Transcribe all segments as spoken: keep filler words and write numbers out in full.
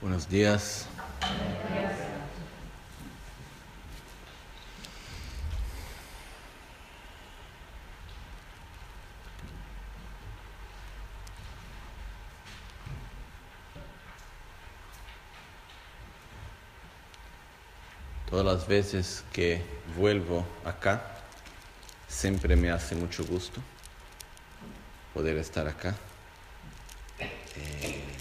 Buenos días. Todas las veces que vuelvo acá, siempre me hace mucho gusto poder estar acá. Eh,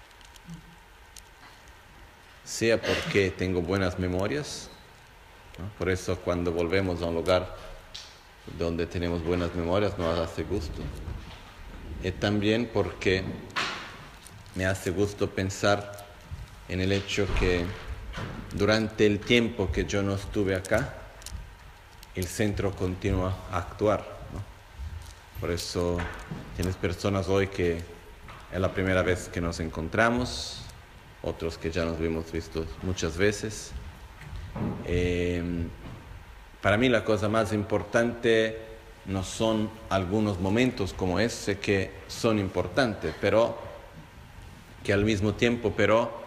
sea porque tengo buenas memorias, ¿no? Por eso cuando volvemos a un lugar donde tenemos buenas memorias nos hace gusto. Y también porque me hace gusto pensar en el hecho que durante el tiempo que yo no estuve acá, el centro continúa a actuar, ¿no? Por eso tienes personas hoy que es la primera vez que nos encontramos, otros que ya nos hemos visto muchas veces. Eh, para mí la cosa más importante no son algunos momentos como ese que son importantes, pero que al mismo tiempo, pero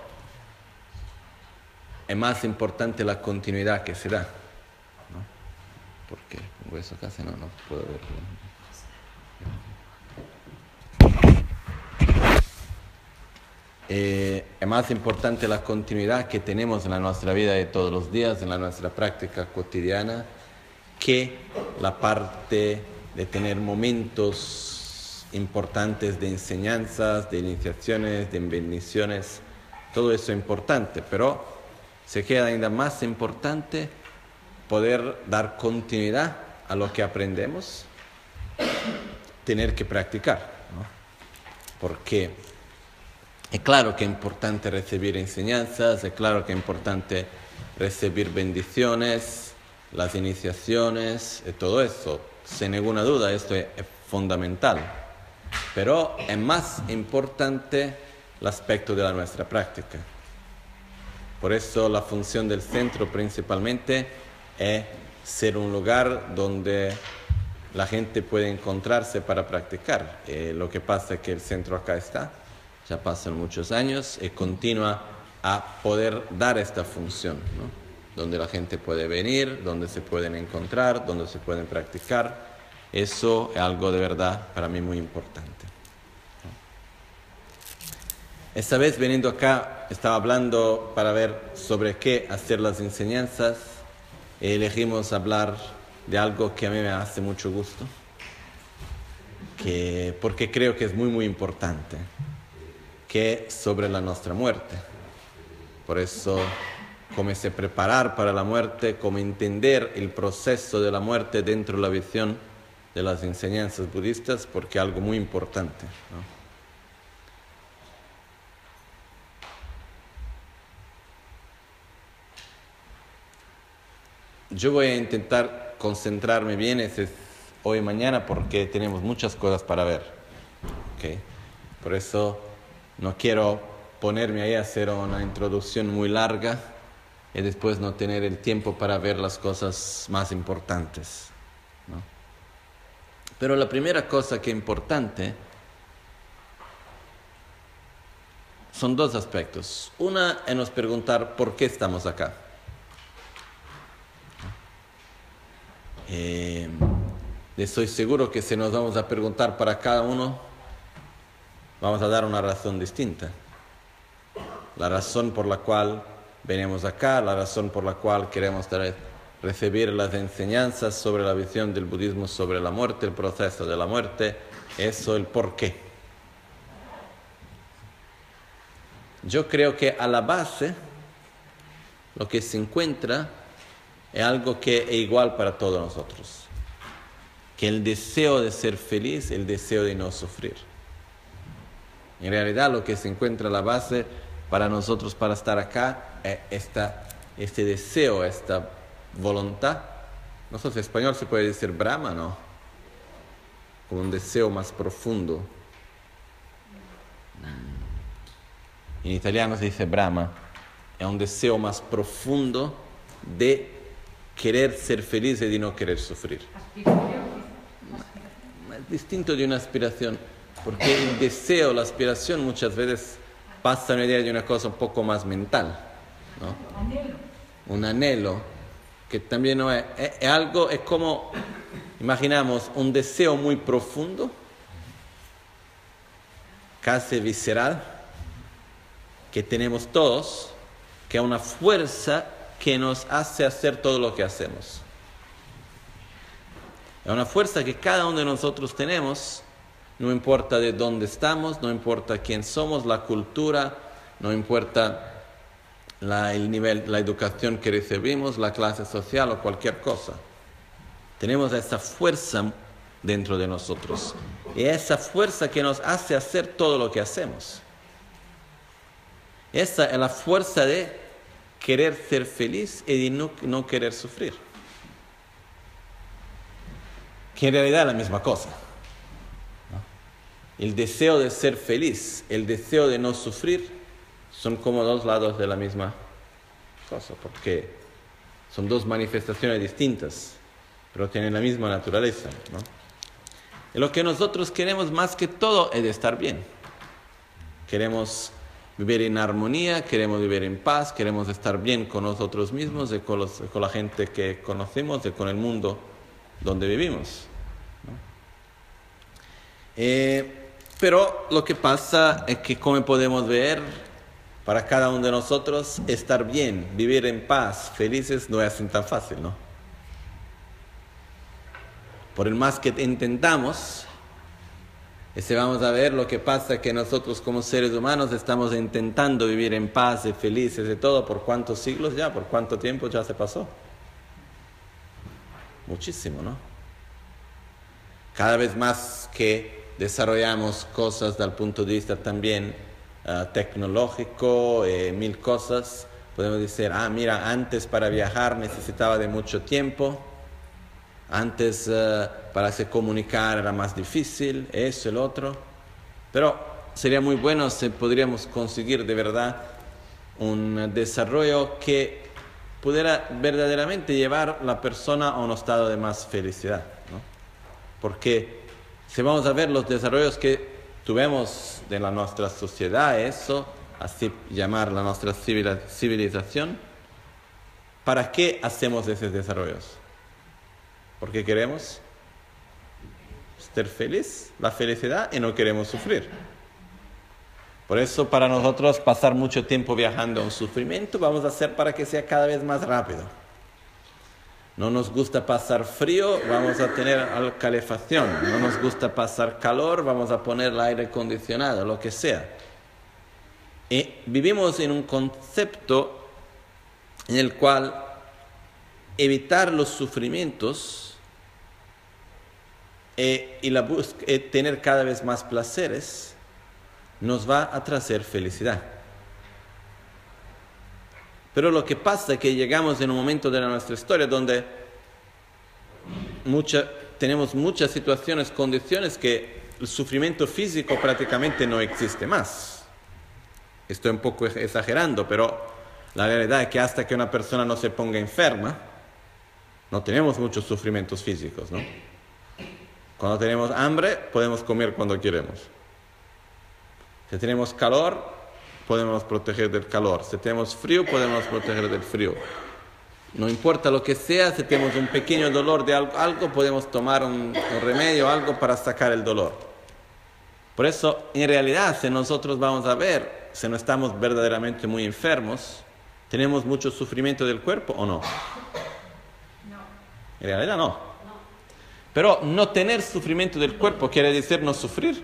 es más importante la continuidad que se da, ¿no? Porque pongo eso casi no, no puedo verlo. Eh, es más importante la continuidad que tenemos en la nuestra vida de todos los días, en la nuestra práctica cotidiana, que la parte de tener momentos importantes de enseñanzas, de iniciaciones, de bendiciones. Todo eso es importante, pero se queda ainda más importante poder dar continuidad a lo que aprendemos, tener que practicar, ¿no? Porque es claro que es importante recibir enseñanzas, es claro que es importante recibir bendiciones, las iniciaciones, y todo eso. Sin ninguna duda, esto es, es fundamental. Pero es más importante el aspecto de la nuestra práctica. Por eso la función del centro principalmente es ser un lugar donde la gente puede encontrarse para practicar. Eh, lo que pasa es que el centro acá está, ya pasan muchos años y continúa a poder dar esta función, ¿no? Donde la gente puede venir, donde se pueden encontrar, donde se pueden practicar. Eso es algo de verdad para mí muy importante. Esta vez veniendo acá estaba hablando para ver sobre qué hacer las enseñanzas y elegimos hablar de algo que a mí me hace mucho gusto, que, porque creo que es muy muy importante, que es sobre la nuestra muerte. Por eso, cómo se preparar para la muerte, cómo entender el proceso de la muerte dentro de la visión de las enseñanzas budistas, porque es algo muy importante, ¿no? Yo voy a intentar concentrarme bien ese, hoy y mañana porque tenemos muchas cosas para ver, ¿okay? Por eso no quiero ponerme ahí a hacer una introducción muy larga y después no tener el tiempo para ver las cosas más importantes, ¿no? Pero la primera cosa que es importante son dos aspectos. Una es nos preguntar por qué estamos acá. Eh, estoy seguro que si nos vamos a preguntar para cada uno, vamos a dar una razón distinta. La razón por la cual venimos acá, la razón por la cual queremos recibir las enseñanzas sobre la visión del budismo sobre la muerte, el proceso de la muerte, eso el por qué. Yo creo que a la base lo que se encuentra es algo que es igual para todos nosotros, que el deseo de ser feliz, el deseo de no sufrir. En realidad lo que se encuentra a la base para nosotros para estar acá es esta, este deseo, esta voluntad. No sé si en español se puede decir Brahma, ¿no? Como un deseo más profundo. En italiano se dice Brahma. Es un deseo más profundo de querer ser feliz y de no querer sufrir. Es distinto de una aspiración, porque el deseo, la aspiración muchas veces pasa una idea de una cosa un poco más mental, ¿no? Anhelo. Un anhelo, que también no es, es, es algo, es como, imaginamos, un deseo muy profundo, casi visceral, que tenemos todos, que es una fuerza que nos hace hacer todo lo que hacemos. Es una fuerza que cada uno de nosotros tenemos, no importa de dónde estamos, no importa quién somos, la cultura, no importa la, el nivel, la educación que recibimos, la clase social o cualquier cosa. Tenemos esa fuerza dentro de nosotros. Y esa fuerza que nos hace hacer todo lo que hacemos. Esa es la fuerza de querer ser feliz y de no, no querer sufrir. Que en realidad es la misma cosa. El deseo de ser feliz, el deseo de no sufrir, son como dos lados de la misma cosa, porque son dos manifestaciones distintas, pero tienen la misma naturaleza, ¿no? Y lo que nosotros queremos más que todo es de estar bien. Queremos vivir en armonía, queremos vivir en paz, queremos estar bien con nosotros mismos y con, los, con la gente que conocemos y con el mundo donde vivimos, ¿no? Eh, pero lo que pasa es que, como podemos ver, para cada uno de nosotros estar bien, vivir en paz, felices, no es así tan fácil, ¿no? Por el más que intentamos, ese vamos a ver lo que pasa que nosotros como seres humanos estamos intentando vivir en paz y felices y todo, ¿por cuántos siglos ya? ¿Por cuánto tiempo ya se pasó? Muchísimo, ¿no? Cada vez más que desarrollamos cosas desde el punto de vista también uh, tecnológico, eh, mil cosas, podemos decir, ah, mira, antes para viajar necesitaba de mucho tiempo, antes uh, para se comunicar era más difícil, eso, el otro, pero sería muy bueno si podríamos conseguir de verdad un desarrollo que pudiera verdaderamente llevar a la persona a un estado de más felicidad, ¿no? Porque si vamos a ver los desarrollos que tuvimos de la nuestra sociedad, eso, así llamar la nuestra civilización, ¿para qué hacemos esos desarrollos? Porque queremos ser feliz, la felicidad, y no queremos sufrir. Por eso para nosotros pasar mucho tiempo viajando a un sufrimiento vamos a hacer para que sea cada vez más rápido. No nos gusta pasar frío, vamos a tener calefacción. No nos gusta pasar calor, vamos a poner el aire acondicionado, lo que sea. Y vivimos en un concepto en el cual evitar los sufrimientos eh, y la bus- eh, tener cada vez más placeres nos va a traer felicidad. Pero lo que pasa es que llegamos en un momento de nuestra historia donde mucha, tenemos muchas situaciones, condiciones que el sufrimiento físico prácticamente no existe más. Estoy un poco exagerando, pero la realidad es que hasta que una persona no se ponga enferma, no tenemos muchos sufrimientos físicos, ¿no? Cuando tenemos hambre, podemos comer cuando queremos. Si tenemos calor, podemos proteger del calor. Si tenemos frío, podemos proteger del frío. No importa lo que sea, si tenemos un pequeño dolor de algo, algo podemos tomar un, un remedio, algo para sacar el dolor. Por eso, en realidad, si nosotros vamos a ver, si no estamos verdaderamente muy enfermos, ¿tenemos mucho sufrimiento del cuerpo o no? No. En realidad no. Pero no tener sufrimiento del cuerpo quiere decir no sufrir.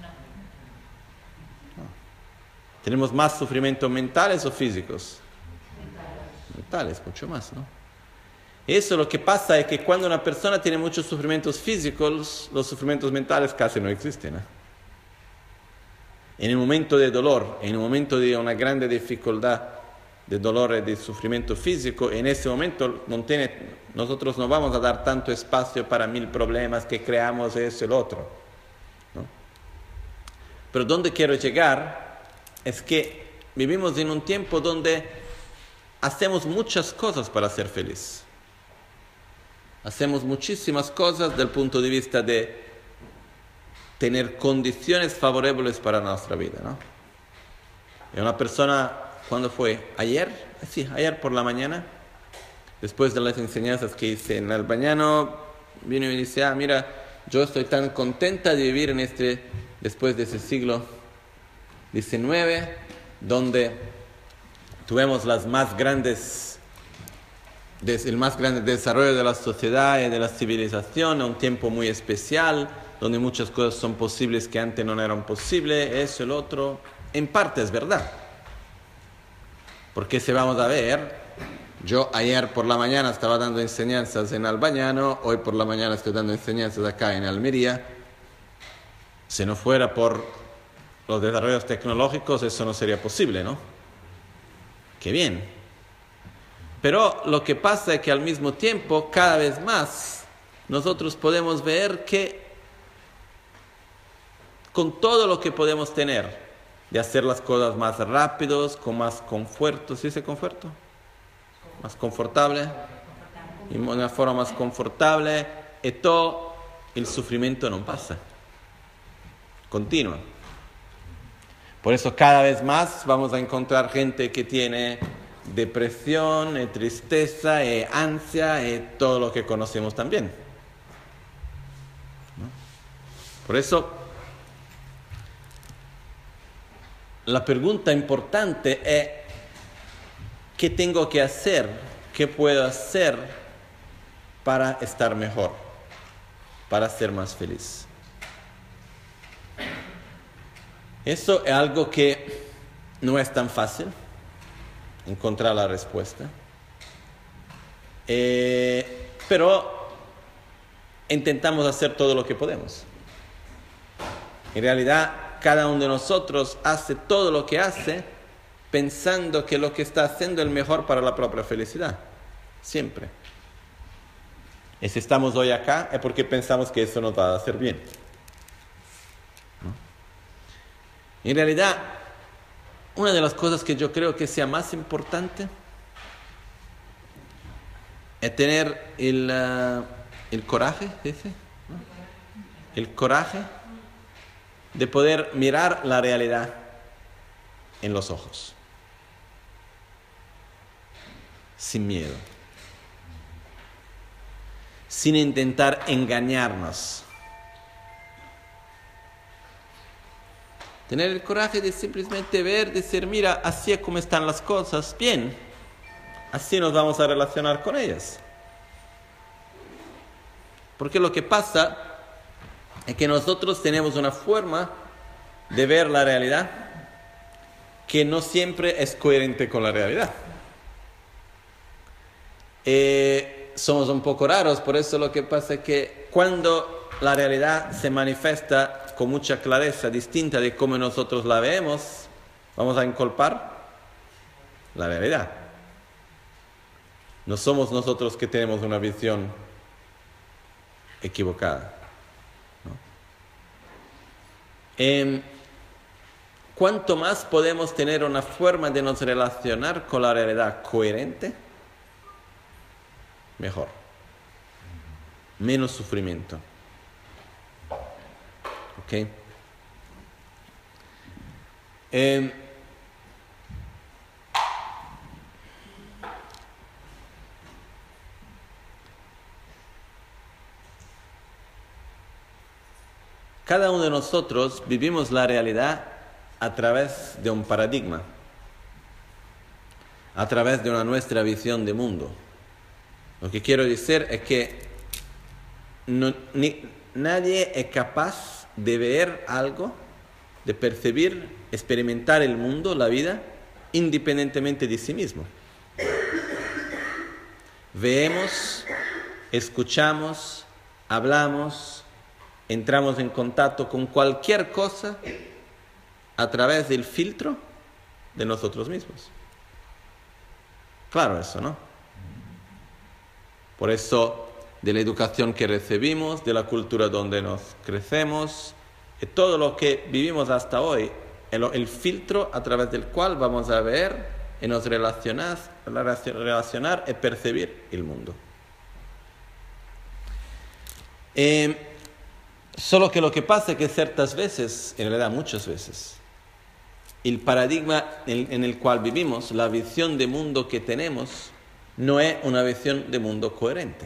¿Tenemos más sufrimientos mentales o físicos? Mentales, mucho más, ¿no? Eso lo que pasa es que cuando una persona tiene muchos sufrimientos físicos, los sufrimientos mentales casi no existen, ¿eh? En el momento de dolor, en el momento de una grande dificultad de dolor y de sufrimiento físico, en ese momento no tiene, nosotros no vamos a dar tanto espacio para mil problemas que creamos eso y el otro, ¿no? Pero donde quiero llegar es que vivimos en un tiempo donde hacemos muchas cosas para ser feliz. Hacemos muchísimas cosas desde el punto de vista de tener condiciones favorables para nuestra vida, ¿no? Y una persona, ¿cuándo fue? ¿Ayer? Sí, ayer por la mañana, después de las enseñanzas que hice en Albañano, vino y me dice, ah, mira, yo estoy tan contenta de vivir en este, después de ese siglo diecinueve, donde tuvimos las más grandes, el más grande desarrollo de la sociedad y de la civilización, un tiempo muy especial, donde muchas cosas son posibles que antes no eran posibles, eso, el otro. En parte es verdad. Porque si vamos a ver, yo ayer por la mañana estaba dando enseñanzas en Albañano, hoy por la mañana estoy dando enseñanzas acá en Almería. Si no fuera por los desarrollos tecnológicos, eso no sería posible, ¿no? Qué bien. Pero lo que pasa es que al mismo tiempo, cada vez más, nosotros podemos ver que con todo lo que podemos tener, de hacer las cosas más rápidos, con más conforto, ¿sí dice conforto? Más confortable, y de una forma más confortable, y todo el sufrimiento no pasa, continúa. Por eso cada vez más vamos a encontrar gente que tiene depresión, eh, tristeza, eh, ansia, eh, todo lo que conocemos también, ¿no? Por eso la pregunta importante es, ¿qué tengo que hacer? ¿Qué puedo hacer para estar mejor? Para ser más feliz. Eso es algo que no es tan fácil encontrar la respuesta. Eh, pero intentamos hacer todo lo que podemos. En realidad, cada uno de nosotros hace todo lo que hace pensando que lo que está haciendo es el mejor para la propia felicidad. Siempre. Y si estamos hoy acá es porque pensamos que eso nos va a hacer bien, ¿no? En realidad, una de las cosas que yo creo que sea más importante es tener el, uh, el coraje, ¿dice? ¿No? El coraje de poder mirar la realidad en los ojos, sin miedo, sin intentar engañarnos. Tener el coraje de simplemente ver, decir, mira, así es como están las cosas, bien, así nos vamos a relacionar con ellas. Porque lo que pasa es que nosotros tenemos una forma de ver la realidad que no siempre es coherente con la realidad. Eh, somos un poco raros, por eso lo que pasa es que cuando la realidad se manifiesta con mucha clareza, distinta de cómo nosotros la vemos, vamos a inculpar la realidad. No somos nosotros que tenemos una visión equivocada, ¿no? Eh, cuanto más podemos tener una forma de nos relacionar con la realidad coherente, mejor. Menos sufrimiento. ¿Ok? Eh, cada uno de nosotros vivimos la realidad a través de un paradigma, a través de una nuestra visión de mundo. Lo que quiero decir es que no, ni, nadie es capaz de ver algo, de percibir, experimentar el mundo, la vida, independientemente de sí mismo. Vemos, escuchamos, hablamos, entramos en contacto con cualquier cosa a través del filtro de nosotros mismos. Claro eso, ¿no? Por eso, de la educación que recibimos, de la cultura donde nos crecemos, de todo lo que vivimos hasta hoy, el, el filtro a través del cual vamos a ver y nos relacionar, relacionar y percibir el mundo. Eh, solo que lo que pasa es que ciertas veces, en realidad muchas veces, el paradigma en, en el cual vivimos, la visión de mundo que tenemos, no es una visión de mundo coherente.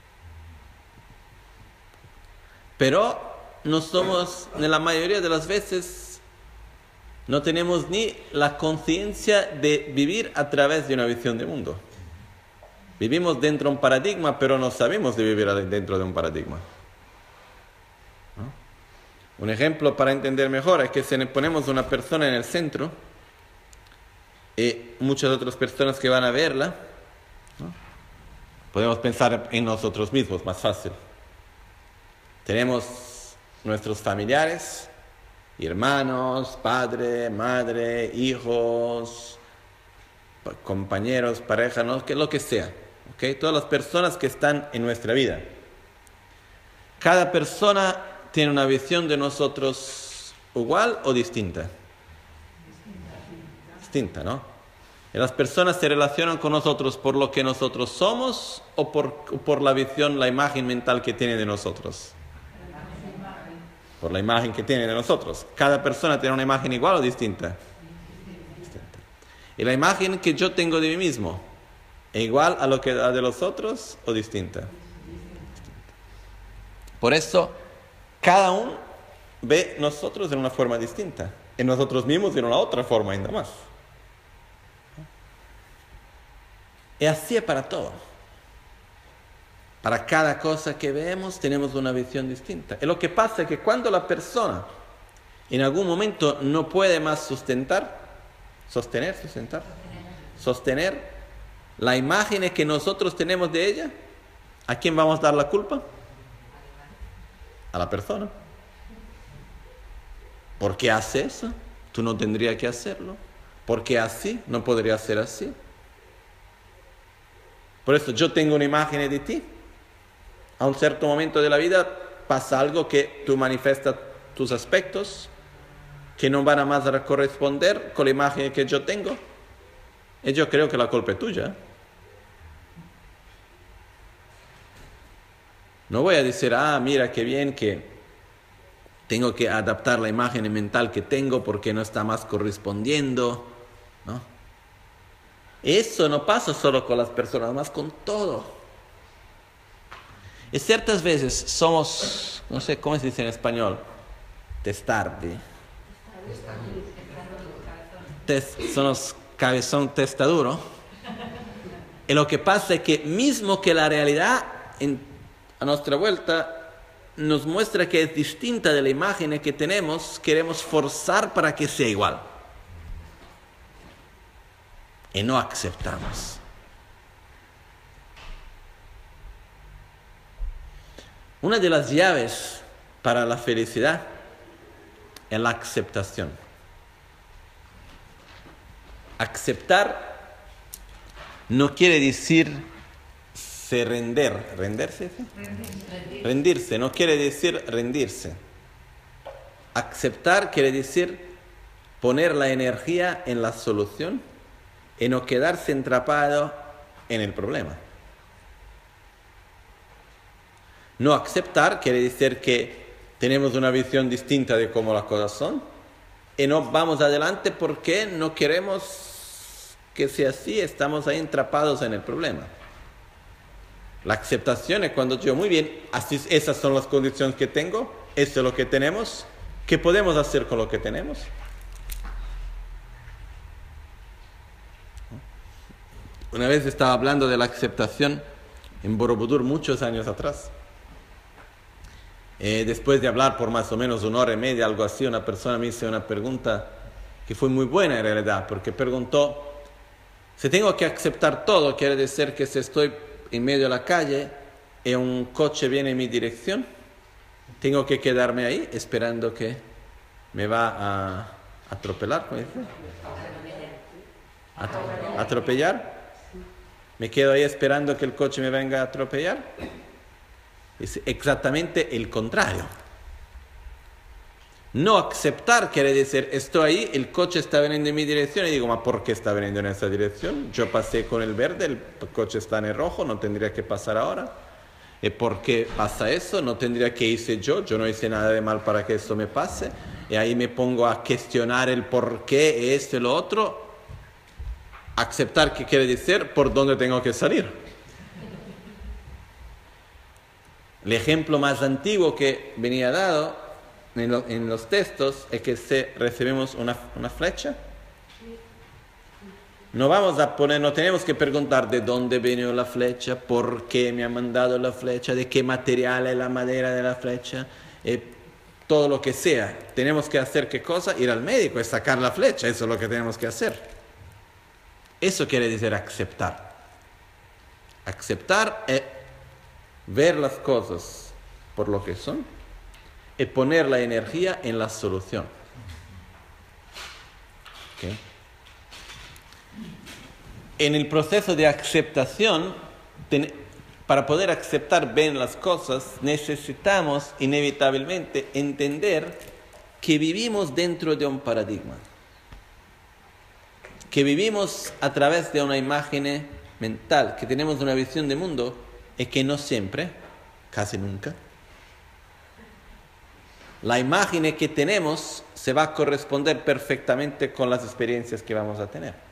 Pero no somos, en la mayoría de las veces, no tenemos ni la conciencia de vivir a través de una visión de mundo. Vivimos dentro de un paradigma, pero no sabemos de vivir dentro de un paradigma. ¿No? Un ejemplo para entender mejor es que si ponemos una persona en el centro y muchas otras personas que van a verla, ¿no? Podemos pensar en nosotros mismos, más fácil. Tenemos nuestros familiares, hermanos, padre, madre, hijos, compañeros, pareja, ¿no? Que lo que sea, ¿okay? Todas las personas que están en nuestra vida. Cada persona tiene una visión de nosotros igual o distinta. Distinta, ¿no? Y las personas se relacionan con nosotros por lo que nosotros somos o por, por la visión, la imagen mental que tienen de nosotros. Por la imagen que tienen de nosotros. Cada persona tiene una imagen igual o distinta. Distinta. Y la imagen que yo tengo de mí mismo, ¿es igual a lo que la de los otros o distinta? Distinta. Por eso, cada uno ve nosotros de una forma distinta. En nosotros mismos de una otra forma ainda más. Y así es para todo. Para cada cosa que vemos tenemos una visión distinta. Y lo que pasa es que cuando la persona en algún momento no puede más sustentar, sostener, sustentar, sostener la imagen que nosotros tenemos de ella, ¿a quién vamos a dar la culpa? A la persona. ¿Por qué hace eso? Tú no tendrías que hacerlo. ¿Por qué así? No podría ser así. Por eso yo tengo una imagen de ti. A un cierto momento de la vida pasa algo que tú manifiestas tus aspectos que no van a más a corresponder con la imagen que yo tengo. Y yo creo que la culpa es tuya. No voy a decir, ah, mira qué bien que tengo que adaptar la imagen mental que tengo porque no está más correspondiendo, ¿no? Eso no pasa solo con las personas, más con todo. Y ciertas veces somos, no sé cómo se dice en español, testardi. Test, somos cabezón testaduro. Y lo que pasa es que mismo que la realidad en, a nuestra vuelta nos muestra que es distinta de la imagen que tenemos, queremos forzar para que sea igual. Y no aceptamos. Una de las llaves para la felicidad es la aceptación. Aceptar no quiere decir se render, rendirse, ¿sí? rendirse, rendirse, no quiere decir rendirse. Aceptar quiere decir poner la energía en la solución y no quedarse atrapado en el problema. No aceptar quiere decir que tenemos una visión distinta de cómo las cosas son y no vamos adelante porque no queremos que sea así, estamos ahí atrapados en el problema. La aceptación es cuando yo, muy bien, así, esas son las condiciones que tengo, esto es lo que tenemos, ¿qué podemos hacer con lo que tenemos? Una vez estaba hablando de la aceptación en Borobudur muchos años atrás. Eh, después de hablar por más o menos una hora y media, algo así, una persona me hizo una pregunta que fue muy buena en realidad, porque preguntó, si tengo que aceptar todo, quiere decir que si estoy en medio de la calle y un coche viene en mi dirección, tengo que quedarme ahí esperando que me va a atropellar, ¿cómo dice? At- ¿Atropellar? ¿Me quedo ahí esperando que el coche me venga a atropellar? Es exactamente el contrario. No aceptar quiere decir, estoy ahí, el coche está viniendo en mi dirección y digo, ¿ma por qué está viniendo en esa dirección? Yo pasé con el verde, el coche está en el rojo, no tendría que pasar ahora. ¿Y por qué pasa eso? No tendría que irse yo, yo no hice nada de mal para que esto me pase. y ahí me pongo a cuestionar el por qué, esto y lo otro, aceptar qué quiere decir, por dónde tengo que salir. El ejemplo más antiguo que venía dado en, lo, en los textos es que si recibimos una, una flecha, no vamos a poner, no tenemos que preguntar de dónde vino la flecha, por qué me ha mandado la flecha, de qué material es la madera de la flecha, eh, todo lo que sea. Tenemos que hacer qué cosa, ir al médico y sacar la flecha, eso es lo que tenemos que hacer. Eso quiere decir aceptar. Aceptar es ver las cosas por lo que son y poner la energía en la solución. ¿Okay? En el proceso de aceptación, ten, para poder aceptar bien las cosas, necesitamos inevitablemente entender que vivimos dentro de un paradigma, que vivimos a través de una imagen mental, que tenemos una visión de mundo y que no siempre, casi nunca, la imagen que tenemos se va a corresponder perfectamente con las experiencias que vamos a tener.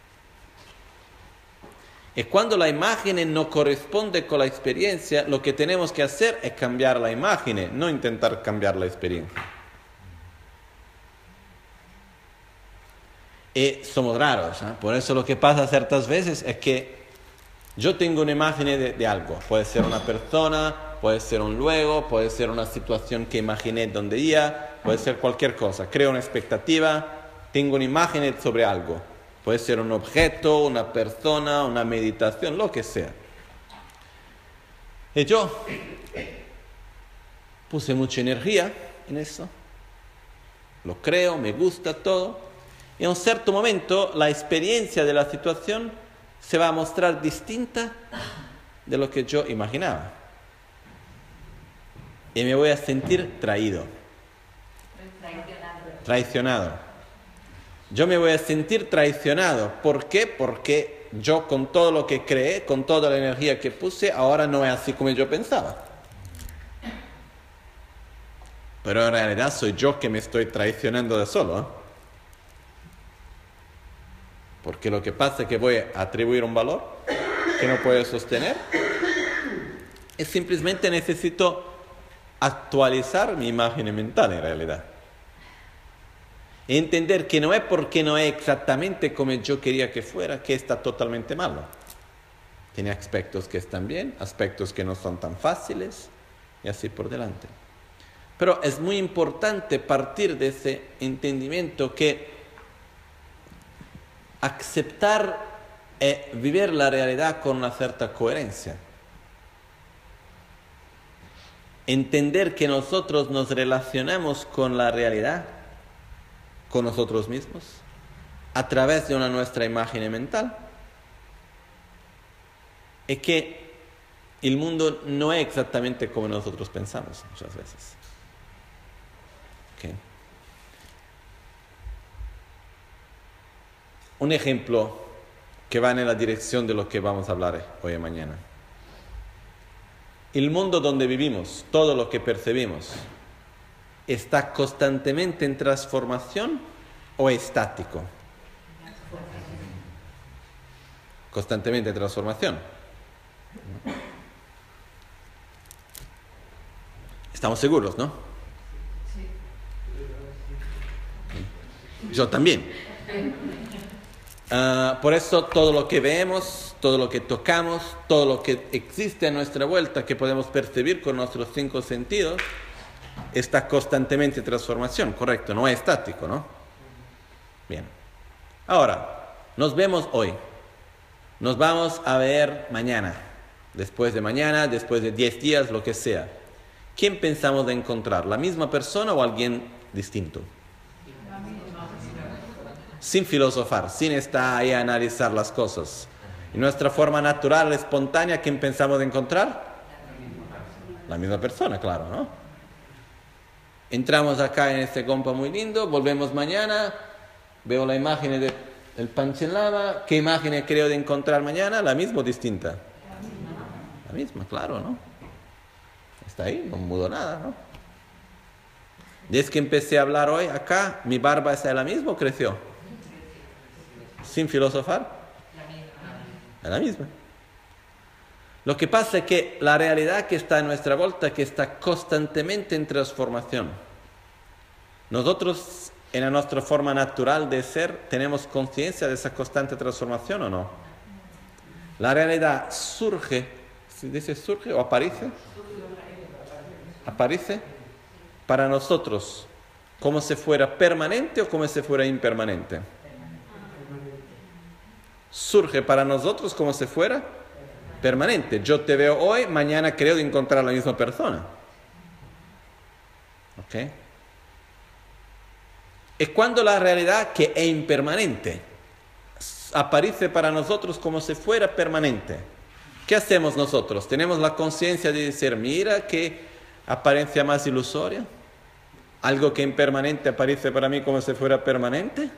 Y cuando la imagen no corresponde con la experiencia, lo que tenemos que hacer es cambiar la imagen, no intentar cambiar la experiencia. Y somos raros, ¿eh? Por eso lo que pasa ciertas veces es que yo tengo una imagen de, de algo. Puede ser una persona, puede ser un luego, puede ser una situación que imaginé donde iba, puede ser cualquier cosa. Creo una expectativa, tengo una imagen sobre algo. Puede ser un objeto, una persona, una meditación, lo que sea. Y yo puse mucha energía en eso. Lo creo, me gusta todo. Y en un cierto momento la experiencia de la situación se va a mostrar distinta de lo que yo imaginaba. Y me voy a sentir traído. Traicionado. Traicionado. Yo me voy a sentir traicionado. ¿Por qué? Porque yo con todo lo que creé, con toda la energía que puse, ahora no es así como yo pensaba. Pero en realidad soy yo que me estoy traicionando de solo, ¿eh? Porque lo que pasa es que voy a atribuir un valor que no puedo sostener y simplemente necesito actualizar mi imagen mental en realidad. Y entender que no es porque no es exactamente como yo quería que fuera, que está totalmente malo. Tiene aspectos que están bien, aspectos que no son tan fáciles, y así por delante. Pero es muy importante partir de ese entendimiento que aceptar es vivir la realidad con una cierta coherencia. Entender que nosotros nos relacionamos con la realidad, con nosotros mismos, a través de una nuestra imagen mental, es que el mundo no es exactamente como nosotros pensamos muchas veces. ¿Okay? Un ejemplo que va en la dirección de lo que vamos a hablar hoy y mañana. El mundo donde vivimos, todo lo que percibimos, ¿está constantemente en transformación o estático? Constantemente en transformación. ¿Estamos seguros, no? Yo también. Uh, por eso todo lo que vemos, todo lo que tocamos, todo lo que existe a nuestra vuelta, que podemos percibir con nuestros cinco sentidos, está constantemente en transformación, correcto, no es estático, ¿no? Bien. Ahora, nos vemos hoy. Nos vamos a ver mañana, después de mañana, después de diez días, lo que sea. ¿Quién pensamos de encontrar? ¿La misma persona o alguien distinto? Sin filosofar, sin estar ahí a analizar las cosas. ¿Y nuestra forma natural, espontánea, quién pensamos de encontrar? La misma persona, claro, ¿no? Entramos acá en este compa muy lindo, volvemos mañana, veo la imagen de, del Panchelava. ¿Qué imagen creo de encontrar mañana? ¿La misma o distinta? La misma, claro, ¿no? Está ahí, no mudó nada, ¿no? Desde que empecé a hablar hoy acá, ¿mi barba es la misma o creció? Sin filosofar. Es la misma. Lo que pasa es que la realidad que está en nuestra vuelta, que está constantemente en transformación. Nosotros, en nuestra forma natural de ser, ¿tenemos conciencia de esa constante transformación o no? La realidad surge, ¿se dice surge o aparece? Aparece para nosotros como si fuera permanente o como si fuera impermanente. Surge para nosotros como si fuera permanente. Yo te veo hoy, mañana creo de encontrar a la misma persona. ¿Ok? Es cuando la realidad que es impermanente aparece para nosotros como si fuera permanente. ¿Qué hacemos nosotros? Tenemos la conciencia de decir, mira qué apariencia más ilusoria. Algo que impermanente aparece para mí como si fuera permanente.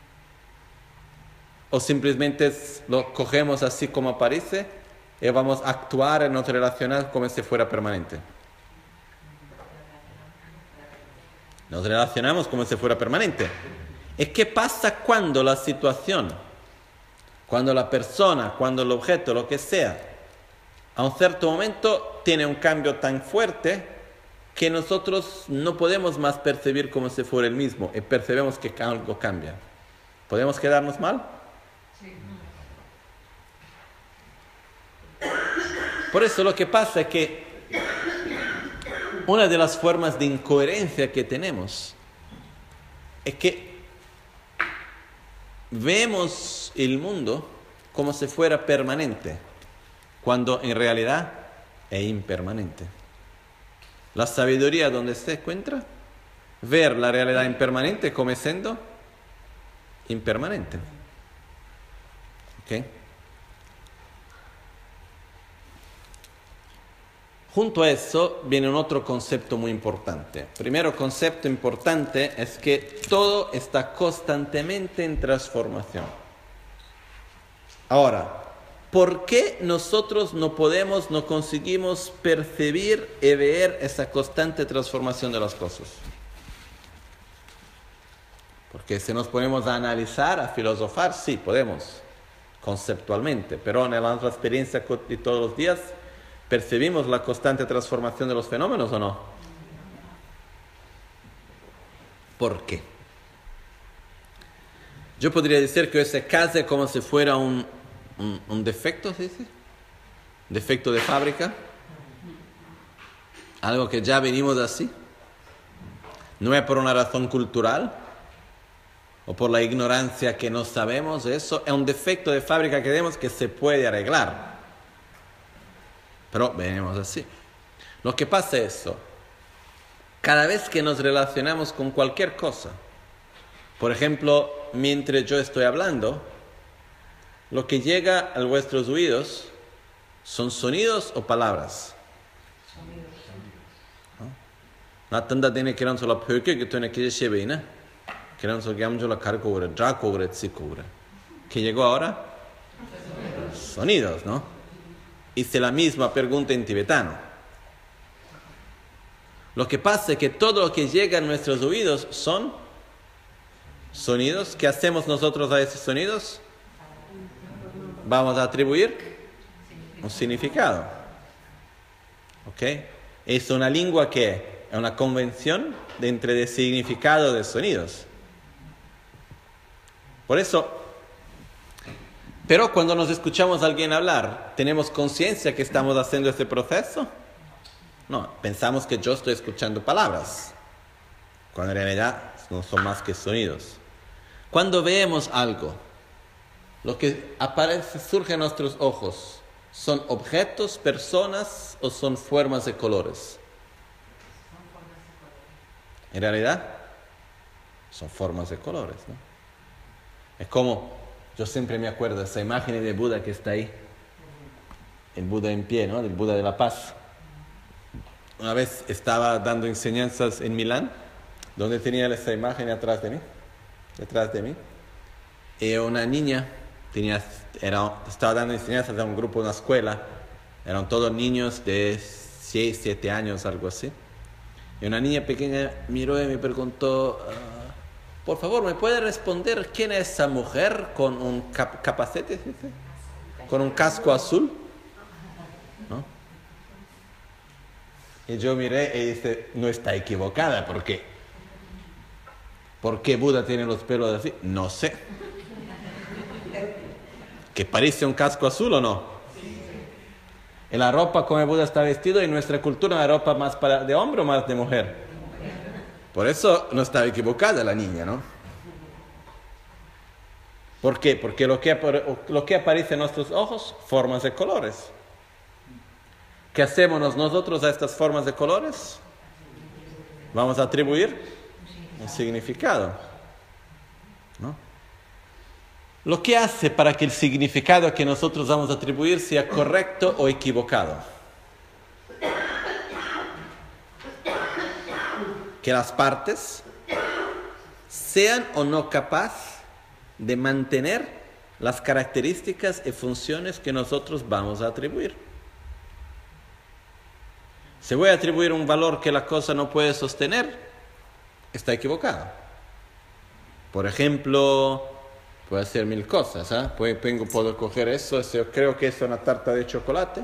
O simplemente lo cogemos así como aparece y vamos a actuar y nos relacionar como si fuera permanente. Nos relacionamos como si fuera permanente. ¿Y qué pasa cuando la situación, cuando la persona, cuando el objeto, lo que sea, a un cierto momento tiene un cambio tan fuerte que nosotros no podemos más percibir como si fuera el mismo y percibimos que algo cambia? ¿Podemos quedarnos mal? Por eso lo que pasa es que una de las formas de incoherencia que tenemos es que vemos el mundo como si fuera permanente, cuando en realidad es impermanente. La sabiduría, ¿dónde se encuentra? Ver la realidad impermanente como siendo impermanente. ¿Ok? Junto a eso viene un otro concepto muy importante. Primero concepto importante es que todo está constantemente en transformación. Ahora, ¿por qué nosotros no podemos, no conseguimos percibir y ver esa constante transformación de las cosas? Porque si nos ponemos a analizar, a filosofar, sí, podemos, conceptualmente, pero en nuestra experiencia de todos los días, ¿percibimos la constante transformación de los fenómenos o no? ¿Por qué? Yo podría decir que ese caso es como si fuera un, un, un defecto, ¿se dice? Defecto de fábrica. Algo que ya venimos así. No es por una razón cultural o por la ignorancia que no sabemos. Eso es un defecto de fábrica que vemos que se puede arreglar. Pero venimos así. Lo que pasa es eso. Cada vez que nos relacionamos con cualquier cosa, por ejemplo, mientras yo estoy hablando, lo que llega a vuestros oídos son sonidos o palabras. ¿No? Tanta tiene que solo porque que tú no quieres llevar, ¿no? Que no solo que la carga ahora, ya cobre, sí cobre. ¿Qué llegó ahora? Sonidos, ¿no? Hice la misma pregunta en tibetano. Lo que pasa es que todo lo que llega a nuestros oídos son sonidos. ¿Qué hacemos nosotros a esos sonidos? Vamos a atribuir un significado. ¿Ok? Es una lengua que es una convención de entre de significado de sonidos. Por eso, pero cuando nos escuchamos a alguien hablar, ¿tenemos conciencia que estamos haciendo este proceso? No, pensamos que yo estoy escuchando palabras, cuando en realidad no son más que sonidos. Cuando vemos algo, lo que aparece, surge a nuestros ojos, ¿son objetos, personas o son formas de colores? En realidad, son formas de colores, ¿no? Es como... Yo siempre me acuerdo de esa imagen de Buda que está ahí. El Buda en pie, ¿no? Del Buda de la Paz. Una vez estaba dando enseñanzas en Milán, donde tenía esa imagen atrás de mí. Detrás de mí. Y una niña tenía, era, estaba dando enseñanzas a un grupo de una escuela. Eran todos niños de seis, siete años, algo así. Y una niña pequeña miró y me preguntó, uh, por favor, ¿me puede responder quién es esa mujer con un cap capacete? ¿Con un casco azul? ¿No? Y yo miré y dije, no está equivocada, ¿por qué? ¿Por qué Buda tiene los pelos así? No sé. ¿Que parece un casco azul o no? En la ropa como Buda está vestido, en nuestra cultura, ¿la ropa más para, de hombre o más de mujer? Por eso no estaba equivocada la niña, ¿no? ¿Por qué? Porque lo que, lo que aparece en nuestros ojos, formas de colores. ¿Qué hacemos nosotros a estas formas de colores? Vamos a atribuir un significado, ¿no? Lo que hace para que el significado que nosotros vamos a atribuir sea correcto o equivocado. Que las partes sean o no capaces de mantener las características y funciones que nosotros vamos a atribuir. Si voy a atribuir un valor que la cosa no puede sostener, está equivocado. Por ejemplo, puede hacer mil cosas, ¿eh? Puedo, puedo coger eso, yo creo que es una tarta de chocolate,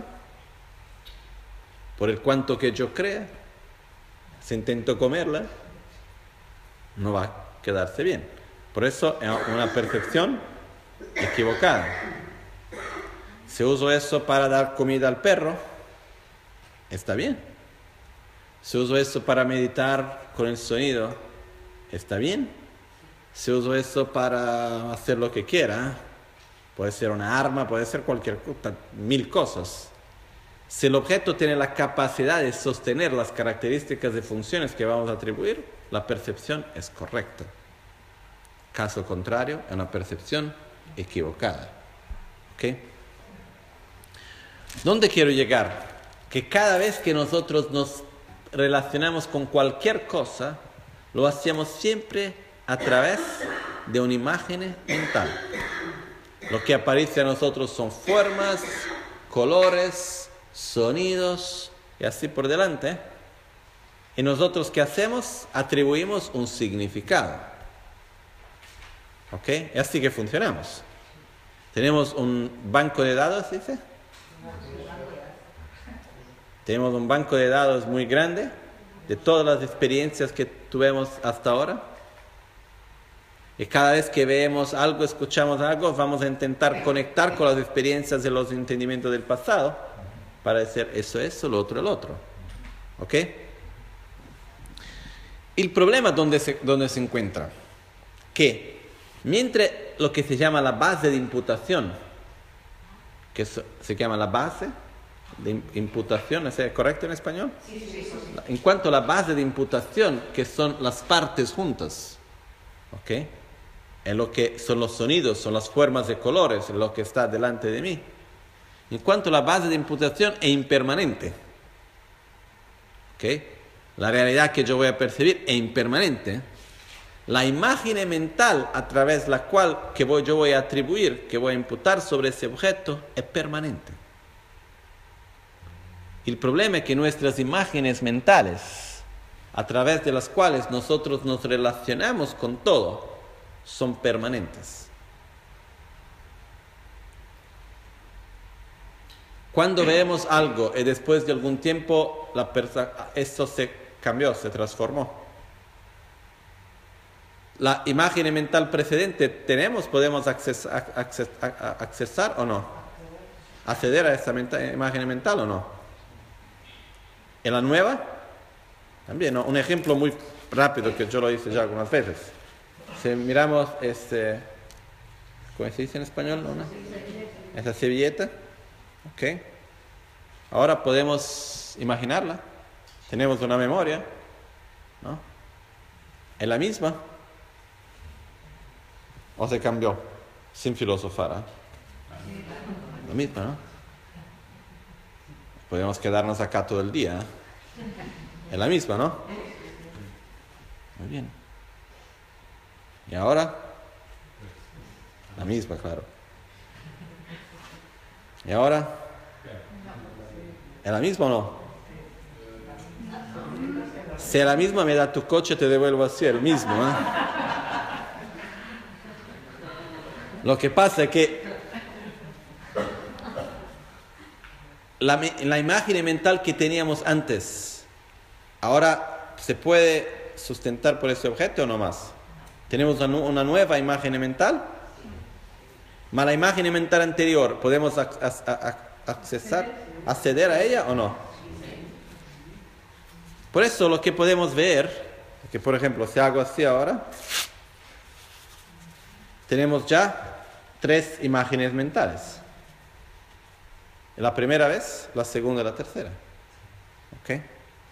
por el cuanto que yo crea, si intento comerla, no va a quedarse bien. Por eso es una percepción equivocada. Si uso eso para dar comida al perro, está bien. Si uso eso para meditar con el sonido, está bien. Si uso eso para hacer lo que quiera, puede ser una arma, puede ser cualquier cosa, mil cosas. Si el objeto tiene la capacidad de sostener las características y funciones que vamos a atribuir, la percepción es correcta. Caso contrario, es una percepción equivocada. ¿Ok? ¿Dónde quiero llegar? Que cada vez que nosotros nos relacionamos con cualquier cosa, lo hacemos siempre a través de una imagen mental. Lo que aparece a nosotros son formas, colores, sonidos y así por delante. Y nosotros, ¿qué hacemos? Atribuimos un significado. ¿Ok? Es así que funcionamos. Tenemos un banco de datos, dice. Tenemos un banco de datos muy grande de todas las experiencias que tuvimos hasta ahora. Y cada vez que vemos algo, escuchamos algo, vamos a intentar conectar con las experiencias de los entendimientos del pasado para decir eso, eso, lo otro, el otro. ¿Ok? El problema donde se, donde se encuentra, que mientras lo que se llama la base de imputación, que se, se llama la base de imputación, ¿es correcto en español? Sí, sí, sí. En cuanto a la base de imputación, que son las partes juntas, ¿ok? En lo que son los sonidos, son las formas de colores, lo que está delante de mí. En cuanto a la base de imputación es impermanente, ¿ok? La realidad que yo voy a percibir es impermanente. La imagen mental a través de la cual que voy, yo voy a atribuir, que voy a imputar sobre ese objeto, es permanente. El problema es que nuestras imágenes mentales, a través de las cuales nosotros nos relacionamos con todo, son permanentes. Cuando vemos algo y después de algún tiempo la esto se cambió, se transformó. La imagen mental precedente tenemos, podemos accesar, accesar, accesar o no, acceder a esa mental, imagen mental o no. En la nueva, también, ¿no? Un ejemplo muy rápido que yo lo hice ya algunas veces. Si miramos, este, ¿cómo se dice en español? ¿No? Esa servilleta, ¿ok? Ahora podemos imaginarla. Tenemos una memoria, ¿no? ¿Es la misma? ¿O se cambió? Sin filosofar, ¿eh? La misma, ¿no? Podemos quedarnos acá todo el día, ¿eh? Es la misma, ¿no? Muy bien. ¿Y ahora? La misma, claro. ¿Y ahora? ¿Es la misma o no? Si es la misma, me da tu coche, te devuelvo así, el mismo. ¿eh? Lo que pasa es que la, la imagen mental que teníamos antes, ahora se puede sustentar por ese objeto o no más. Tenemos una, una nueva imagen mental, ¿mas la imagen mental anterior podemos ac ac accesar, acceder a ella o no? Por eso lo que podemos ver, que por ejemplo, si hago así ahora, tenemos ya tres imágenes mentales. La primera vez, la segunda y la tercera. ¿Okay?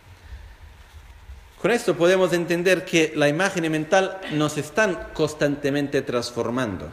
Con esto podemos entender que la imagen mental nos están constantemente transformando.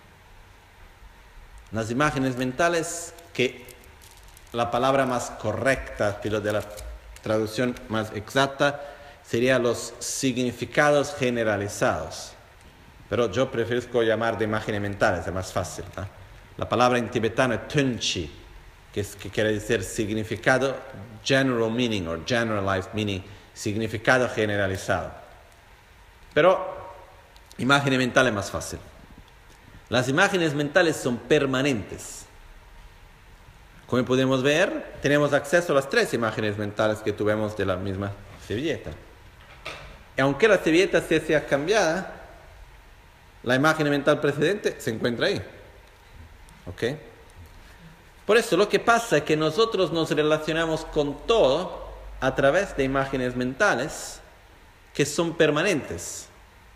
Las imágenes mentales, que la palabra más correcta, pero de la traducción más exacta, sería los significados generalizados. Pero yo prefiero llamar de imágenes mentales, es más fácil. ¿eh? La palabra en tibetano es tunchi, que, es, que quiere decir significado, general meaning o generalized meaning, significado generalizado. Pero imagen mental es más fácil. Las imágenes mentales son permanentes. Como podemos ver, tenemos acceso a las tres imágenes mentales que tuvimos de la misma servilleta. Y aunque la servilleta se sea cambiada, la imagen mental precedente se encuentra ahí. ¿Ok? Por eso lo que pasa es que nosotros nos relacionamos con todo a través de imágenes mentales que son permanentes.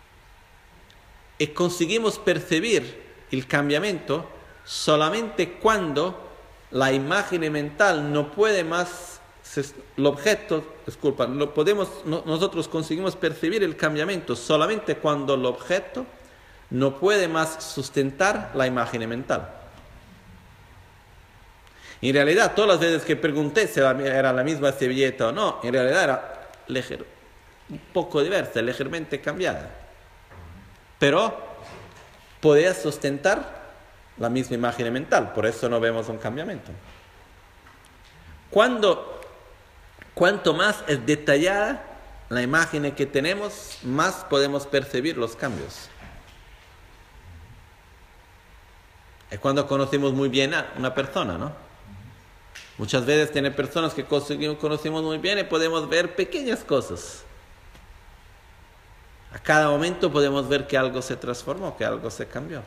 Y conseguimos percibir el cambiamiento solamente cuando la imagen mental no puede más, el objeto, disculpa, lo podemos, no, nosotros conseguimos percibir el cambiamiento solamente cuando el objeto no puede más sustentar la imagen mental. En realidad, todas las veces que pregunté si era la misma servilleta o no, en realidad era liger, un poco diversa, ligeramente cambiada. Pero podía sustentar la misma imagen mental, por eso no vemos un cambiamiento. Cuando, cuanto más es detallada la imagen que tenemos, más podemos percibir los cambios. Es cuando conocemos muy bien a una persona, ¿no? Muchas veces tiene personas que conocemos muy bien y podemos ver pequeñas cosas. A cada momento podemos ver que algo se transformó, que algo se cambió.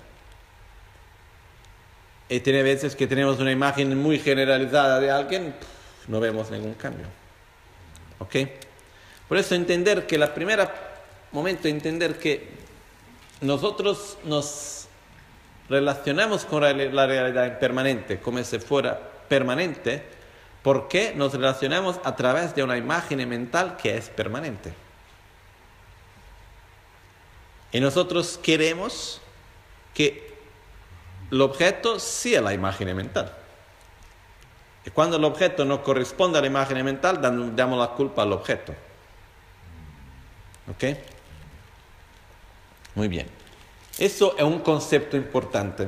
Y tiene veces que tenemos una imagen muy generalizada de alguien, no vemos ningún cambio. ¿Ok? Por eso entender que la primera momento, entender que nosotros nos relacionamos con la realidad impermanente, como si fuera permanente, porque nos relacionamos a través de una imagen mental que es permanente. Y nosotros queremos que el objeto sea la imagen mental. Y cuando el objeto no corresponde a la imagen mental, damos la culpa al objeto. ¿Ok? Muy bien. Eso es un concepto importante.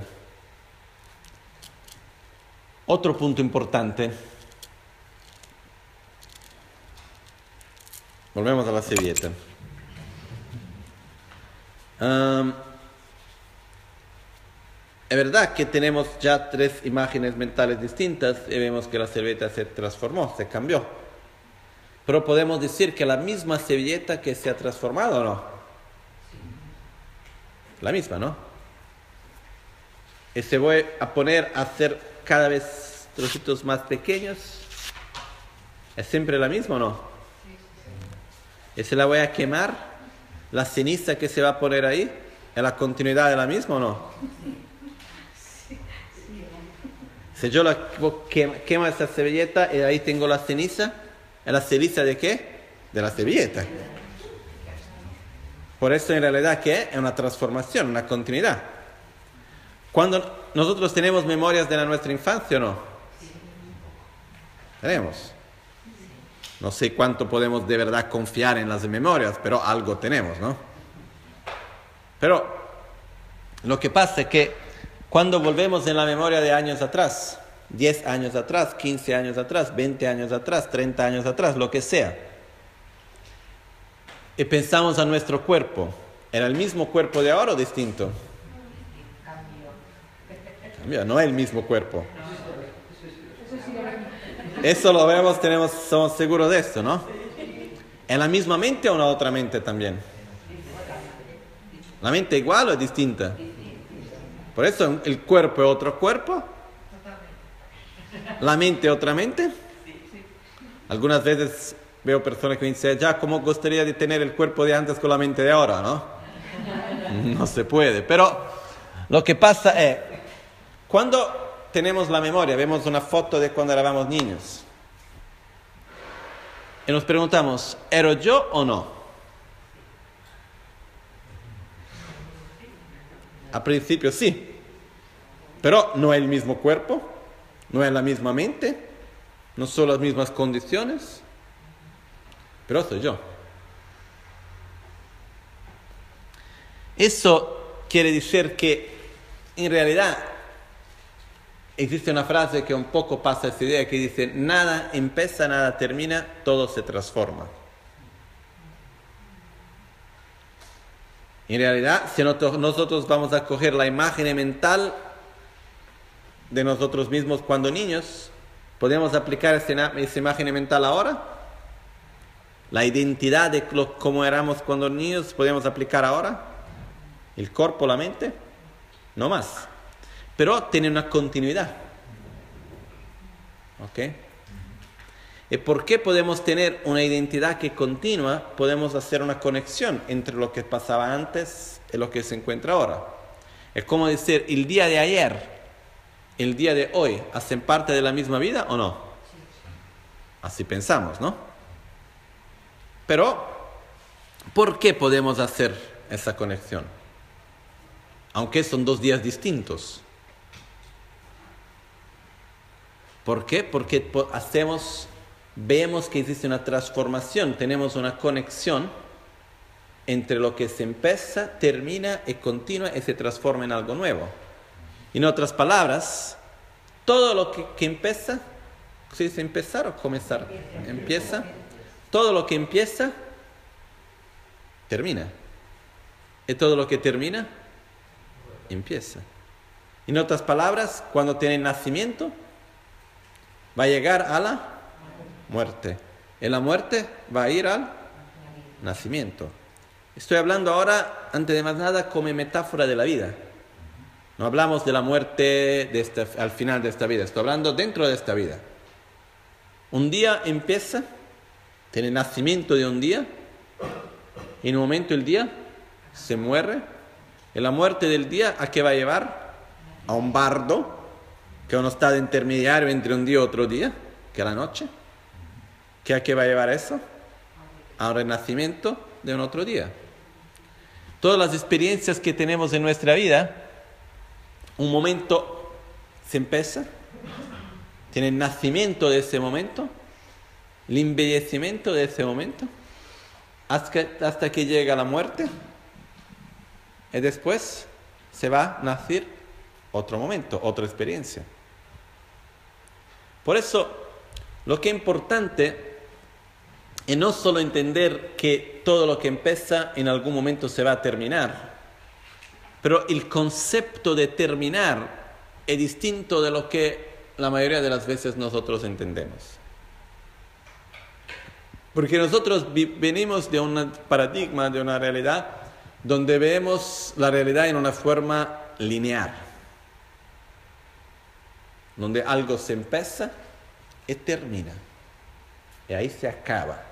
Otro punto importante. Volvemos a la servilleta. Um, es verdad que tenemos ya tres imágenes mentales distintas y vemos que la servilleta se transformó, se cambió. Pero podemos decir que la misma servilleta que se ha transformado, ¿o no? La misma, ¿no? Y se voy a poner a hacer cada vez trocitos más pequeños. ¿Es siempre la misma o no? Y se la voy a quemar. La ceniza que se va a poner ahí, ¿es la continuidad de la misma o no? Si yo la quemo esa servilleta y ahí tengo la ceniza, ¿es la ceniza de qué? De la servilleta. Por eso en realidad ¿qué? Es una transformación, una continuidad. Cuando nosotros tenemos memorias de la nuestra infancia o no, tenemos. No sé cuánto podemos de verdad confiar en las memorias, pero algo tenemos, ¿no? Pero lo que pasa es que cuando volvemos en la memoria de años atrás, diez años atrás, quince años atrás, veinte años atrás, treinta años atrás, lo que sea, y pensamos a nuestro cuerpo, ¿era el mismo cuerpo de ahora o distinto? Cambió, no es el mismo cuerpo. Eso lo vemos, tenemos, somos seguros de esto, ¿no? ¿Es la misma mente o una otra mente también? ¿La mente igual o es distinta? Por eso el cuerpo es otro cuerpo. ¿La mente es otra mente? Algunas veces veo personas que me dicen, ya, ¿cómo gustaría de tener el cuerpo de antes con la mente de ahora, no? No se puede. Pero lo que pasa es, cuando tenemos la memoria, vemos una foto de cuando éramos niños, y nos preguntamos, ¿ero yo o no? A principio sí, pero no es el mismo cuerpo, no es la misma mente, no son las mismas condiciones, pero soy yo. Eso quiere decir que en realidad existe una frase que un poco pasa esa idea que dice, nada empieza, nada termina, todo se transforma. En realidad, si nosotros vamos a coger la imagen mental de nosotros mismos cuando niños, ¿podemos aplicar esa, esa imagen mental ahora? La identidad de lo, cómo éramos cuando niños, ¿podemos aplicar ahora? ¿El cuerpo, la mente? No más. Pero tiene una continuidad. ¿Ok? ¿Y por qué podemos tener una identidad que continúa? Podemos hacer una conexión entre lo que pasaba antes y lo que se encuentra ahora. Es como decir, el día de ayer, el día de hoy, ¿hacen parte de la misma vida o no? Así pensamos, ¿no? Pero, ¿por qué podemos hacer esa conexión? Aunque son dos días distintos. ¿Por qué? Porque hacemos, vemos que existe una transformación, tenemos una conexión entre lo que se empieza, termina y continúa y se transforma en algo nuevo. En otras palabras, todo lo que, que empieza, ¿se dice empezar o comenzar? Empieza. Todo lo que empieza, termina. Y todo lo que termina, empieza. En otras palabras, cuando tiene nacimiento, va a llegar a la muerte. Y la muerte va a ir al nacimiento. Estoy hablando ahora, antes de más nada, como metáfora de la vida. No hablamos de la muerte de esta, al final de esta vida. Estoy hablando dentro de esta vida. Un día empieza, tiene nacimiento de un día, y en un momento el día se muere. Y la muerte del día, ¿a qué va a llevar? A un bardo, que uno está de intermediario entre un día y otro día, que es la noche. ¿Qué a qué va a llevar eso? A un renacimiento de un otro día. Todas las experiencias que tenemos en nuestra vida, un momento se empieza, tiene el nacimiento de ese momento, el embellecimiento de ese momento, hasta, hasta que llega la muerte, y después se va a nacer otro momento, otra experiencia. Por eso, lo que es importante es no solo entender que todo lo que empieza en algún momento se va a terminar, pero el concepto de terminar es distinto de lo que la mayoría de las veces nosotros entendemos. Porque nosotros venimos de un paradigma, de una realidad, donde vemos la realidad en una forma lineal, donde algo se empieza y termina, y ahí se acaba.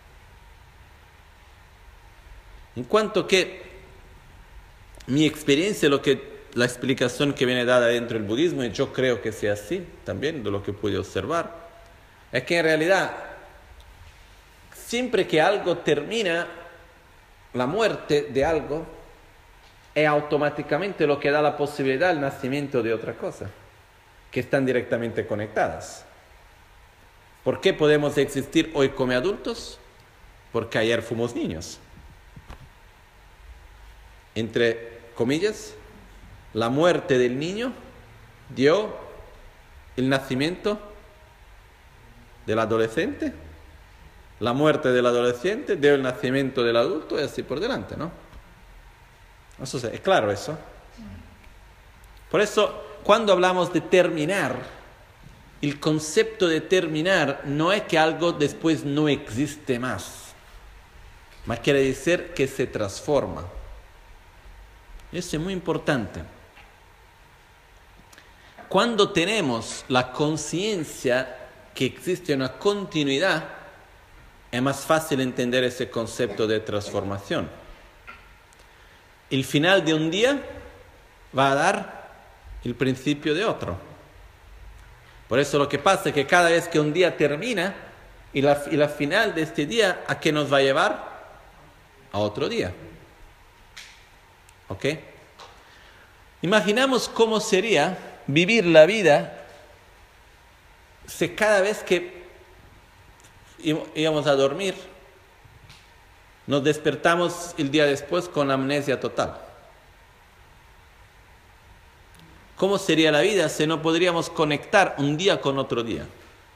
En cuanto que mi experiencia, lo que, la explicación que viene dada dentro del budismo, y yo creo que sea así también, de lo que pude observar, es que en realidad, siempre que algo termina, la muerte de algo es automáticamente lo que da la posibilidad al nacimiento de otra cosa, que están directamente conectadas. ¿Por qué podemos existir hoy como adultos? Porque ayer fuimos niños. Entre comillas, la muerte del niño dio el nacimiento del adolescente, la muerte del adolescente, del nacimiento del adulto y así por delante, ¿no? Eso es claro eso. Por eso, cuando hablamos de terminar, el concepto de terminar no es que algo después no existe más, mas quiere decir que se transforma. Eso es muy importante. Cuando tenemos la conciencia que existe una continuidad, es más fácil entender ese concepto de transformación. El final de un día va a dar el principio de otro. Por eso lo que pasa es que cada vez que un día termina, y la, y la final de este día, ¿a qué nos va a llevar? A otro día. ¿Ok? Imaginamos cómo sería vivir la vida si cada vez que íbamos a dormir, nos despertamos el día después con amnesia total. ¿Cómo sería la vida si no podríamos conectar un día con otro día?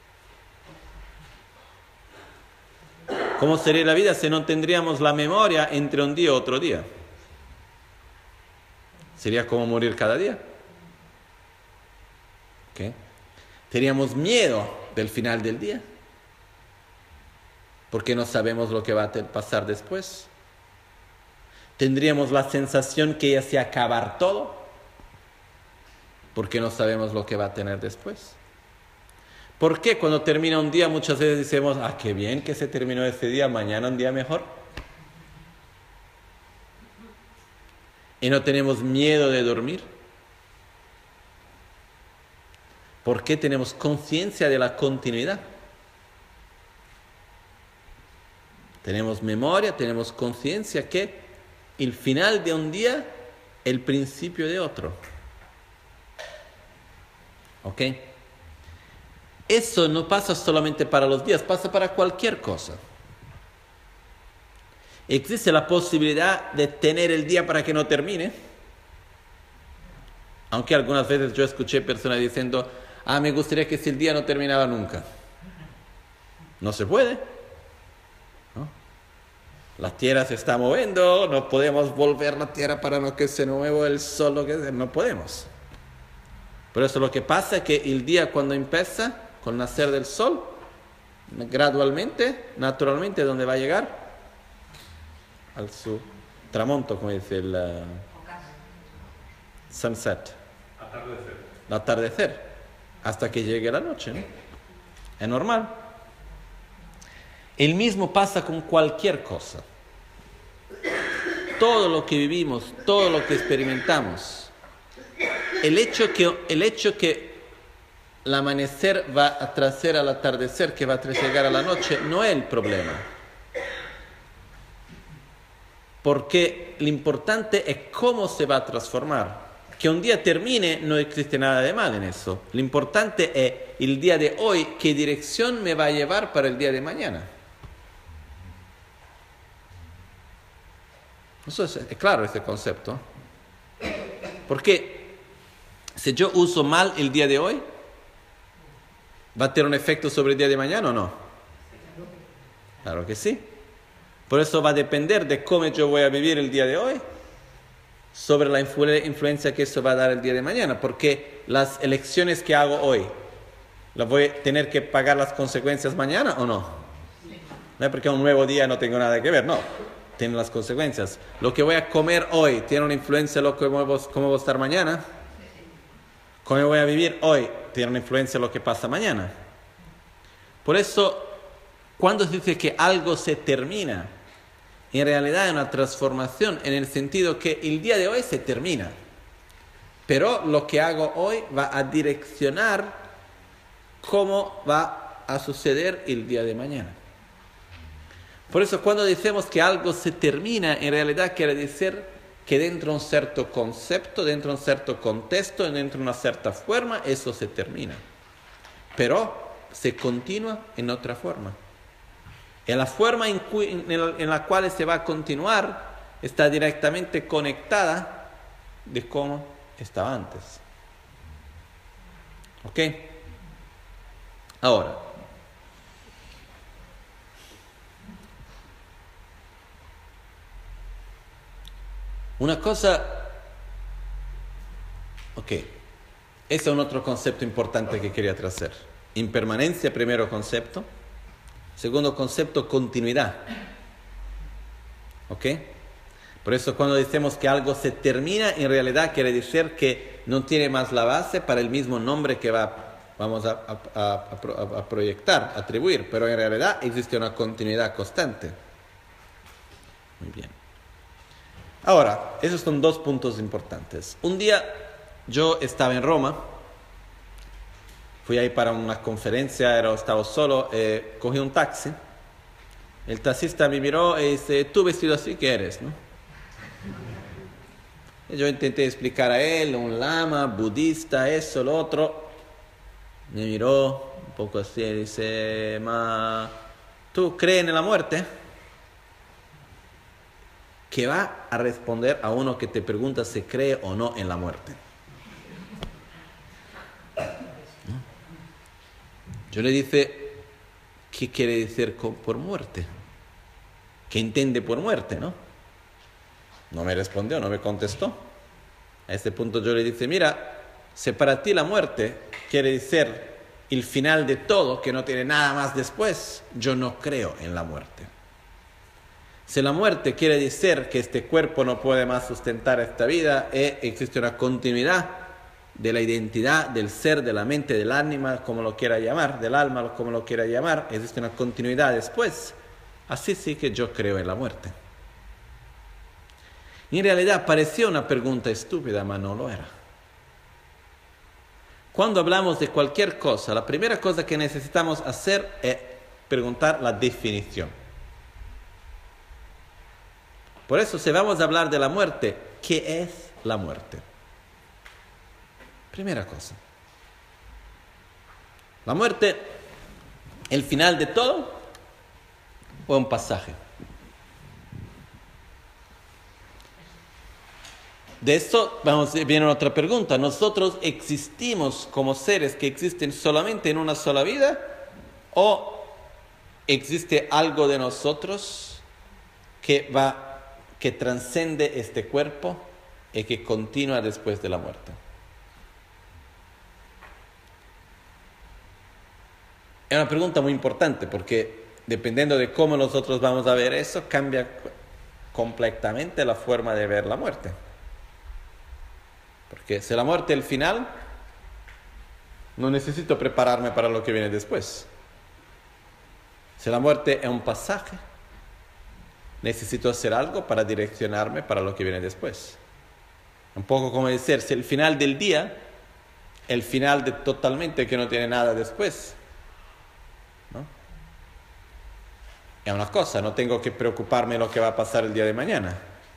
¿Cómo sería la vida si no tendríamos la memoria entre un día y otro día? Sería como morir cada día. ¿Okay? Teníamos miedo del final del día, porque no sabemos lo que va a pasar después. Tendríamos la sensación que ya se acabar todo, porque no sabemos lo que va a tener después. ¿Por qué cuando termina un día muchas veces decimos, ah, qué bien que se terminó ese día, mañana un día mejor? Y no tenemos miedo de dormir. ¿Por qué tenemos conciencia de la continuidad? Tenemos memoria, tenemos conciencia que el final de un día es el principio de otro. ¿Ok? Eso no pasa solamente para los días, pasa para cualquier cosa. ¿Existe la posibilidad de tener el día para que no termine? Aunque algunas veces yo escuché personas diciendo, ah, me gustaría que si el día no terminaba nunca. No se puede, ¿no? La tierra se está moviendo, no podemos volver la tierra para no que se mueva el sol, lo que sea, no podemos. Por eso lo que pasa es que el día cuando empieza, con el nacer del sol, gradualmente, naturalmente, ¿dónde va a llegar? Al su tramonto, como dice el uh, sunset. Atardecer. El atardecer, hasta que llegue la noche, ¿no? Es normal. El mismo pasa con cualquier cosa. Todo lo que vivimos, todo lo que experimentamos, el hecho que, el hecho que el amanecer va a traer al atardecer, que va a llegar a la noche, no es el problema. Porque lo importante es cómo se va a transformar. Que un día termine, no existe nada de mal en eso. Lo importante es el día de hoy, qué dirección me va a llevar para el día de mañana. Eso es, es claro ese concepto. Porque si yo uso mal el día de hoy, ¿va a tener un efecto sobre el día de mañana o no? Claro que sí. Por eso va a depender de cómo yo voy a vivir el día de hoy, sobre la influ- influencia que eso va a dar el día de mañana. Porque las elecciones que hago hoy, ¿las voy a tener que pagar las consecuencias mañana o no? No es porque un nuevo día no tengo nada que ver, no. Tiene las consecuencias. Lo que voy a comer hoy, ¿tiene una influencia en lo que cómo voy a estar mañana? ¿Cómo voy a vivir hoy? Tiene una influencia en lo que pasa mañana. Por eso, cuando se dice que algo se termina, en realidad es una transformación en el sentido que el día de hoy se termina. Pero lo que hago hoy va a direccionar cómo va a suceder el día de mañana. Por eso cuando decimos que algo se termina, en realidad quiere decir que dentro de un cierto concepto, dentro de un cierto contexto, dentro de una cierta forma, eso se termina. Pero se continúa en otra forma. Y la forma en, cu- en la cual se va a continuar está directamente conectada de cómo estaba antes. ¿Ok? Ahora, Una cosa, ok, ese es un otro concepto importante que quería traer. Impermanencia, primero concepto. Segundo concepto, continuidad. ¿Ok? Por eso cuando decimos que algo se termina, en realidad quiere decir que no tiene más la base para el mismo nombre que va, vamos a, a, a, a, a proyectar, atribuir, pero en realidad existe una continuidad constante. Muy bien. Ahora, esos son dos puntos importantes. Un día yo estaba en Roma, fui ahí para una conferencia, era, estaba solo, eh, cogí un taxi. El taxista me miró y dice, tú vestido así, ¿qué eres? ¿No? Y yo intenté explicar a él, un lama, budista, eso, lo otro. Me miró un poco así y dice, ma, ¿tú crees en la muerte? Que va a responder a uno que te pregunta si cree o no en la muerte. ¿No? Yo le dije, ¿qué quiere decir por muerte? ¿Qué entiende por muerte, no? No me respondió, no me contestó. A este punto yo le dije, mira, si para ti la muerte quiere decir el final de todo, que no tiene nada más después, yo no creo en la muerte. Si la muerte quiere decir que este cuerpo no puede más sustentar esta vida, e existe una continuidad de la identidad, del ser, de la mente, del ánima, como lo quiera llamar, del alma, como lo quiera llamar, existe una continuidad después, así sí que yo creo en la muerte. En realidad parecía una pregunta estúpida, pero no lo era. Cuando hablamos de cualquier cosa, la primera cosa que necesitamos hacer es preguntar la definición. Por eso, si vamos a hablar de la muerte, ¿qué es la muerte? Primera cosa. ¿La muerte, el final de todo o un pasaje? De esto vamos, viene otra pregunta. ¿Nosotros existimos como seres que existen solamente en una sola vida? ¿O existe algo de nosotros que va que trasciende este cuerpo y que continúa después de la muerte? Es una pregunta muy importante porque dependiendo de cómo nosotros vamos a ver eso, cambia completamente la forma de ver la muerte. Porque si la muerte es el final, no necesito prepararme para lo que viene después. Si la muerte es un pasaje, necesito hacer algo para direccionarme para lo que viene después. Un poco como decir, si el final del día, el final de totalmente que no tiene nada después, ¿no? Es una cosa, no tengo que preocuparme de lo que va a pasar el día de mañana.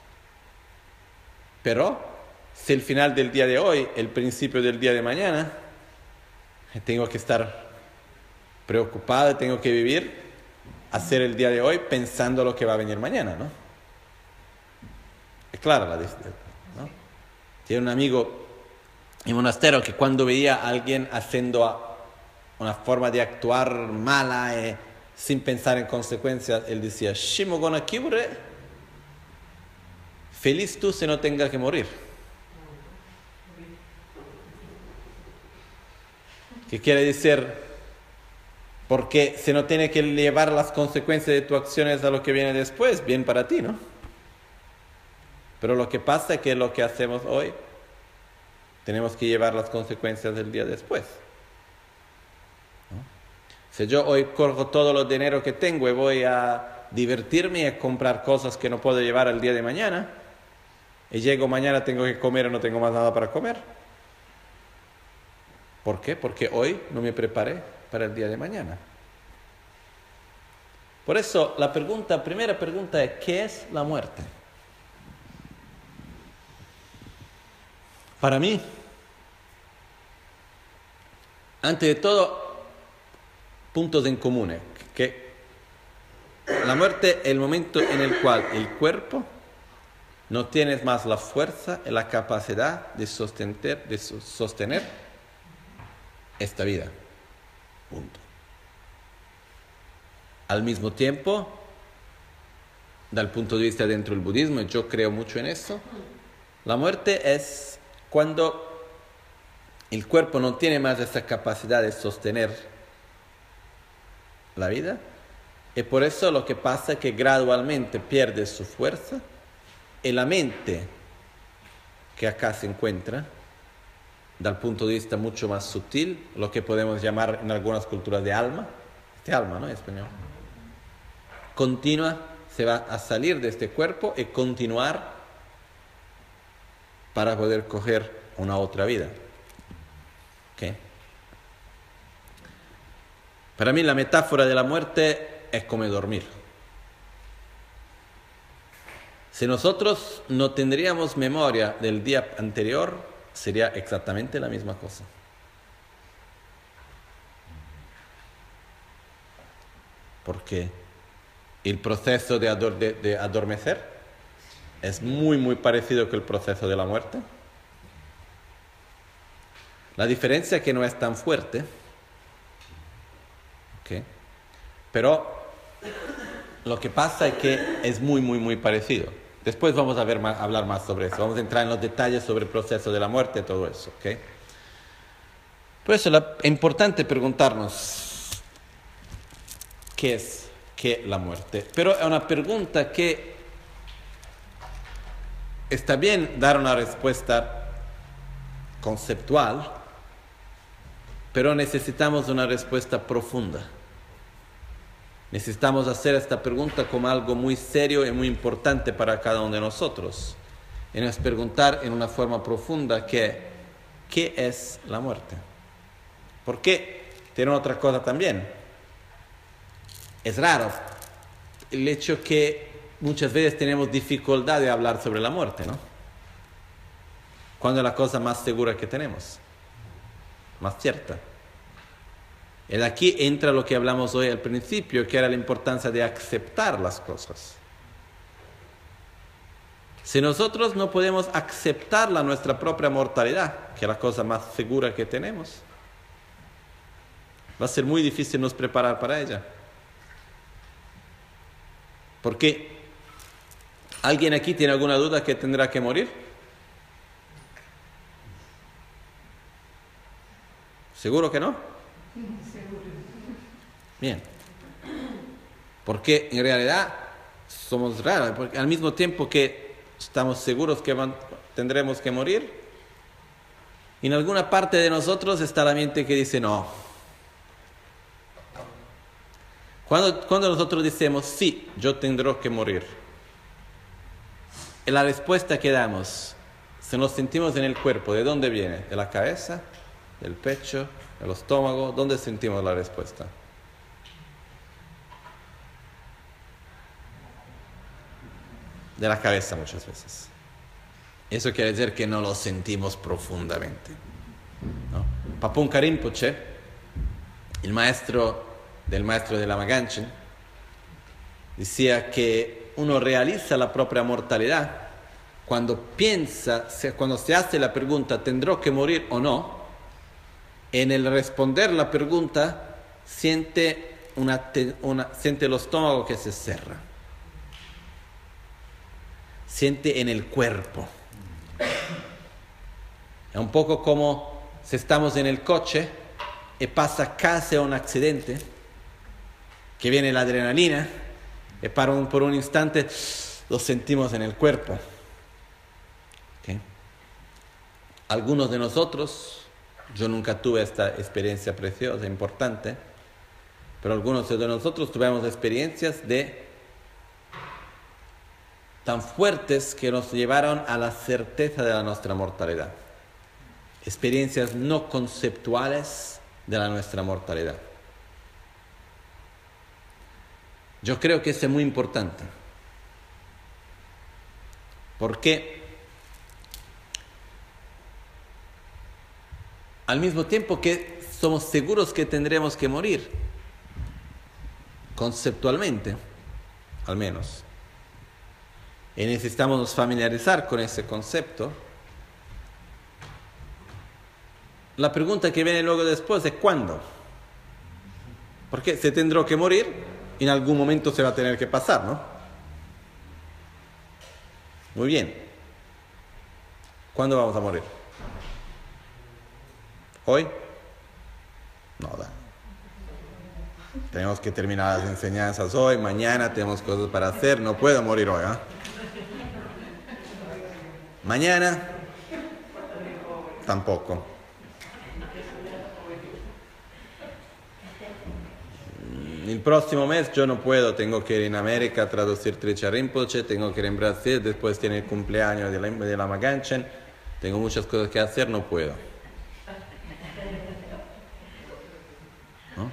Pero, si el final del día de hoy, el principio del día de mañana, tengo que estar preocupado, tengo que vivir, hacer el día de hoy pensando lo que va a venir mañana, ¿no? Es clara la decisión, ¿no? Tiene un amigo en monastero que cuando veía a alguien haciendo una forma de actuar mala eh, sin pensar en consecuencias, él decía, Shimo gonna kibre, feliz tú si no tengas que morir. ¿Qué quiere decir? Porque si no tiene que llevar las consecuencias de tus acciones a lo que viene después, bien para ti, ¿no? Pero lo que pasa es que lo que hacemos hoy, tenemos que llevar las consecuencias del día después, ¿no? Si yo hoy corro todo el dinero que tengo y voy a divertirme y a comprar cosas que no puedo llevar al día de mañana, y llego mañana, tengo que comer y no tengo más nada para comer. ¿Por qué? Porque hoy no me preparé para el día de mañana. Por eso la pregunta, primera pregunta es, ¿qué es la muerte? Para mí, antes de todo, puntos en común, que la muerte es el momento en el cual el cuerpo no tiene más la fuerza y la capacidad de sostener, de sostener esta vida. Punto. Al mismo tiempo, dal punto de vista dentro del budismo, y yo creo mucho en eso, la muerte es cuando el cuerpo no tiene más esa capacidad de sostener la vida, y por eso lo que pasa es que gradualmente pierde su fuerza, y la mente que acá se encuentra, dal punto de vista mucho más sutil, lo que podemos llamar en algunas culturas de alma, este alma, ¿no? En español, continua, se va a salir de este cuerpo y continuar para poder coger una otra vida. ¿Okay? Para mí la metáfora de la muerte es como dormir. Si nosotros no tendríamos memoria del día anterior, sería exactamente la misma cosa. Porque el proceso de, ador- de, de adormecer es muy, muy parecido con el proceso de la muerte. La diferencia es que no es tan fuerte, ¿okay? Pero lo que pasa es que es muy, muy, muy parecido. Después vamos a ver más, hablar más sobre eso. Vamos a entrar en los detalles sobre el proceso de la muerte y todo eso, ¿okay? Por eso la, es importante preguntarnos qué es qué la muerte. Pero es una pregunta que está bien dar una respuesta conceptual, pero necesitamos una respuesta profunda. Necesitamos hacer esta pregunta como algo muy serio y muy importante para cada uno de nosotros. Y nos preguntar en una forma profunda que, ¿qué es la muerte? Porque tiene otra cosa también. Es raro el hecho que muchas veces tenemos dificultad de hablar sobre la muerte, ¿no? Cuando es la cosa más segura que tenemos, más cierta. Y aquí entra lo que hablamos hoy al principio, que era la importancia de aceptar las cosas. Si nosotros no podemos aceptar la nuestra propia mortalidad, que es la cosa más segura que tenemos, va a ser muy difícil nos preparar para ella. ¿Por qué? ¿Alguien aquí tiene alguna duda que tendrá que morir? ¿Seguro que no? Bien. Porque en realidad somos raros, porque al mismo tiempo que estamos seguros que van, tendremos que morir, en alguna parte de nosotros está la mente que dice no. Cuando, cuando nosotros decimos sí, yo tendré que morir, y la respuesta que damos, si nos sentimos en el cuerpo, ¿de dónde viene? ¿De la cabeza? ¿Del pecho? ¿Del estómago? ¿Dónde sentimos la respuesta? De la cabeza muchas veces. Eso quiere decir que no lo sentimos profundamente, ¿no? Papunka Rinpoche, el maestro del maestro de Lama Ganchen, decía que uno realiza la propia mortalidad cuando piensa, cuando se hace la pregunta ¿tendré que morir o no? En el responder la pregunta siente, una, una, siente el estómago que se cierra. Siente en el cuerpo. Es un poco como si estamos en el coche y pasa casi un accidente, que viene la adrenalina y para un, por un instante lo sentimos en el cuerpo. ¿Okay? Algunos de nosotros, yo nunca tuve esta experiencia preciosa, importante, pero algunos de nosotros tuvimos experiencias de tan fuertes que nos llevaron a la certeza de la nuestra mortalidad. Experiencias no conceptuales de la nuestra mortalidad. Yo creo que eso es muy importante. Porque al mismo tiempo que somos seguros que tendremos que morir, conceptualmente, al menos, y necesitamos familiarizar con ese concepto, la pregunta que viene luego después es ¿cuándo? Porque si tendré que morir, en algún momento se va a tener que pasar, ¿no? Muy bien. ¿Cuándo vamos a morir? ¿Hoy? No, da. Tenemos que terminar las enseñanzas hoy, mañana tenemos cosas para hacer, no puedo morir hoy, ¿eh? Mañana, tampoco. El próximo mes yo no puedo, tengo que ir en América a traducir Tricharán Rinpoche, tengo que ir en Brasil, después tiene el cumpleaños de la, de la Maganchen, tengo muchas cosas que hacer, no puedo. ¿No?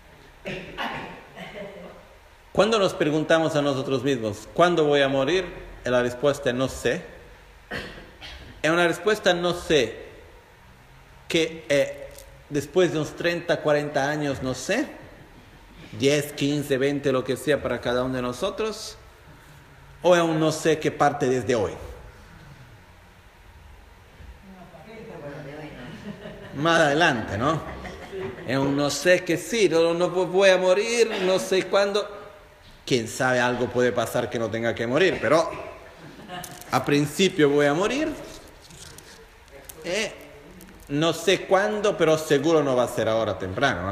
Cuando nos preguntamos a nosotros mismos, ¿cuándo voy a morir? La respuesta es no sé. Es una respuesta no sé, que eh, después de unos treinta, cuarenta años, no sé, diez, quince, veinte, lo que sea para cada uno de nosotros, o es un no sé que parte desde hoy. Más adelante, ¿no? Es un no sé que sí, no, no voy a morir, no sé cuándo. Quién sabe, algo puede pasar que no tenga que morir, pero a principio voy a morir. Eh, no sé cuándo, pero seguro no va a ser ahora temprano, ¿eh?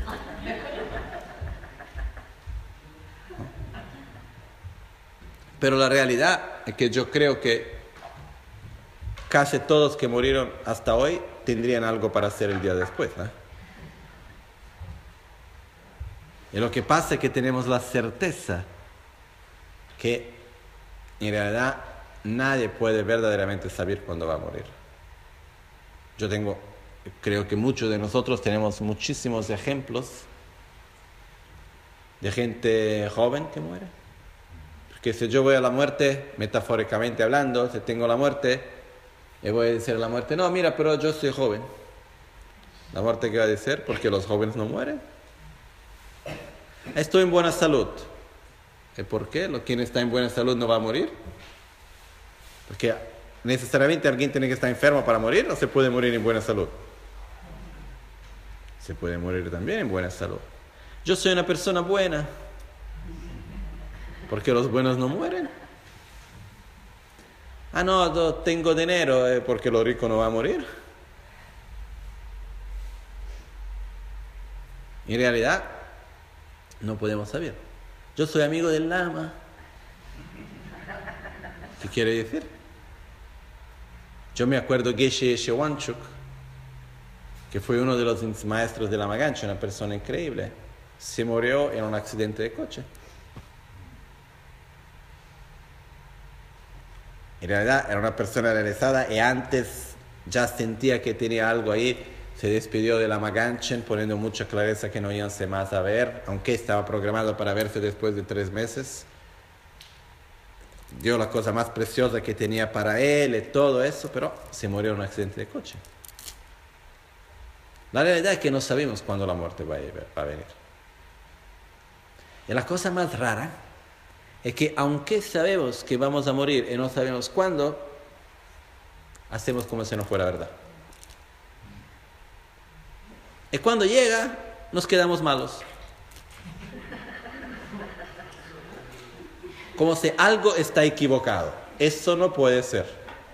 Pero la realidad es que yo creo que casi todos que murieron hasta hoy tendrían algo para hacer el día después, ¿eh? Y lo que pasa es que tenemos la certeza que en realidad nadie puede verdaderamente saber cuándo va a morir. Yo tengo, creo que muchos de nosotros tenemos muchísimos ejemplos de gente joven que muere. Porque si yo voy a la muerte, metafóricamente hablando, si tengo la muerte, le voy a decir a la muerte, no, mira, pero yo soy joven. La muerte, ¿qué va a decir? Porque los jóvenes no mueren. Estoy en buena salud. ¿Y por qué? ¿Quién está en buena salud no va a morir? Porque necesariamente alguien tiene que estar enfermo para morir, o se puede morir en buena salud. Se puede morir también en buena salud. Yo soy una persona buena. ¿Por qué los buenos no mueren? Ah, no, no tengo dinero, ¿eh? Porque los ricos no van a morir. En realidad, no podemos saber. Yo soy amigo del Lama. ¿Qué quiere decir? Yo me acuerdo de Geshe Shewanchuk, que fue uno de los maestros de la Magancha, una persona increíble. Se murió en un accidente de coche. En realidad era una persona realizada y antes ya sentía que tenía algo ahí. Se despidió de la Maganchen poniendo mucha clareza que no iban más a ver, aunque estaba programado para verse después de tres meses. Dio la cosa más preciosa que tenía para él y todo eso, pero se murió en un accidente de coche. La realidad es que no sabemos cuándo la muerte va a venir. Y la cosa más rara es que aunque sabemos que vamos a morir y no sabemos cuándo, hacemos como si no fuera verdad. Y cuando llega, nos quedamos malos. Como si algo está equivocado. Eso no puede ser.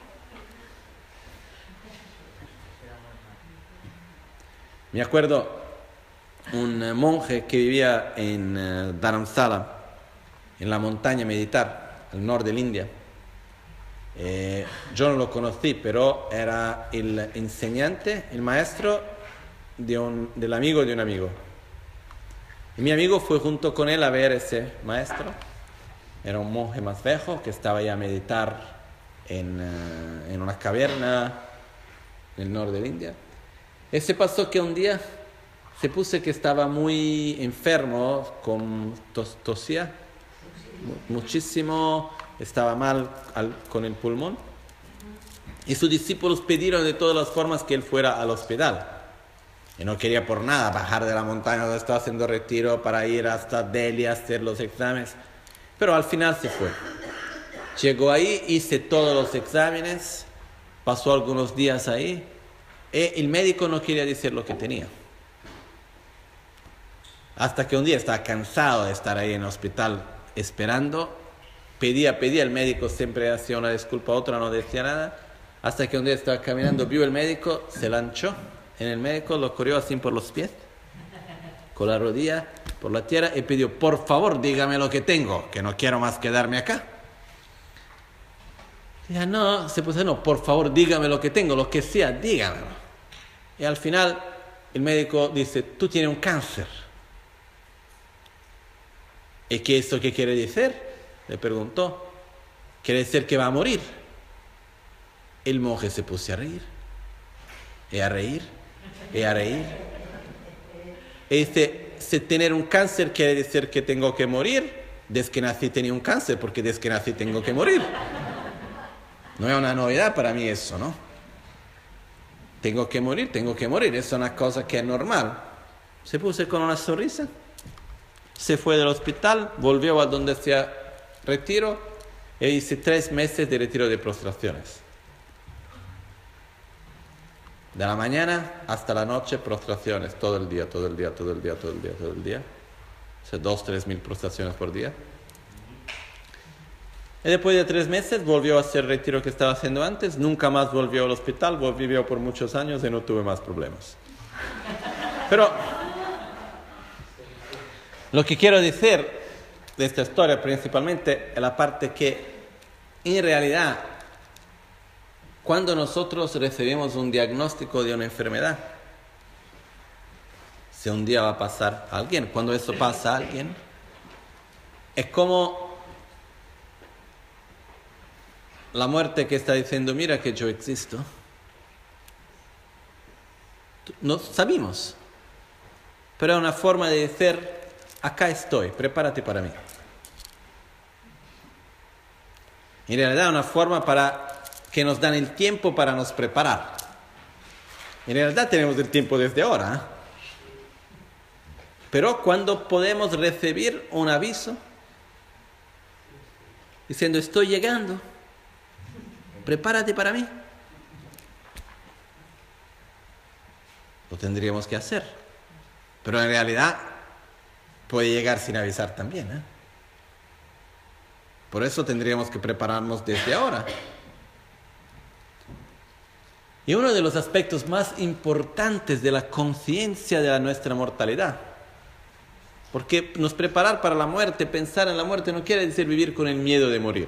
Me acuerdo un monje que vivía en uh, Dharamsala, en la montaña meditar, al norte de la India. Eh, yo no lo conocí, pero era el enseñante, el maestro de un, del amigo de un amigo. Y mi amigo fue junto con él a ver ese maestro. Era un monje más viejo que estaba ahí a meditar en, uh, en una caverna en el norte de la India. Y se pasó que un día se puso que estaba muy enfermo, con tos, tosía muchísimo, estaba mal al, con el pulmón. Y sus discípulos pidieron de todas las formas que él fuera al hospital. Y no quería por nada bajar de la montaña donde estaba haciendo retiro para ir hasta Delhi a hacer los exámenes. Pero al final se fue. Llegó ahí, hice todos los exámenes, pasó algunos días ahí, y el médico no quería decir lo que tenía. Hasta que un día estaba cansado de estar ahí en el hospital esperando, pedía, pedía, el médico siempre hacía una disculpa, otra no decía nada, hasta que un día estaba caminando, vio el médico, se lanzó en el médico, lo corrió así por los pies, con la rodilla por la tierra y pidió, por favor, dígame lo que tengo, que no quiero más quedarme acá. Y ya no, se puso, no, por favor, dígame lo que tengo, lo que sea, dígamelo. Y al final el médico dice, tú tienes un cáncer. ¿Y qué es eso que quiere decir? Le preguntó. Quiere decir que va a morir. El monje se puso a reír, y a reír, y a reír. Y dice, si tener un cáncer quiere decir que tengo que morir, desde que nací tenía un cáncer, porque desde que nací tengo que morir. No es una novedad para mí eso, ¿no? Tengo que morir, tengo que morir, es una cosa que es normal. Se puso con una sonrisa, se fue del hospital, volvió a donde se retiró e hice tres meses de retiro de prostraciones. De la mañana hasta la noche, prostraciones, todo el día, todo el día, todo el día, todo el día, todo el día. O sea, dos, tres mil prostraciones por día. Y después de tres meses volvió a hacer el retiro que estaba haciendo antes, nunca más volvió al hospital, vivió por muchos años y no tuve más problemas. Pero lo que quiero decir de esta historia principalmente es la parte que en realidad cuando nosotros recibimos un diagnóstico de una enfermedad, si un día va a pasar a alguien, cuando eso pasa a alguien, es como la muerte que está diciendo, mira que yo existo. No sabemos, pero es una forma de decir, acá estoy, prepárate para mí. En realidad es una forma para que nos dan el tiempo para nos preparar. En realidad tenemos el tiempo desde ahora, ¿eh? Pero cuando podemos recibir un aviso diciendo, estoy llegando, prepárate para mí, lo tendríamos que hacer. Pero en realidad puede llegar sin avisar también, ¿eh? Por eso tendríamos que prepararnos desde ahora. Y uno de los aspectos más importantes de la conciencia de la nuestra mortalidad, porque nos preparar para la muerte, pensar en la muerte, no quiere decir vivir con el miedo de morir,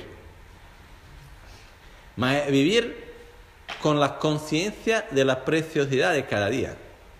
mas vivir con la conciencia de la preciosidad de cada día.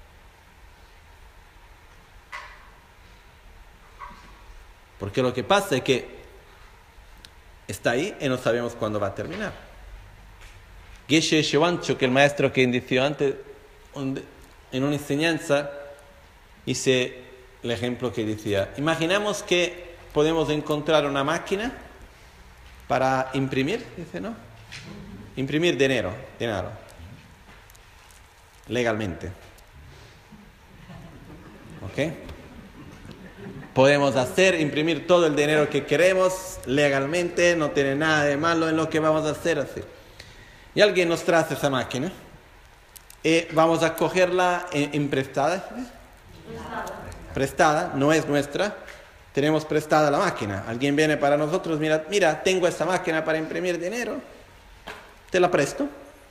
Porque lo que pasa es que está ahí y no sabemos cuándo va a terminar. Geshe Shivancho, que el maestro que inició antes, en una enseñanza, hice el ejemplo que decía, imaginamos que podemos encontrar una máquina para imprimir, dice, ¿no? Imprimir dinero, dinero, legalmente. ¿Ok? Podemos hacer, imprimir todo el dinero que queremos legalmente, no tiene nada de malo en lo que vamos a hacer así. Y alguien nos trae esa máquina y vamos a cogerla en prestada. Prestada, no es nuestra, tenemos prestada la máquina. Alguien viene para nosotros, mira, mira, tengo esta máquina para imprimir dinero, te la presto.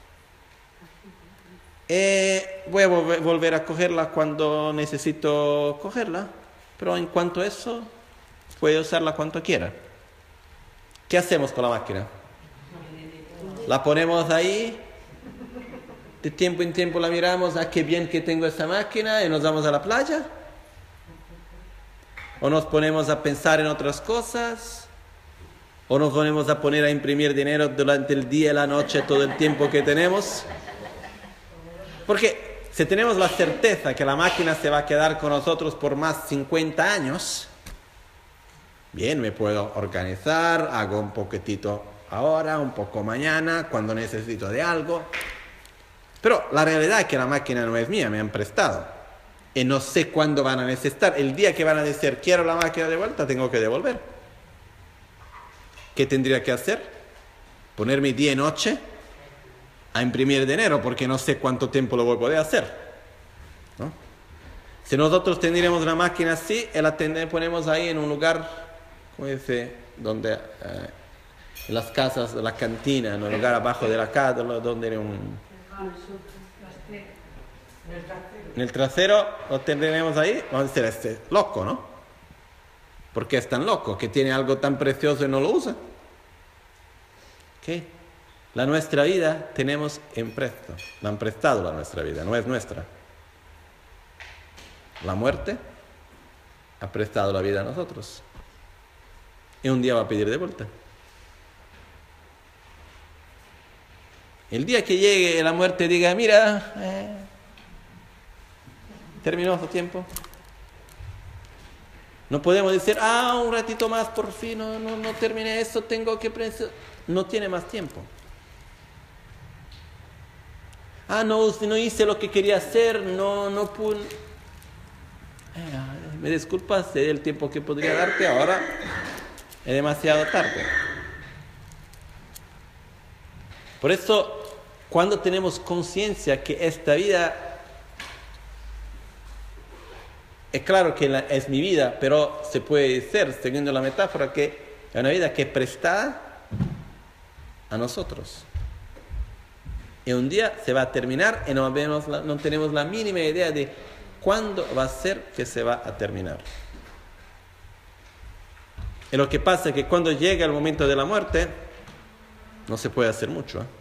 Y voy a volver a cogerla cuando necesito cogerla, pero en cuanto a eso, puede usarla cuanto quiera. ¿Qué hacemos con la máquina? La ponemos ahí, de tiempo en tiempo la miramos, ah, qué bien que tengo esa máquina, y nos vamos a la playa. O nos ponemos a pensar en otras cosas, o nos ponemos a poner a imprimir dinero durante el día y la noche, todo el tiempo que tenemos. Porque si tenemos la certeza que la máquina se va a quedar con nosotros por más cincuenta años, bien, me puedo organizar, hago un poquitito ahora, un poco mañana, cuando necesito de algo. Pero la realidad es que la máquina no es mía, me han prestado. Y no sé cuándo van a necesitar. El día que van a decir, quiero la máquina de vuelta, tengo que devolver. ¿Qué tendría que hacer? Ponerme día y noche a imprimir dinero, porque no sé cuánto tiempo lo voy a poder hacer, ¿no? Si nosotros tendríamos una máquina así, la ponemos ahí en un lugar, como dice, donde... Eh, en las casas, la cantina, en el lugar abajo de la casa, donde era un... En el trasero lo tendremos ahí, vamos a decir, este loco, ¿no? Porque es tan loco, que tiene algo tan precioso y no lo usa. ¿Qué? La nuestra vida tenemos en presto, la han prestado la nuestra vida, no es nuestra. La muerte ha prestado la vida a nosotros. Y un día va a pedir de vuelta. El día que llegue la muerte diga, mira, eh, terminó su tiempo. No podemos decir, ah, un ratito más, por fin, no, no, no terminé esto, tengo que... Prens-". No tiene más tiempo. Ah, no, no hice lo que quería hacer, no, no pude... Eh, me disculpas del tiempo que podría darte, ahora es demasiado tarde. Por eso, cuando tenemos conciencia que esta vida, es claro que la, es mi vida, pero se puede decir, siguiendo la metáfora, que es una vida que es prestada a nosotros. Y un día se va a terminar y no, vemos la, no tenemos la mínima idea de cuándo va a ser que se va a terminar. Y lo que pasa es que cuando llega el momento de la muerte, no se puede hacer mucho, ¿eh?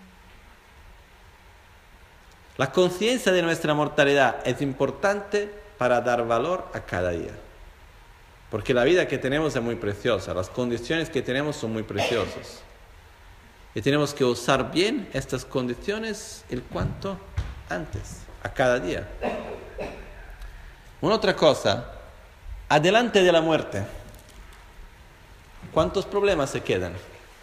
La conciencia de nuestra mortalidad es importante para dar valor a cada día. Porque la vida que tenemos es muy preciosa, las condiciones que tenemos son muy preciosas. Y tenemos que usar bien estas condiciones el cuanto antes, a cada día. Una otra cosa, adelante de la muerte, ¿cuántos problemas se quedan?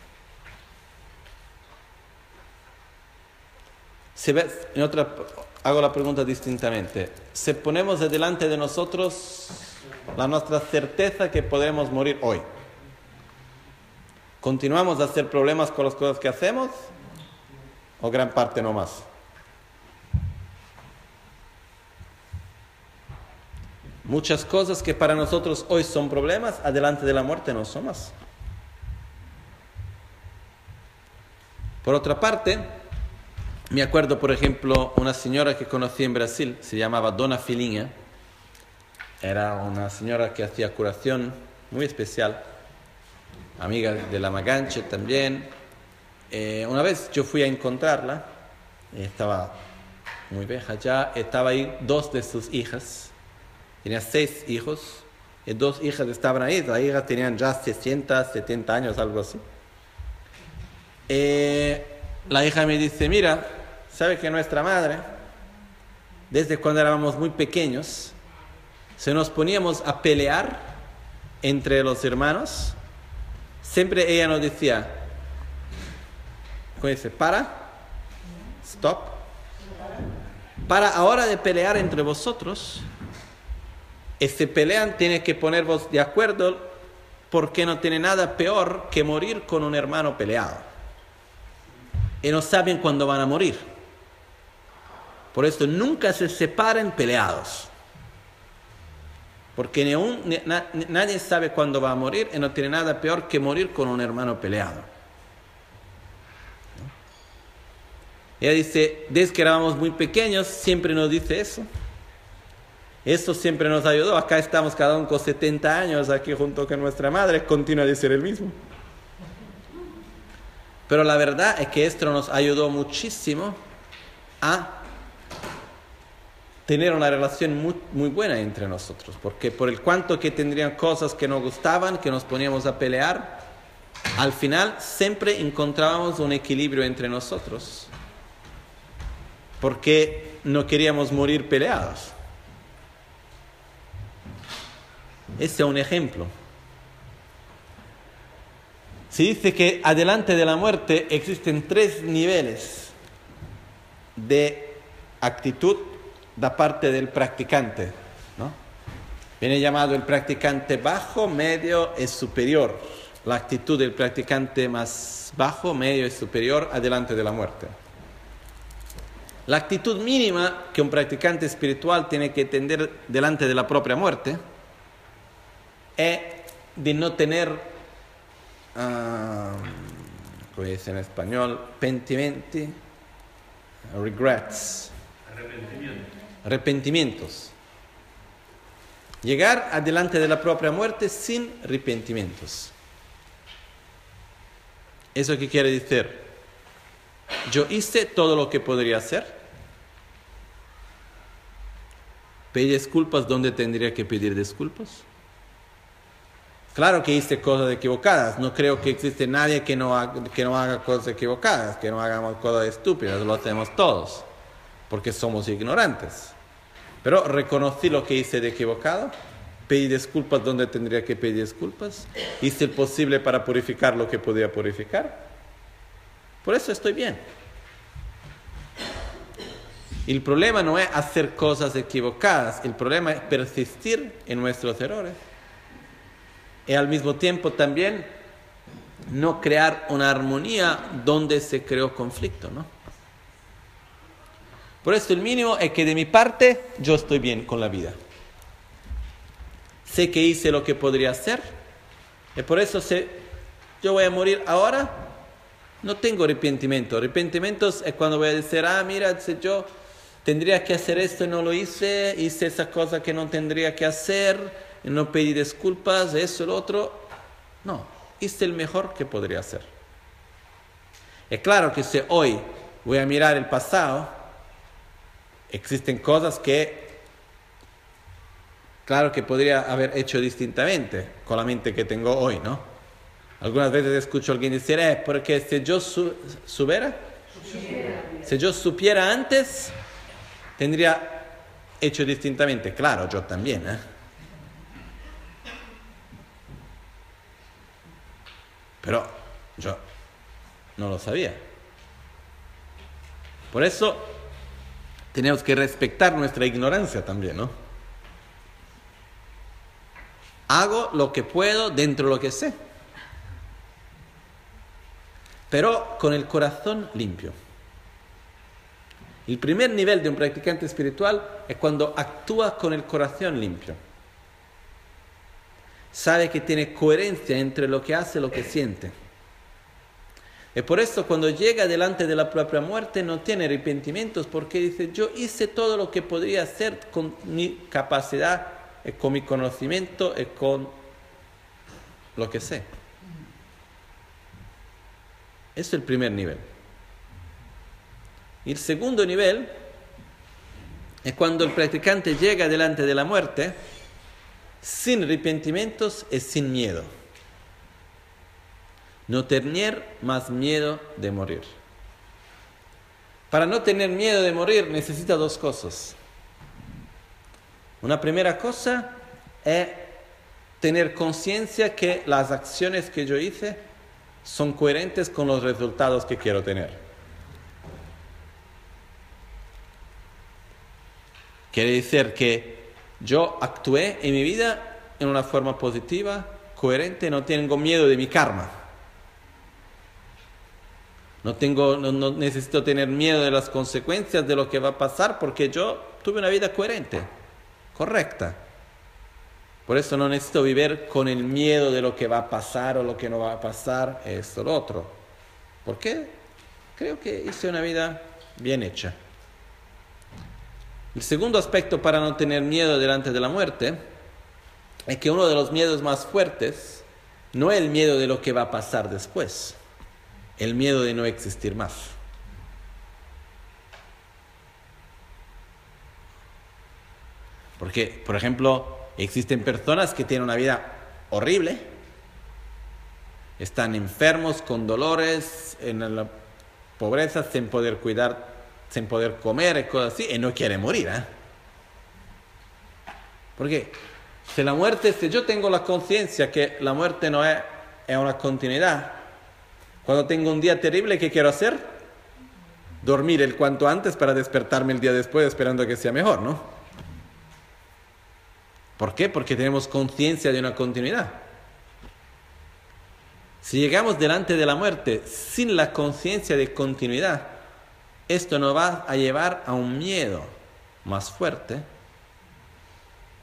Se ve, en otra, hago la pregunta distintamente. Si ponemos delante de nosotros la nuestra certeza que podremos morir hoy, ¿continuamos a hacer problemas con las cosas que hacemos? ¿O gran parte no más? Muchas cosas que para nosotros hoy son problemas, adelante de la muerte no son más. Por otra parte, me acuerdo, por ejemplo, una señora que conocí en Brasil, se llamaba Dona Filinha. Era una señora que hacía curación muy especial, amiga de la Maganche también. Eh, una vez yo fui a encontrarla, estaba muy vieja ya, estaba ahí dos de sus hijas, tenía seis hijos, y dos hijas estaban ahí, las hijas tenían ya sesenta, setenta años, algo así. Eh, la hija me dice, mira, ¿sabe que nuestra madre, desde cuando éramos muy pequeños, se nos poníamos a pelear entre los hermanos? Siempre ella nos decía, ¿cómo dice? Para, stop, para ahora de pelear entre vosotros, y si pelean tiene que ponervos de acuerdo, porque no tiene nada peor que morir con un hermano peleado. Y no saben cuándo van a morir. Por eso nunca se separen peleados. Porque ni un, ni, na, nadie sabe cuándo va a morir y no tiene nada peor que morir con un hermano peleado. ¿No? Ella dice, desde que éramos muy pequeños, siempre nos dice eso. Eso siempre nos ayudó. Acá estamos cada uno con setenta años, aquí junto con nuestra madre, continúa a decir el mismo. Pero la verdad es que esto nos ayudó muchísimo a tener una relación muy, muy buena entre nosotros, porque por el cuanto que tendrían cosas que nos gustaban, que nos poníamos a pelear, al final siempre encontrábamos un equilibrio entre nosotros, porque no queríamos morir peleados. Ese es un ejemplo. Se dice que adelante de la muerte existen tres niveles de actitud da parte del practicante, ¿no? Viene llamado el practicante bajo, medio y superior. La actitud del practicante más bajo, medio y superior adelante de la muerte. La actitud mínima que un practicante espiritual tiene que tener delante de la propia muerte es de no tener uh, como dice en español, pentimenti, regrets, Arrepentimiento. arrepentimientos. Llegar adelante de la propia muerte sin arrepentimientos. ¿Eso qué quiere decir? Yo hice todo lo que podría hacer. ¿Pedí disculpas donde tendría que pedir disculpas? Claro que hice cosas equivocadas. No creo que existe nadie que no haga, que no haga cosas equivocadas, que no hagamos cosas estúpidas. Lo hacemos todos, porque somos ignorantes. Pero reconocí lo que hice de equivocado. Pedí disculpas donde tendría que pedir disculpas. Hice el posible para purificar lo que podía purificar. Por eso estoy bien. El problema no es hacer cosas equivocadas. El problema es persistir en nuestros errores. Y al mismo tiempo también no crear una armonía donde se creó conflicto, ¿no? Por eso el mínimo es que de mi parte yo estoy bien con la vida. Sé que hice lo que podría hacer. Y por eso si yo voy a morir ahora, no tengo arrepentimiento. Arrepentimientos es cuando voy a decir, ah, mira, si yo tendría que hacer esto y no lo hice, hice esa cosa que no tendría que hacer, y no pedí disculpas, eso y lo otro. No, hice el mejor que podría hacer. Es claro que si hoy voy a mirar el pasado, existen cosas que, claro que podría haber hecho distintamente con la mente que tengo hoy, ¿no? Algunas veces escucho a alguien decir, eh, porque si yo su, supiera, si yo supiera antes, tendría hecho distintamente. Claro, yo también, ¿eh? Pero yo no lo sabía. Por eso tenemos que respetar nuestra ignorancia también, ¿no? Hago lo que puedo dentro de lo que sé, pero con el corazón limpio. El primer nivel de un practicante espiritual es cuando actúa con el corazón limpio. Sabe que tiene coherencia entre lo que hace y lo que siente. Y por eso cuando llega delante de la propia muerte no tiene arrepentimientos, porque dice, yo hice todo lo que podría hacer con mi capacidad, y con mi conocimiento y con lo que sé. Ese es el primer nivel. El segundo nivel es cuando el practicante llega delante de la muerte sin arrepentimientos y sin miedo. No tener más miedo de morir. Para no tener miedo de morir necesita dos cosas. Una primera cosa es tener conciencia que las acciones que yo hice son coherentes con los resultados que quiero tener. Quiere decir que yo actué en mi vida en una forma positiva, coherente, no tengo miedo de mi karma. No, tengo, no, no necesito tener miedo de las consecuencias de lo que va a pasar porque yo tuve una vida coherente, correcta. Por eso no necesito vivir con el miedo de lo que va a pasar o lo que no va a pasar, esto o lo otro. Porque creo que hice una vida bien hecha. El segundo aspecto para no tener miedo delante de la muerte es que uno de los miedos más fuertes no es el miedo de lo que va a pasar después, el miedo de no existir más. Porque, por ejemplo, existen personas que tienen una vida horrible, están enfermos, con dolores, en la pobreza, sin poder cuidar, sin poder comer y cosas así, y no quieren morir, ¿eh? Porque si la muerte, si yo tengo la conciencia que la muerte no es, es una continuidad, cuando tengo un día terrible, ¿qué quiero hacer? Dormir el cuanto antes para despertarme el día después esperando que sea mejor, ¿no? ¿Por qué? Porque tenemos conciencia de una continuidad. Si llegamos delante de la muerte sin la conciencia de continuidad, esto nos va a llevar a un miedo más fuerte,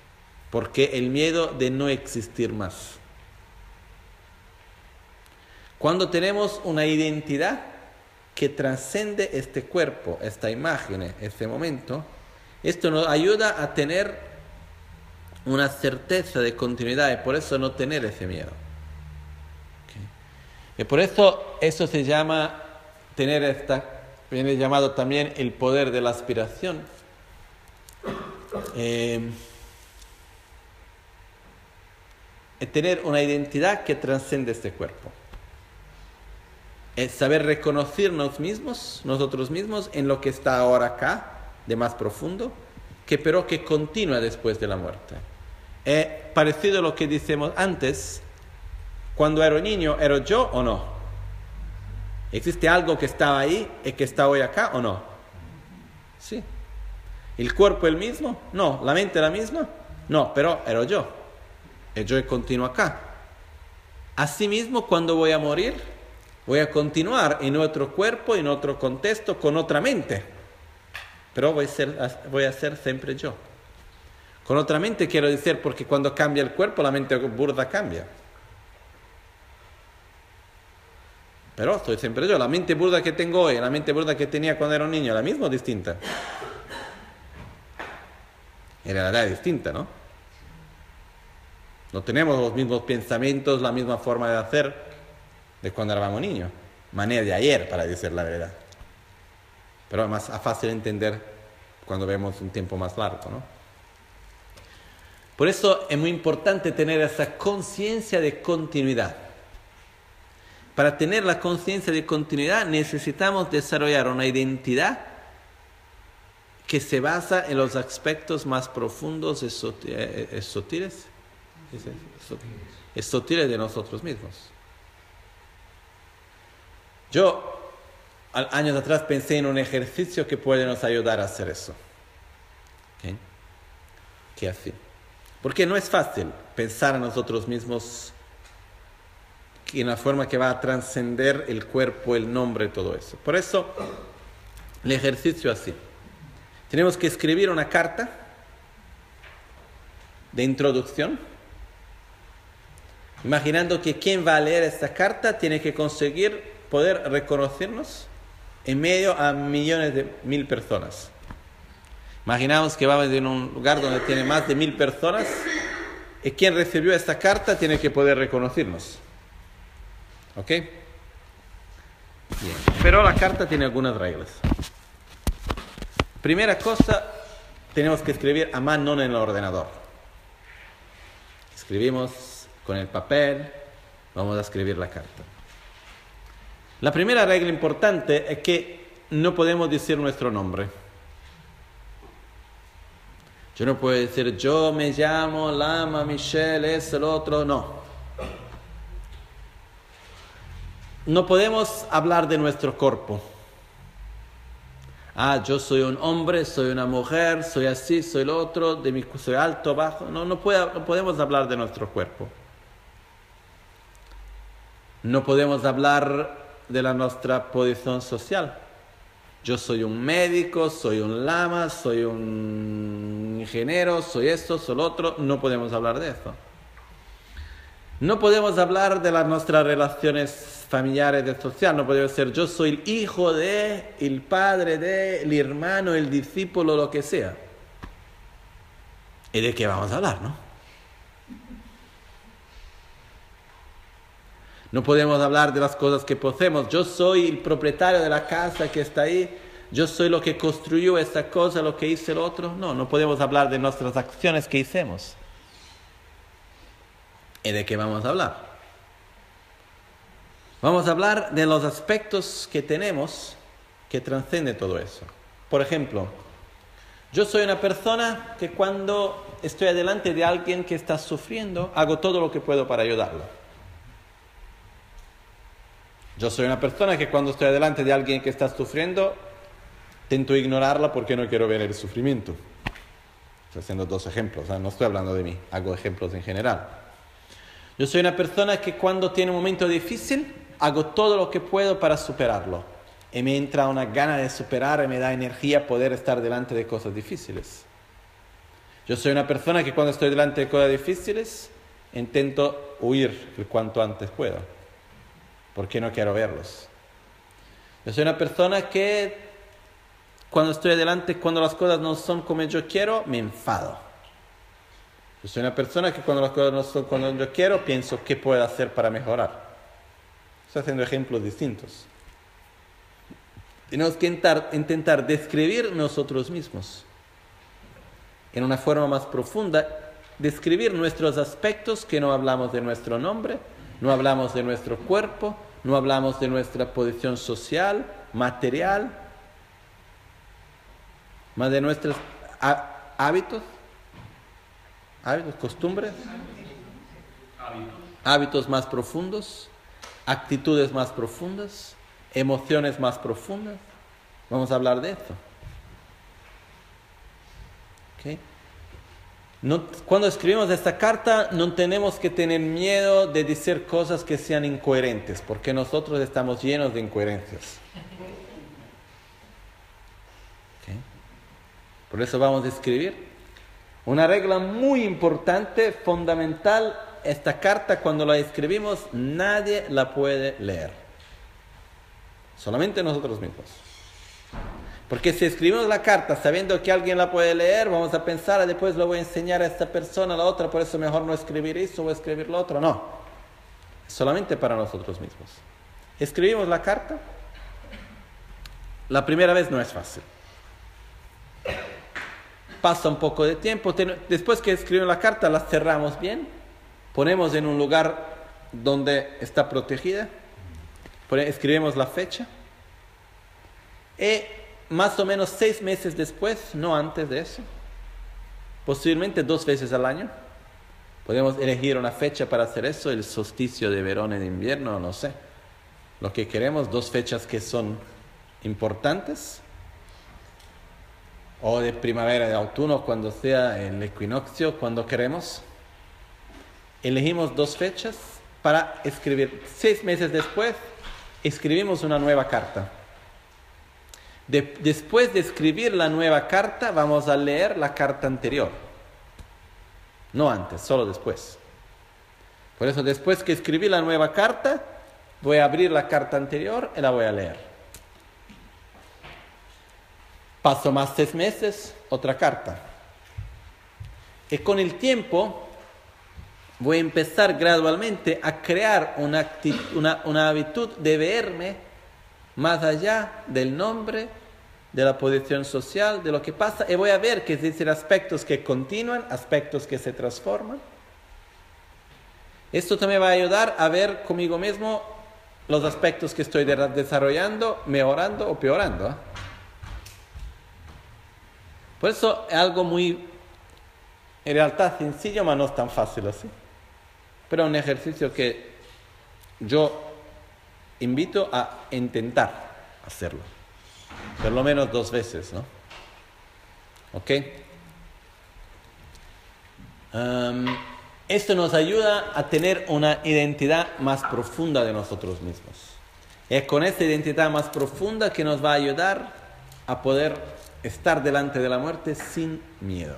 porque el miedo de no existir más. Cuando tenemos una identidad que trasciende este cuerpo, esta imagen, este momento, esto nos ayuda a tener una certeza de continuidad y por eso no tener ese miedo. ¿Okay? Y por eso eso se llama tener esta, viene llamado también el poder de la aspiración. Eh, tener una identidad que trasciende este cuerpo. Es saber reconocernos mismos, nosotros mismos, en lo que está ahora acá, de más profundo, que pero que continúa después de la muerte. Es parecido a lo que decimos antes, cuando era niño, ¿era yo o no? ¿Existe algo que estaba ahí y que está hoy acá o no? Sí. ¿El cuerpo el mismo? No. ¿La mente la misma? No, pero era yo. Y yo continuo acá. Asimismo, cuando voy a morir, voy a continuar en otro cuerpo, en otro contexto, con otra mente. Pero voy a ser, voy a ser siempre yo. Con otra mente quiero decir porque cuando cambia el cuerpo, la mente burda cambia. Pero soy siempre yo. La mente burda que tengo hoy, la mente burda que tenía cuando era un niño, ¿la misma o distinta? En realidad es distinta, ¿no? No tenemos los mismos pensamientos, la misma forma de hacer de cuando éramos niños. Manera de ayer, para decir la verdad. Pero es más fácil entender cuando vemos un tiempo más largo, ¿no? Por eso es muy importante tener esa conciencia de continuidad. Para tener la conciencia de continuidad necesitamos desarrollar una identidad que se basa en los aspectos más profundos y sutiles, sutiles de nosotros mismos. Yo, años atrás, pensé en un ejercicio que puede nos ayudar a hacer eso. ¿Okay? ¿Qué así? Porque no es fácil pensar en nosotros mismos en la forma que va a trascender el cuerpo, el nombre y todo eso. Por eso, el ejercicio así. Tenemos que escribir una carta de introducción, imaginando que quien va a leer esta carta tiene que conseguir poder reconocernos en medio a millones de mil personas. Imaginamos que vamos en un lugar donde tiene más de mil personas y quien recibió esta carta tiene que poder reconocernos. ¿Ok? Bien. Pero la carta tiene algunas reglas. Primera cosa, tenemos que escribir a mano en el ordenador. Escribimos con el papel, vamos a escribir la carta. La primera regla importante es que no podemos decir nuestro nombre. Yo no puedo decir, yo me llamo Lama Michelle, es el otro, no. No podemos hablar de nuestro cuerpo. Ah, yo soy un hombre, soy una mujer, soy así, soy el otro, de mi, soy alto, bajo. No, no, puede, no podemos hablar de nuestro cuerpo. No podemos hablar de la nuestra posición social. Yo soy un médico, soy un lama, soy un ingeniero, soy esto, soy lo otro. No podemos hablar de eso. No podemos hablar de las nuestras relaciones familiares, de social. No podemos decir yo soy el hijo de, el padre de, el hermano, el discípulo, lo que sea. ¿Y de qué vamos a hablar, no? No podemos hablar de las cosas que poseemos. Yo soy el propietario de la casa que está ahí. Yo soy lo que construyó esta cosa, lo que hizo el otro. No, no podemos hablar de nuestras acciones que hicimos. ¿Y de qué vamos a hablar? Vamos a hablar de los aspectos que tenemos que trasciende todo eso. Por ejemplo, yo soy una persona que cuando estoy delante de alguien que está sufriendo, hago todo lo que puedo para ayudarlo. Yo soy una persona que cuando estoy delante de alguien que está sufriendo, intento ignorarla porque no quiero ver el sufrimiento. Estoy haciendo dos ejemplos, ¿eh? No estoy hablando de mí, hago ejemplos en general. Yo soy una persona que cuando tiene un momento difícil, hago todo lo que puedo para superarlo. Y me entra una gana de superar y me da energía poder estar delante de cosas difíciles. Yo soy una persona que cuando estoy delante de cosas difíciles, intento huir el cuanto antes puedo. porque no quiero verlos. Yo soy una persona que cuando estoy adelante, cuando las cosas no son como yo quiero, me enfado. Yo soy una persona que cuando las cosas no son como yo quiero, pienso qué puedo hacer para mejorar. Estoy haciendo ejemplos distintos. Tenemos que intentar, intentar describir nosotros mismos en una forma más profunda, describir nuestros aspectos, que no hablamos de nuestro nombre, no hablamos de nuestro cuerpo, no hablamos de nuestra posición social, material, más de nuestros hábitos, hábitos, costumbres, hábitos. hábitos más profundos, actitudes más profundas, emociones más profundas. Vamos a hablar de esto. ¿Okay? No, cuando escribimos esta carta no tenemos que tener miedo de decir cosas que sean incoherentes, porque nosotros estamos llenos de incoherencias. ¿Okay? Por eso vamos a escribir una regla muy importante, fundamental. Esta carta, cuando la escribimos, nadie la puede leer, solamente nosotros mismos. Porque si escribimos la carta sabiendo que alguien la puede leer, vamos a pensar, después lo voy a enseñar a esta persona, a la otra, por eso mejor no escribir eso o escribir lo otro. No, solamente para nosotros mismos. Escribimos la carta. La primera vez no es fácil. Pasa un poco de tiempo. Después que escribimos la carta, la cerramos bien. Ponemos en un lugar donde está protegida. Escribimos la fecha. Y más o menos seis meses después, no antes de eso, posiblemente dos veces al año, podemos elegir una fecha para hacer eso, el solsticio de verano y de invierno, no sé, lo que queremos, dos fechas que son importantes, o de primavera, de autumno, cuando sea el equinoccio, cuando queremos. Elegimos dos fechas para escribir. Seis meses después, escribimos una nueva carta. De, después de escribir la nueva carta, vamos a leer la carta anterior. No antes, solo después. Por eso, después que escribí la nueva carta, voy a abrir la carta anterior y la voy a leer. Paso más seis meses, otra carta. Y con el tiempo, voy a empezar gradualmente a crear una, actitud, una, una hábitud de verme más allá del nombre, de la posición social, de lo que pasa, y voy a ver que existen aspectos que continúan, aspectos que se transforman. Esto también va a ayudar a ver conmigo mismo los aspectos que estoy desarrollando, mejorando o peorando. ¿eh? Por eso es algo muy, en realidad sencillo, pero no es tan fácil así. Pero es un ejercicio que yo invito a intentar hacerlo, por lo menos dos veces, ¿no? ¿Ok? Um, esto nos ayuda a tener una identidad más profunda de nosotros mismos. Es con esta identidad más profunda que nos va a ayudar a poder estar delante de la muerte sin miedo.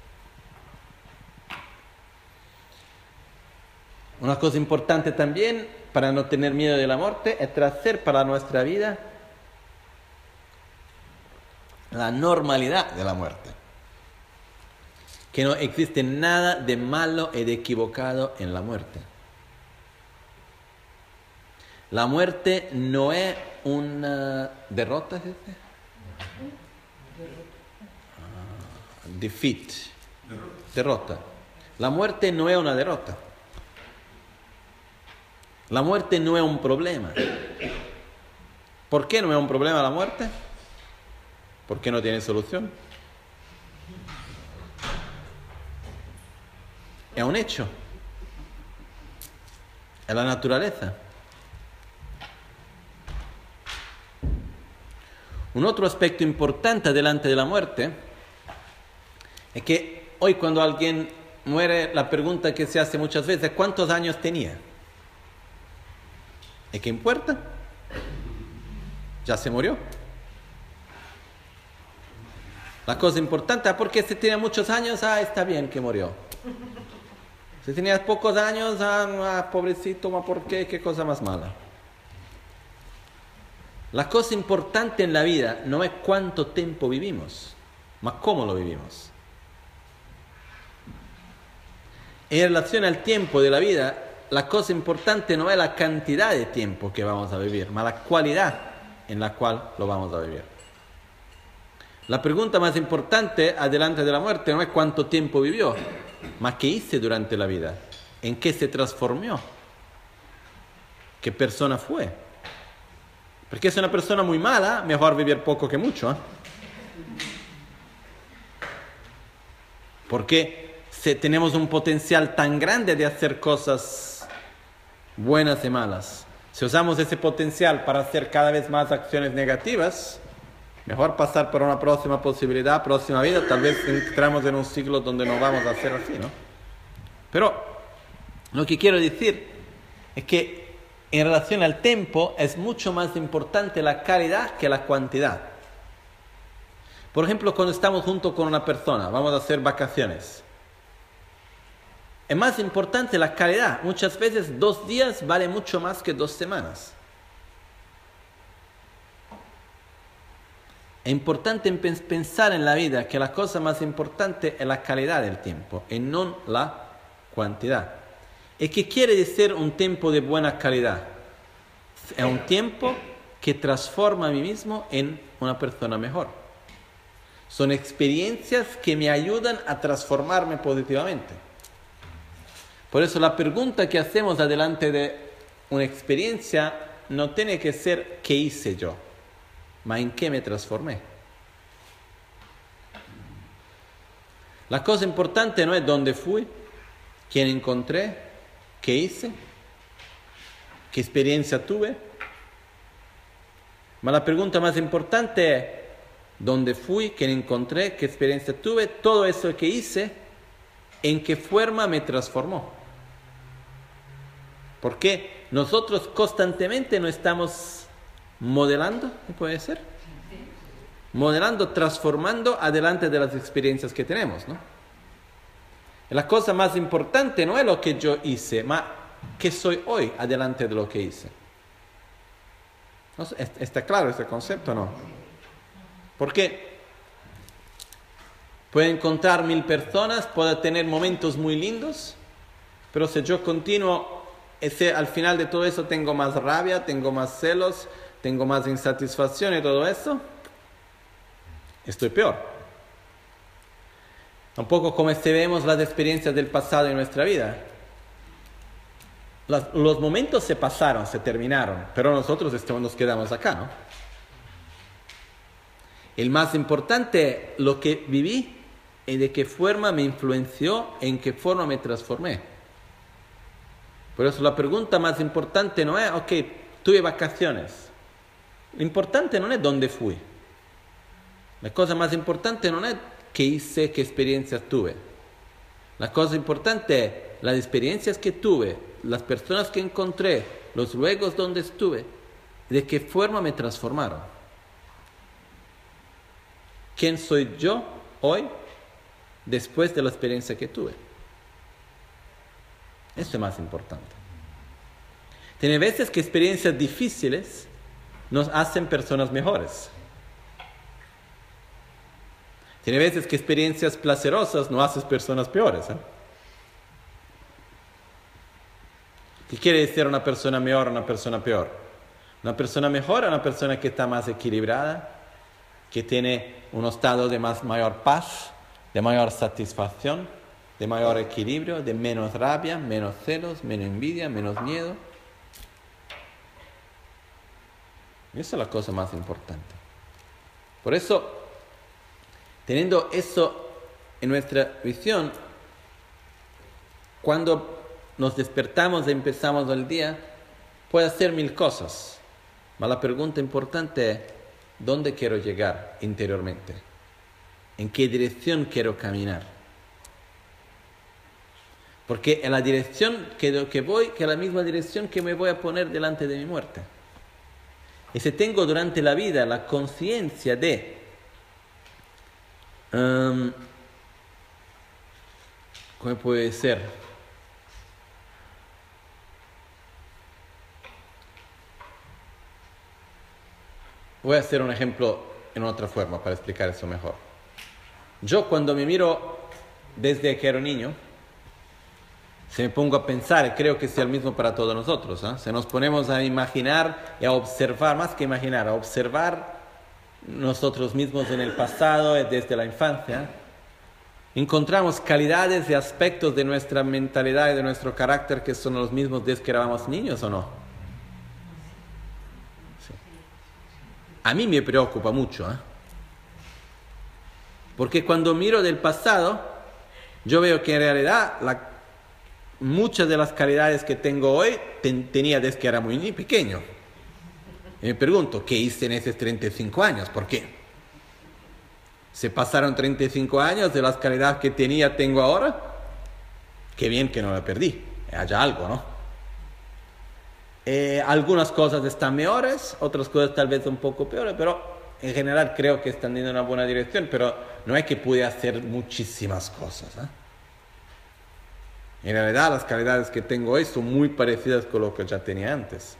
Una cosa importante también para no tener miedo de la muerte es traer para nuestra vida la normalidad de la muerte. Que no existe nada de malo y de equivocado en la muerte. La muerte no es una derrota, ¿sí? Ah, defeat. Derrota. La muerte no es una derrota. La muerte no es un problema. ¿Por qué no es un problema la muerte? Porque no tiene solución. Es un hecho. Es la naturaleza. Un otro aspecto importante delante de la muerte es que hoy cuando alguien muere, la pregunta que se hace muchas veces es ¿cuántos años tenía? ¿Y qué importa? Ya se murió. La cosa importante es porque si tenía muchos años, ah, está bien que murió. Si tenías pocos años, ah, ah pobrecito, ¿por qué? ¿Qué cosa más mala? La cosa importante en la vida no es cuánto tiempo vivimos, ma cómo lo vivimos. En relación al tiempo de la vida, la cosa importante no es la cantidad de tiempo que vamos a vivir, ma la cualidad en la cual lo vamos a vivir. La pregunta más importante adelante de la muerte no es cuánto tiempo vivió, ma qué hice durante la vida, en qué se transformó, qué persona fue. Porque si es una persona muy mala, mejor vivir poco que mucho, ¿eh? Porque si tenemos un potencial tan grande de hacer cosas buenas y malas, si usamos ese potencial para hacer cada vez más acciones negativas, mejor pasar por una próxima posibilidad, próxima vida. Tal vez entramos en un ciclo donde no vamos a hacer así, ¿no? Pero lo que quiero decir es que en relación al tiempo es mucho más importante la calidad que la cantidad. Por ejemplo, cuando estamos junto con una persona, vamos a hacer vacaciones. Es más importante la calidad. Muchas veces dos días vale mucho más que dos semanas. Es importante pensar en la vida que la cosa más importante es la calidad del tiempo y no la cantidad. ¿Y qué quiere decir un tiempo de buena calidad? Es un tiempo que transforma a mí mismo en una persona mejor. Son experiencias que me ayudan a transformarme positivamente. Por eso la pregunta que hacemos adelante de una experiencia no tiene que ser ¿qué hice yo?, ma en qué me transformé. La cosa importante no es dónde fui, quién encontré, qué hice, qué experiencia tuve, ma la pregunta más importante es dónde fui, quién encontré, qué experiencia tuve, todo eso que hice, en qué forma me transformó. Porque nosotros constantemente nos estamos modelando, ¿puede ser? Modelando, transformando adelante de las experiencias que tenemos, ¿no? La cosa más importante no es lo que yo hice, ma qué soy hoy adelante de lo que hice. ¿No? ¿Está claro este concepto o no? Porque puedo encontrar mil personas, puedo tener momentos muy lindos, pero si yo continúo, ese, al final de todo eso tengo más rabia, tengo más celos, tengo más insatisfacción y todo eso, estoy peor. Un poco como si vemos las experiencias del pasado en nuestra vida. Las, los momentos se pasaron, se terminaron, pero nosotros estamos, nos quedamos acá, ¿no? El más importante, lo que viví y de qué forma me influenció, en qué forma me transformé. Por eso la pregunta más importante no es, ok, tuve vacaciones. Lo importante no es dónde fui. La cosa más importante no es qué hice, qué experiencias tuve. La cosa importante es las experiencias que tuve, las personas que encontré, los lugares donde estuve, de qué forma me transformaron. ¿Quién soy yo hoy después de la experiencia que tuve? Eso es más importante. Tiene veces que experiencias difíciles nos hacen personas mejores. Tiene veces que experiencias placerosas nos hacen personas peores, ¿eh? ¿Qué quiere decir una persona mejor o una persona peor? Una persona mejor es una persona que está más equilibrada, que tiene un estado de más mayor paz, de mayor satisfacción, de mayor equilibrio, de menos rabia, menos celos, menos envidia, menos miedo. Y esa es la cosa más importante. Por eso, teniendo eso en nuestra visión, cuando nos despertamos y empezamos el día, puede hacer mil cosas. Pero la pregunta importante es, ¿dónde quiero llegar interiormente? ¿En qué dirección quiero caminar? Porque es la dirección que, que voy, que es la misma dirección que me voy a poner delante de mi muerte. Y si tengo durante la vida la conciencia de um, ¿cómo puede ser? Voy a hacer un ejemplo en otra forma para explicar eso mejor. Yo cuando me miro desde que era niño, se me pongo a pensar, y creo que sea el mismo para todos nosotros, ¿eh? Si nos ponemos a imaginar y a observar, más que imaginar, a observar nosotros mismos en el pasado, desde la infancia, encontramos calidades y aspectos de nuestra mentalidad y de nuestro carácter que son los mismos desde que éramos niños, ¿o no? Sí. A mí me preocupa mucho, ¿eh? Porque cuando miro del pasado, yo veo que en realidad la, muchas de las calidades que tengo hoy ten, tenía desde que era muy pequeño. Y me pregunto, ¿qué hice en esos treinta y cinco años? ¿Por qué? ¿Se pasaron treinta y cinco años de las calidades que tenía, tengo ahora? Qué bien que no la perdí. Haya algo, ¿no? Eh, algunas cosas están mejores, otras cosas tal vez un poco peores, pero en general creo que están en una buena dirección, pero no es que pude hacer muchísimas cosas, ¿eh? En realidad las calidades que tengo hoy son muy parecidas con lo que ya tenía antes.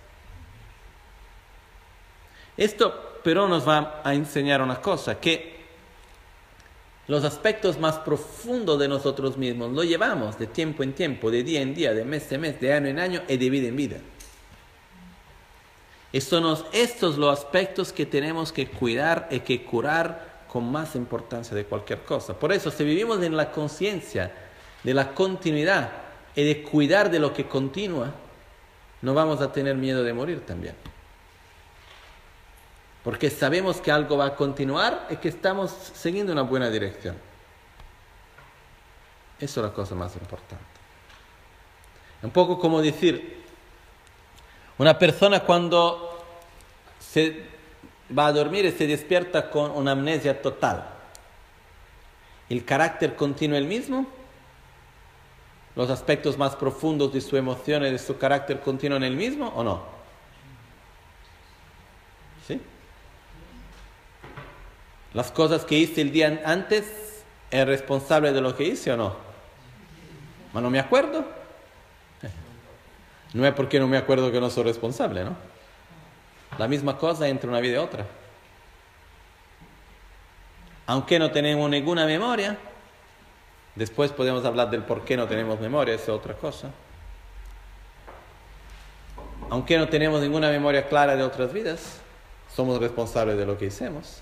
Esto pero nos va a enseñar una cosa, que los aspectos más profundos de nosotros mismos lo llevamos de tiempo en tiempo, de día en día, de mes en mes, de año en año y de vida en vida. Y son estos los aspectos que tenemos que cuidar y que curar con más importancia de cualquier cosa. Por eso, si vivimos en la conciencia de la continuidad y de cuidar de lo que continúa, no vamos a tener miedo de morir también. Porque sabemos que algo va a continuar y que estamos siguiendo una buena dirección. Eso es la cosa más importante. Un poco como decir, una persona cuando se va a dormir y se despierta con una amnesia total, ¿el carácter continúa el mismo? ¿Los aspectos más profundos de su emoción y de su carácter continúan el mismo o no? ¿Sí? ¿Las cosas que hice el día antes, ¿es responsable de lo que hice o no? ¿Ma no me acuerdo? No es porque no me acuerdo que no soy responsable, ¿no? La misma cosa entre una vida y otra. Aunque no tenemos ninguna memoria, después podemos hablar del por qué no tenemos memoria, esa es otra cosa. Aunque no tenemos ninguna memoria clara de otras vidas, somos responsables de lo que hicimos.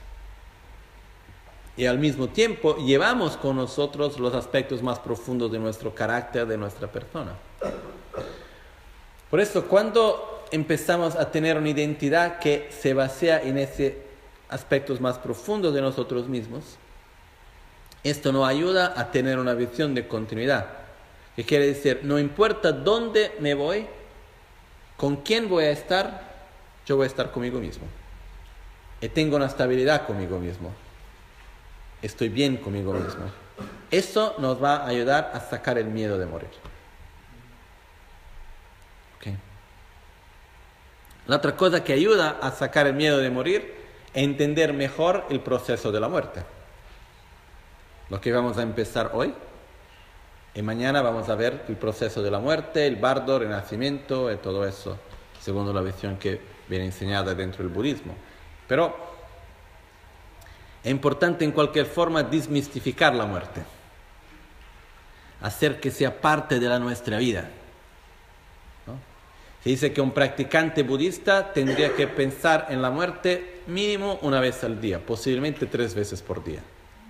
Y al mismo tiempo llevamos con nosotros los aspectos más profundos de nuestro carácter, de nuestra persona. Por eso, cuando empezamos a tener una identidad que se basea en esos aspectos más profundos de nosotros mismos, esto nos ayuda a tener una visión de continuidad. Que quiere decir, no importa dónde me voy, con quién voy a estar, yo voy a estar conmigo mismo. Y tengo una estabilidad conmigo mismo. Estoy bien conmigo mismo. Eso nos va a ayudar a sacar el miedo de morir. Okay. La otra cosa que ayuda a sacar el miedo de morir es entender mejor el proceso de la muerte. Lo que vamos a empezar hoy. Y mañana vamos a ver el proceso de la muerte, el bardo, el renacimiento y todo eso, según la visión que viene enseñada dentro del budismo. Pero es importante en cualquier forma desmistificar la muerte. Hacer que sea parte de la nuestra vida. ¿No? Se dice que un practicante budista tendría que pensar en la muerte mínimo una vez al día, posiblemente tres veces por día.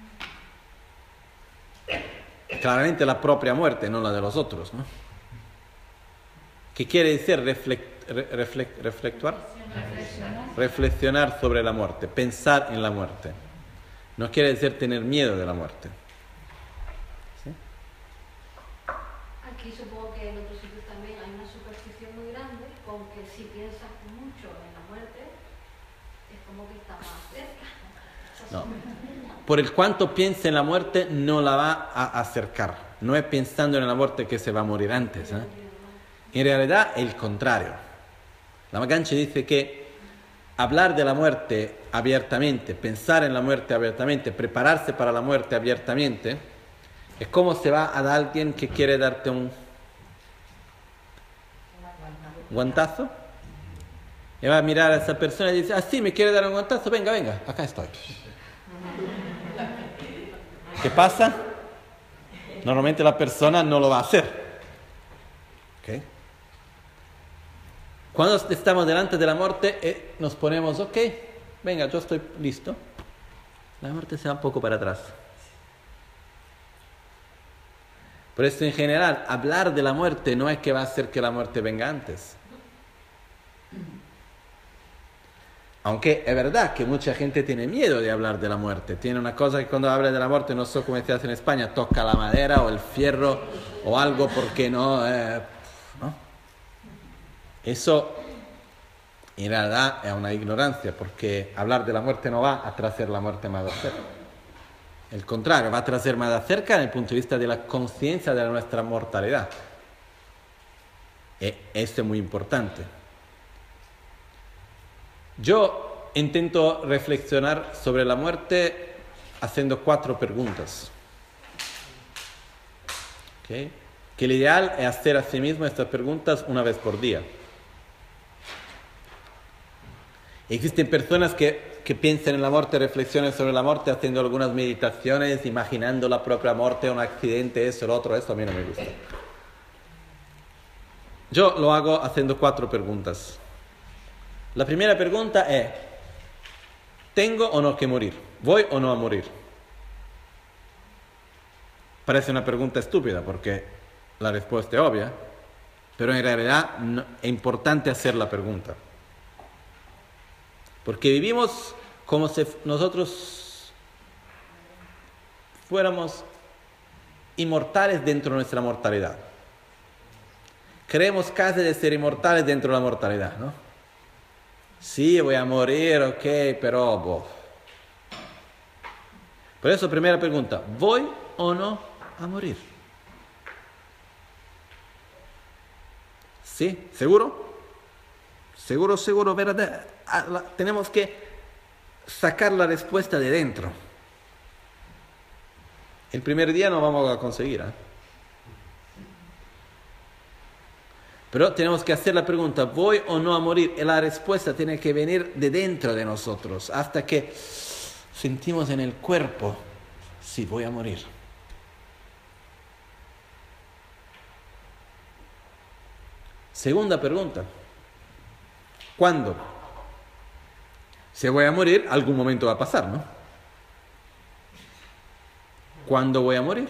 Claramente la propia muerte, no la de los otros, ¿no? ¿Qué quiere decir reflect, reflect, reflectuar? Reflexionar. Reflexionar sobre la muerte, pensar en la muerte. No quiere decir tener miedo de la muerte. ¿Sí? Aquí supongo que en otros sitios también hay una superstición muy grande con que si piensas mucho en la muerte, es como que está más cerca. No. Por el cuanto piense en la muerte, no la va a acercar. No es pensando en la muerte que se va a morir antes, ¿eh? En realidad, el contrario. La Maganchi dice que hablar de la muerte abiertamente, pensar en la muerte abiertamente, prepararse para la muerte abiertamente, es como se va a dar alguien que quiere darte un guantazo Y va a mirar a esa persona y dice, ah, sí, me quiere dar un guantazo, venga, venga, acá estoy. ¿Qué pasa? Normalmente la persona no lo va a hacer. ¿Okay? Cuando estamos delante de la muerte, eh, nos ponemos, ok, venga, yo estoy listo. La muerte se va un poco para atrás. Por eso, en general, hablar de la muerte no es que va a hacer que la muerte venga antes. Aunque es verdad que mucha gente tiene miedo de hablar de la muerte. Tiene una cosa que cuando habla de la muerte, no sé cómo se hace en España, toca la madera o el fierro o algo porque no... Eh, ¿no? Eso en realidad es una ignorancia, porque hablar de la muerte no va a traer la muerte más de cerca. El contrario, va a traer más de cerca desde el punto de vista de la conciencia de nuestra mortalidad. Y esto es muy importante. Yo intento reflexionar sobre la muerte haciendo cuatro preguntas. ¿Okay? Que el ideal es hacer a sí mismo estas preguntas una vez por día. Existen personas que, que piensan en la muerte, reflexionan sobre la muerte, haciendo algunas meditaciones, imaginando la propia muerte, un accidente, eso, lo otro, eso a mí no me gusta. Yo lo hago haciendo cuatro preguntas. La primera pregunta es, ¿tengo o no que morir? ¿Voy o no a morir? Parece una pregunta estúpida porque la respuesta es obvia, pero en realidad no, es importante hacer la pregunta. Porque vivimos como si nosotros fuéramos inmortales dentro de nuestra mortalidad. Creemos casi de ser inmortales dentro de la mortalidad, ¿no? Sí, voy a morir, ok, pero... Boh. Por eso, primera pregunta, ¿voy o no a morir? ¿Sí? ¿Seguro? Seguro, seguro, verdad. Tenemos que sacar la respuesta de dentro. El primer día no vamos a conseguir, ¿eh? Pero tenemos que hacer la pregunta, ¿voy o no a morir? Y la respuesta tiene que venir de dentro de nosotros, hasta que sentimos en el cuerpo, sí, voy a morir. Segunda pregunta, ¿cuándo? Si voy a morir, algún momento va a pasar, ¿no? ¿Cuándo voy a morir?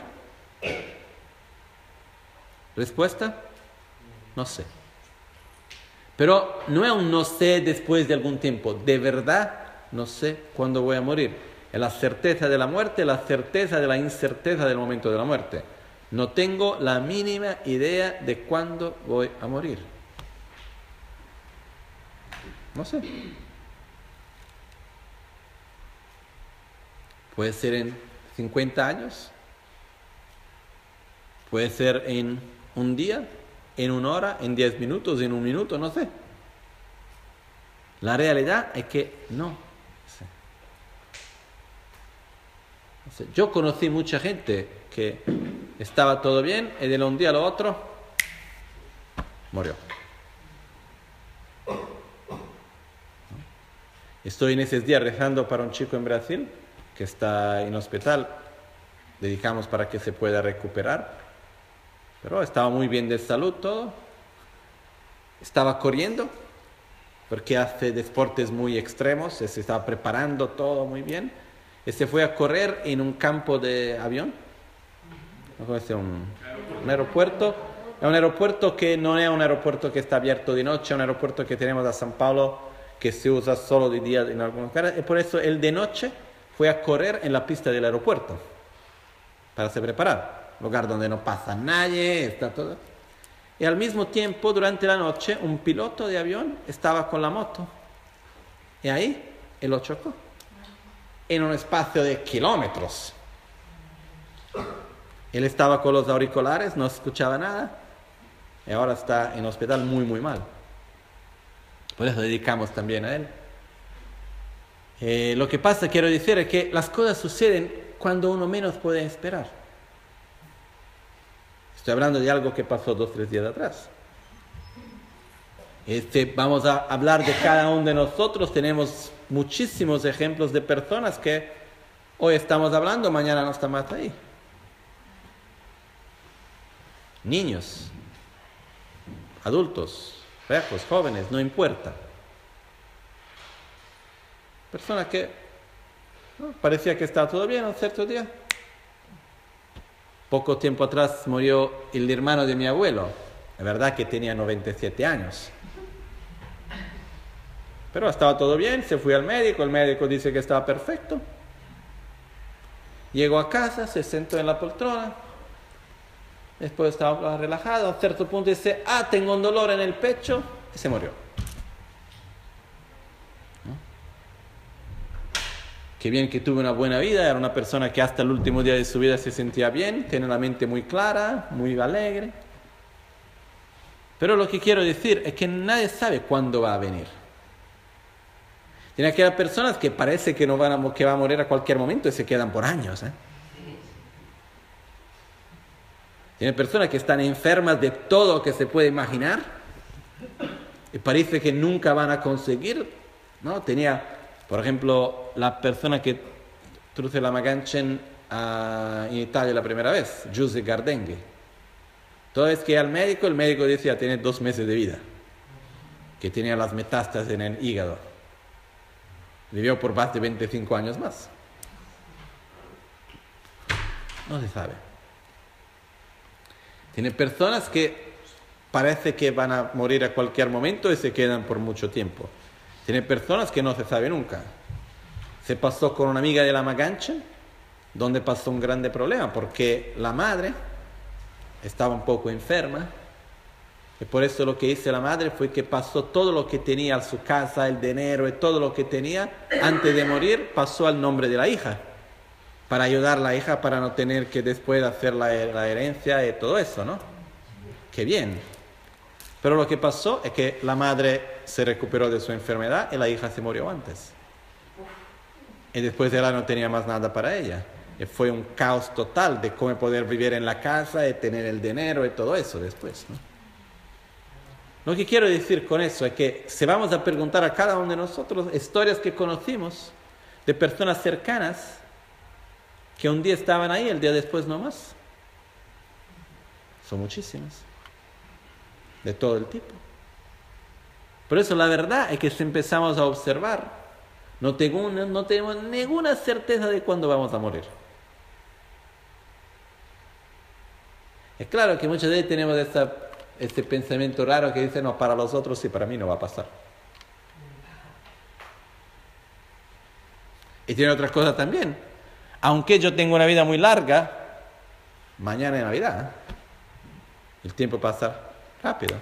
Respuesta, no sé. Pero no es un no sé después de algún tiempo. De verdad, no sé cuándo voy a morir. Es la certeza de la muerte, la certeza de la incerteza del momento de la muerte. No tengo la mínima idea de cuándo voy a morir. No sé. Puede ser en cincuenta años. Puede ser en un día, en una hora, en diez minutos, en un minuto, no sé. La realidad es que no sé. No sé. Yo conocí mucha gente que estaba todo bien y de un día a lo otro murió. Estoy en esos días rezando para un chico en Brasil que está en hospital. Dedicamos para que se pueda recuperar. Pero estaba muy bien de salud todo. Estaba corriendo porque hace deportes muy extremos. Se estaba preparando todo muy bien. Y se fue a correr en un campo de avión. ¿Cómo es? Un, un aeropuerto. Es un aeropuerto que no es un aeropuerto que está abierto de noche. Es un aeropuerto que tenemos a San Pablo que se usa solo de día en algunos lugares. Y por eso el de noche fue a correr en la pista del aeropuerto para se preparar. Lugar donde no pasa nadie, está todo. Y al mismo tiempo, durante la noche, un piloto de avión estaba con la moto. Y ahí, él lo chocó. En un espacio de kilómetros. Él estaba con los auriculares, no escuchaba nada. Y ahora está en hospital muy, muy mal. Por eso dedicamos también a él. Eh, lo que pasa, quiero decir, es que las cosas suceden cuando uno menos puede esperar. Estoy hablando de algo que pasó dos o tres días atrás. Este, vamos a hablar de cada uno de nosotros. Tenemos muchísimos ejemplos de personas que hoy estamos hablando, mañana no están más ahí. Niños, adultos, viejos, jóvenes, no importa. Personas que ¿no? parecía que estaba todo bien un cierto día. Poco tiempo atrás murió el hermano de mi abuelo. La verdad que tenía noventa y siete años. Pero estaba todo bien, se fue al médico, el médico dice que estaba perfecto. Llegó a casa, se sentó en la poltrona. Después estaba relajado, a cierto punto dice, ah, tengo un dolor en el pecho, y se murió. ¿No? Qué bien que tuvo una buena vida, era una persona que hasta el último día de su vida se sentía bien, tiene la mente muy clara, muy alegre. Pero lo que quiero decir es que nadie sabe cuándo va a venir. Tiene aquellas personas que parece que, no van a, que va a morir a cualquier momento y se quedan por años, ¿eh? Tiene personas que están enfermas de todo lo que se puede imaginar y parece que nunca van a conseguir, ¿no? Tenía, por ejemplo, la persona que truce la Maganchen uh, en Italia la primera vez, Giuseppe Gardenghi. Todo es que al médico, el médico decía tiene dos meses de vida, que tenía las metástasis en el hígado. Vivió por más de veinticinco años más. No se sabe. Tiene personas que parece que van a morir a cualquier momento y se quedan por mucho tiempo. Tiene personas que no se sabe nunca. Se pasó con una amiga de la Maganchen, donde pasó un grande problema, porque la madre estaba un poco enferma, y por eso lo que hizo la madre fue que pasó todo lo que tenía en su casa, el dinero y todo lo que tenía, antes de morir, pasó al nombre de la hija, para ayudar a la hija para no tener que después hacer la, la herencia y todo eso, ¿no? Qué bien. Pero lo que pasó es que la madre se recuperó de su enfermedad y la hija se murió antes. Y después ella no tenía más nada para ella. Y fue un caos total de cómo poder vivir en la casa y tener el dinero y todo eso después, ¿no? Lo que quiero decir con eso es que si vamos a preguntar a cada uno de nosotros historias que conocimos de personas cercanas que un día estaban ahí, el día después no más. Son muchísimas. De todo el tipo. Por eso la verdad es que si empezamos a observar, no, tengo, no tenemos ninguna certeza de cuándo vamos a morir. Es claro que muchas veces tenemos esta, este pensamiento raro que dice, no, para los otros sí, para mí no va a pasar. Y tiene otras cosas también. Aunque yo tengo una vida muy larga, mañana es Navidad. El tiempo pasa rápido.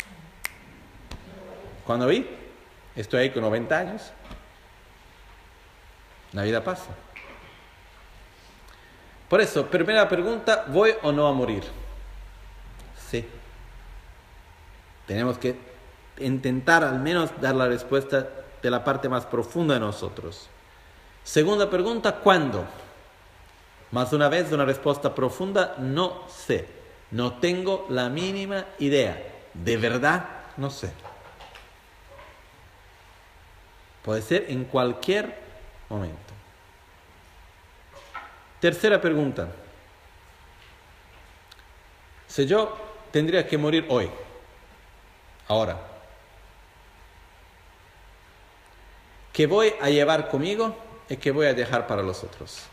Cuando vi, estoy ahí con noventa años. La vida pasa. Por eso, primera pregunta, ¿voy o no a morir? Sí. Tenemos que intentar al menos dar la respuesta de la parte más profunda de nosotros. Segunda pregunta, ¿cuándo? Más una vez, una respuesta profunda, no sé. No tengo la mínima idea. De verdad, no sé. Puede ser en cualquier momento. Tercera pregunta. Si yo tendría que morir hoy, ahora, ¿qué voy a llevar conmigo y qué voy a dejar para los otros?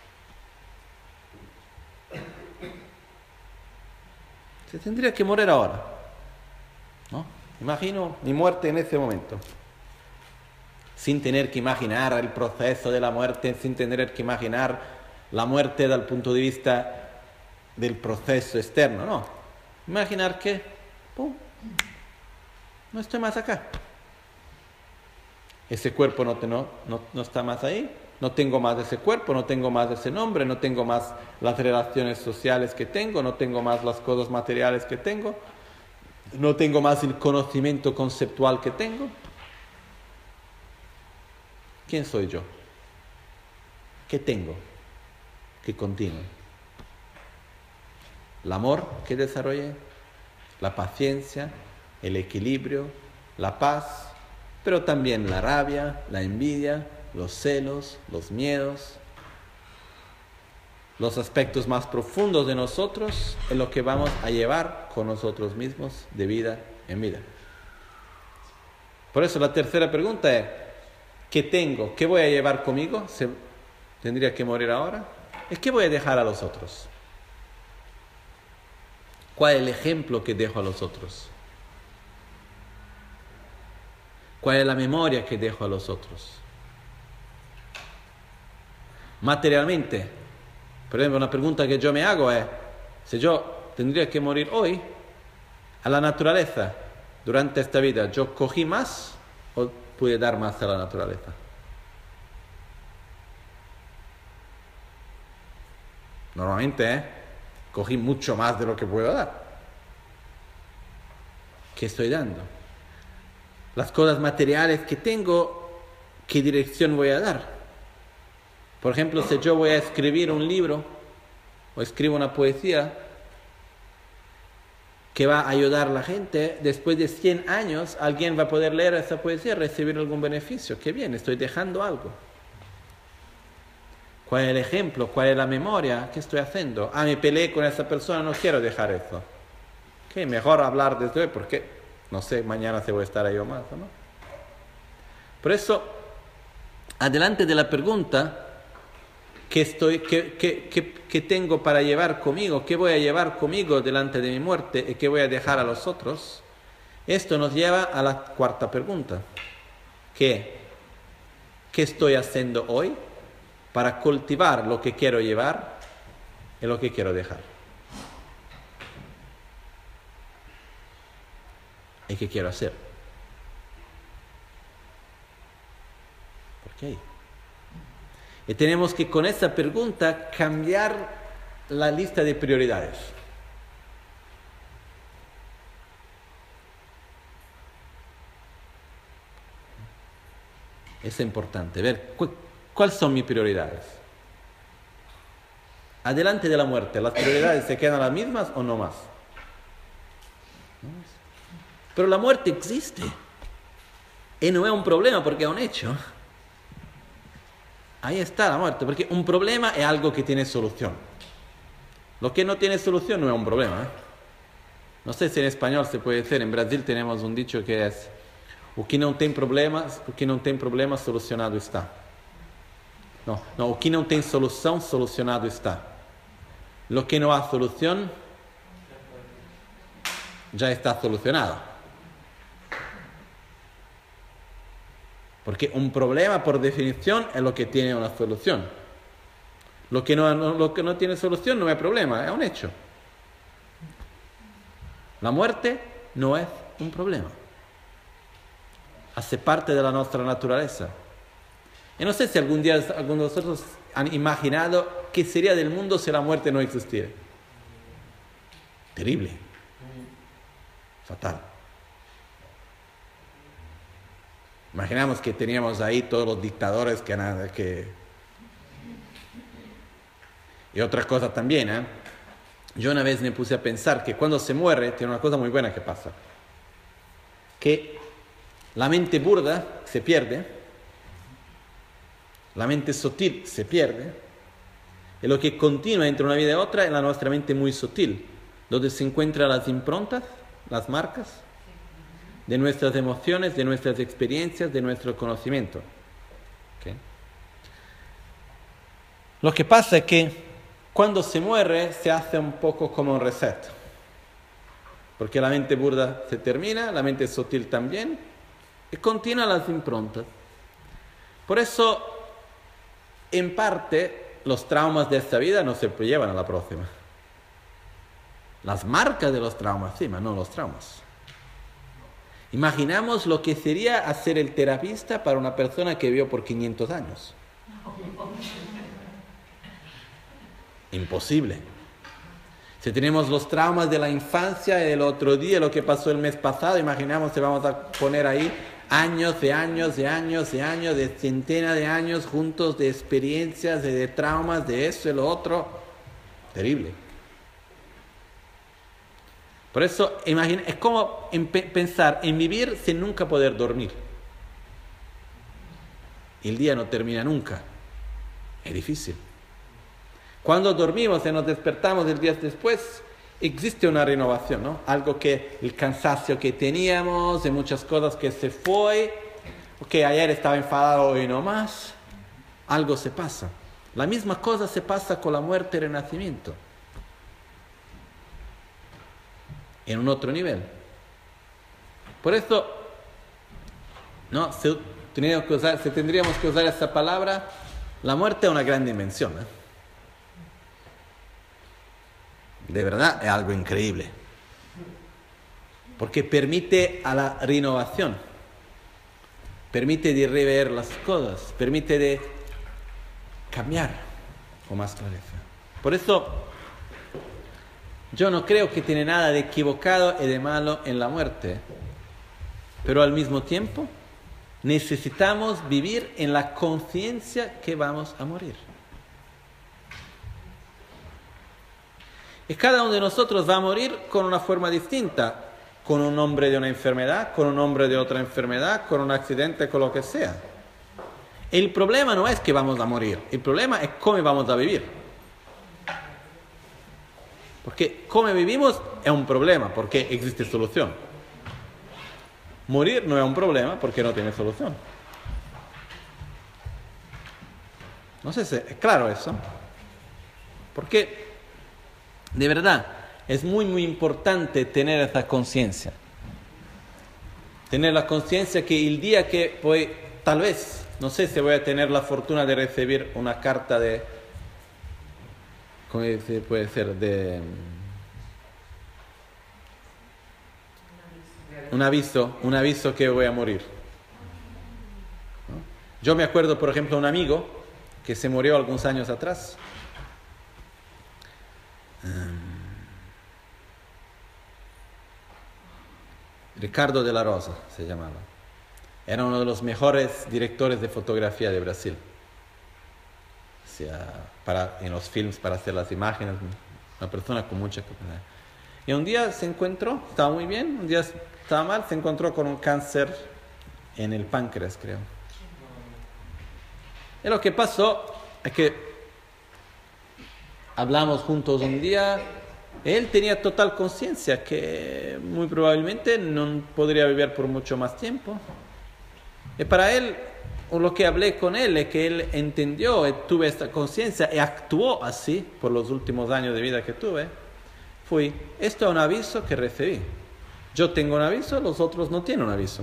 Se tendría que morir ahora, ¿no? Imagino mi muerte en ese momento, sin tener que imaginar el proceso de la muerte, sin tener que imaginar la muerte desde el punto de vista del proceso externo, no. Imaginar que, ¡pum!, no estoy más acá. Ese cuerpo no, te, no, no, no está más ahí. No tengo más ese cuerpo, no tengo más ese nombre, no tengo más las relaciones sociales que tengo, no tengo más las cosas materiales que tengo, no tengo más el conocimiento conceptual que tengo. ¿Quién soy yo? ¿Qué tengo? ¿Qué continúe? El amor que desarrollé, la paciencia, el equilibrio, la paz, pero también la rabia, la envidia, los celos, los miedos, los aspectos más profundos de nosotros en lo que vamos a llevar con nosotros mismos de vida en vida. Por eso la tercera pregunta es, ¿qué tengo? ¿Qué voy a llevar conmigo? ¿Se, ¿Tendría que morir ahora? ¿Es qué voy a dejar a los otros? ¿Cuál es el ejemplo que dejo a los otros? ¿Cuál es la memoria que dejo a los otros? Materialmente, por ejemplo, una pregunta que yo me hago es, si yo tendría que morir hoy, a la naturaleza, durante esta vida, ¿yo cogí más o pude dar más a la naturaleza? Normalmente, ¿eh? Cogí mucho más de lo que puedo dar. ¿Qué estoy dando? Las cosas materiales que tengo, ¿qué dirección voy a dar? Por ejemplo, si yo voy a escribir un libro o escribo una poesía que va a ayudar a la gente, después de cien años alguien va a poder leer esa poesía y recibir algún beneficio. ¡Qué bien! Estoy dejando algo. ¿Cuál es el ejemplo? ¿Cuál es la memoria? ¿Qué estoy haciendo? Ah, me peleé con esa persona, no quiero dejar eso. ¿Qué? Mejor hablar desde hoy porque no sé mañana si voy a estar ahí o más, ¿no? Por eso, adelante de la pregunta, ¿qué, estoy, qué, qué, qué, qué tengo para llevar conmigo? ¿Qué voy a llevar conmigo delante de mi muerte? ¿Y qué voy a dejar a los otros? Esto nos lleva a la cuarta pregunta. ¿Qué? ¿Qué estoy haciendo hoy para cultivar lo que quiero llevar y lo que quiero dejar? ¿Y qué quiero hacer? ¿Por qué? Y tenemos que con esta pregunta cambiar la lista de prioridades. Es importante ver cu- cuáles son mis prioridades. Adelante de la muerte, ¿las prioridades se quedan las mismas o no más? Pero la muerte existe. Y no es un problema porque es un hecho. Ahí está la muerte, porque un problema es algo que tiene solución. Lo que no tiene solución no es un problema, ¿eh? No sé si en español se puede decir, en Brasil tenemos un dicho que es o que não tem problemas, o que não tem problema solucionado está. No, no, o que não tem solução solucionado está. Lo que no ha solución ya está solucionado. Porque un problema, por definición, es lo que tiene una solución. Lo que no, no, lo que no tiene solución no es problema, es un hecho. La muerte no es un problema. Hace parte de la nuestra naturaleza. Y no sé si algún día algunos de vosotros han imaginado qué sería del mundo si la muerte no existiera. Terrible. Fatal. Imaginamos que teníamos ahí todos los dictadores que... que... Y otra cosa también, ¿eh? Yo una vez me puse a pensar que cuando se muere tiene una cosa muy buena que pasa. Que la mente burda se pierde, la mente sutil se pierde, y lo que continúa entre una vida y otra es la nuestra mente muy sutil, donde se encuentran las improntas, las marcas de nuestras emociones, de nuestras experiencias, de nuestro conocimiento. ¿Okay? Lo que pasa es que cuando se muere se hace un poco como un reset, porque la mente burda se termina, la mente sutil también, y continúan las improntas. Por eso, en parte, los traumas de esta vida no se llevan a la próxima. Las marcas de los traumas, sí, pero no los traumas. Imaginamos lo que sería hacer el terapista para una persona que vivió por quinientos años. Imposible. Si tenemos los traumas de la infancia y del otro día, lo que pasó el mes pasado, imaginamos que vamos a poner ahí años de años de años de años, de centenas de años juntos de experiencias, de, de traumas, de eso y lo otro. Terrible. Por eso, imagina, es como en pe- pensar en vivir sin nunca poder dormir. El día no termina nunca. Es difícil. Cuando dormimos y nos despertamos el día después, existe una renovación, ¿no? Algo que el cansancio que teníamos, de muchas cosas que se fue, que ayer estaba enfadado, hoy no más, algo se pasa. La misma cosa se pasa con la muerte y el renacimiento. En un otro nivel. Por eso, no, se, tendríamos que usar, si tendríamos que usar esa palabra, la muerte es una gran dimensión. ¿eh? De verdad es algo increíble. Porque permite a la renovación, permite de rever las cosas, permite de cambiar con más clareza. Por eso, yo no creo que tiene nada de equivocado y de malo en la muerte, pero al mismo tiempo necesitamos vivir en la conciencia que vamos a morir. Y cada uno de nosotros va a morir con una forma distinta, con un nombre de una enfermedad, con un nombre de otra enfermedad, con un accidente, con lo que sea. El problema no es que vamos a morir, el problema es cómo vamos a vivir. Porque cómo vivimos es un problema, porque existe solución. Morir no es un problema, porque no tiene solución. No sé si es claro eso. Porque, de verdad, es muy, muy importante tener esa conciencia. Tener la conciencia que el día que voy, tal vez, no sé si voy a tener la fortuna de recibir una carta de... ¿Cómo se puede ser? De un aviso, un aviso que voy a morir. ¿No? Yo me acuerdo, por ejemplo, un amigo que se murió algunos años atrás. Um, Ricardo de la Rosa se llamaba. Era uno de los mejores directores de fotografía de Brasil. Para, en los films, para hacer las imágenes, una persona con mucha capacidad. Y un día se encontró, estaba muy bien, un día estaba mal, se encontró con un cáncer en el páncreas, creo. Y lo que pasó es que hablamos juntos un día, él tenía total conciencia que muy probablemente no podría vivir por mucho más tiempo. Y para él, o lo que hablé con él es que él entendió y tuve esta conciencia y actuó así por los últimos años de vida que tuve. Fui, esto es un aviso que recibí. Yo tengo un aviso, los otros no tienen un aviso.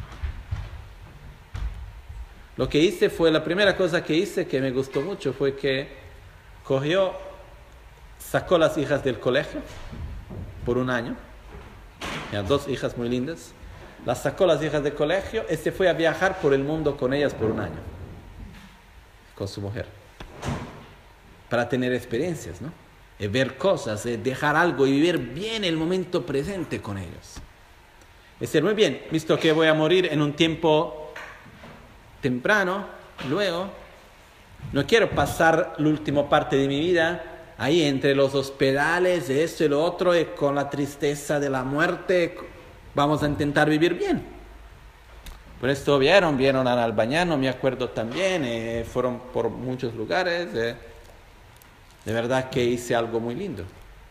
Lo que hice fue, la primera cosa que hice que me gustó mucho fue que cogió, sacó las hijas del colegio por un año. Tenía dos hijas muy lindas. Las sacó las hijas del colegio y se fue a viajar por el mundo con ellas por un año. Con su mujer. Para tener experiencias, ¿no? Y ver cosas, y dejar algo y vivir bien el momento presente con ellos. Es decir, muy bien, visto que voy a morir en un tiempo temprano, luego, no quiero pasar la última parte de mi vida ahí entre los hospitales, esto y lo otro, y con la tristeza de la muerte. Vamos a intentar vivir bien. Por esto vieron, vieron a Albañano, me acuerdo también, eh, fueron por muchos lugares. Eh, de verdad que hice algo muy lindo.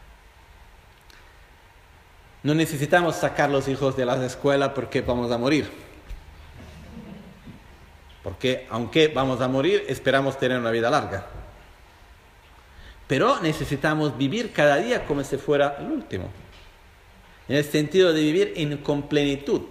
No necesitamos sacar los hijos de las escuelas porque vamos a morir. Porque aunque vamos a morir, esperamos tener una vida larga. Pero necesitamos vivir cada día como si fuera el último. En el sentido de vivir en con plenitud.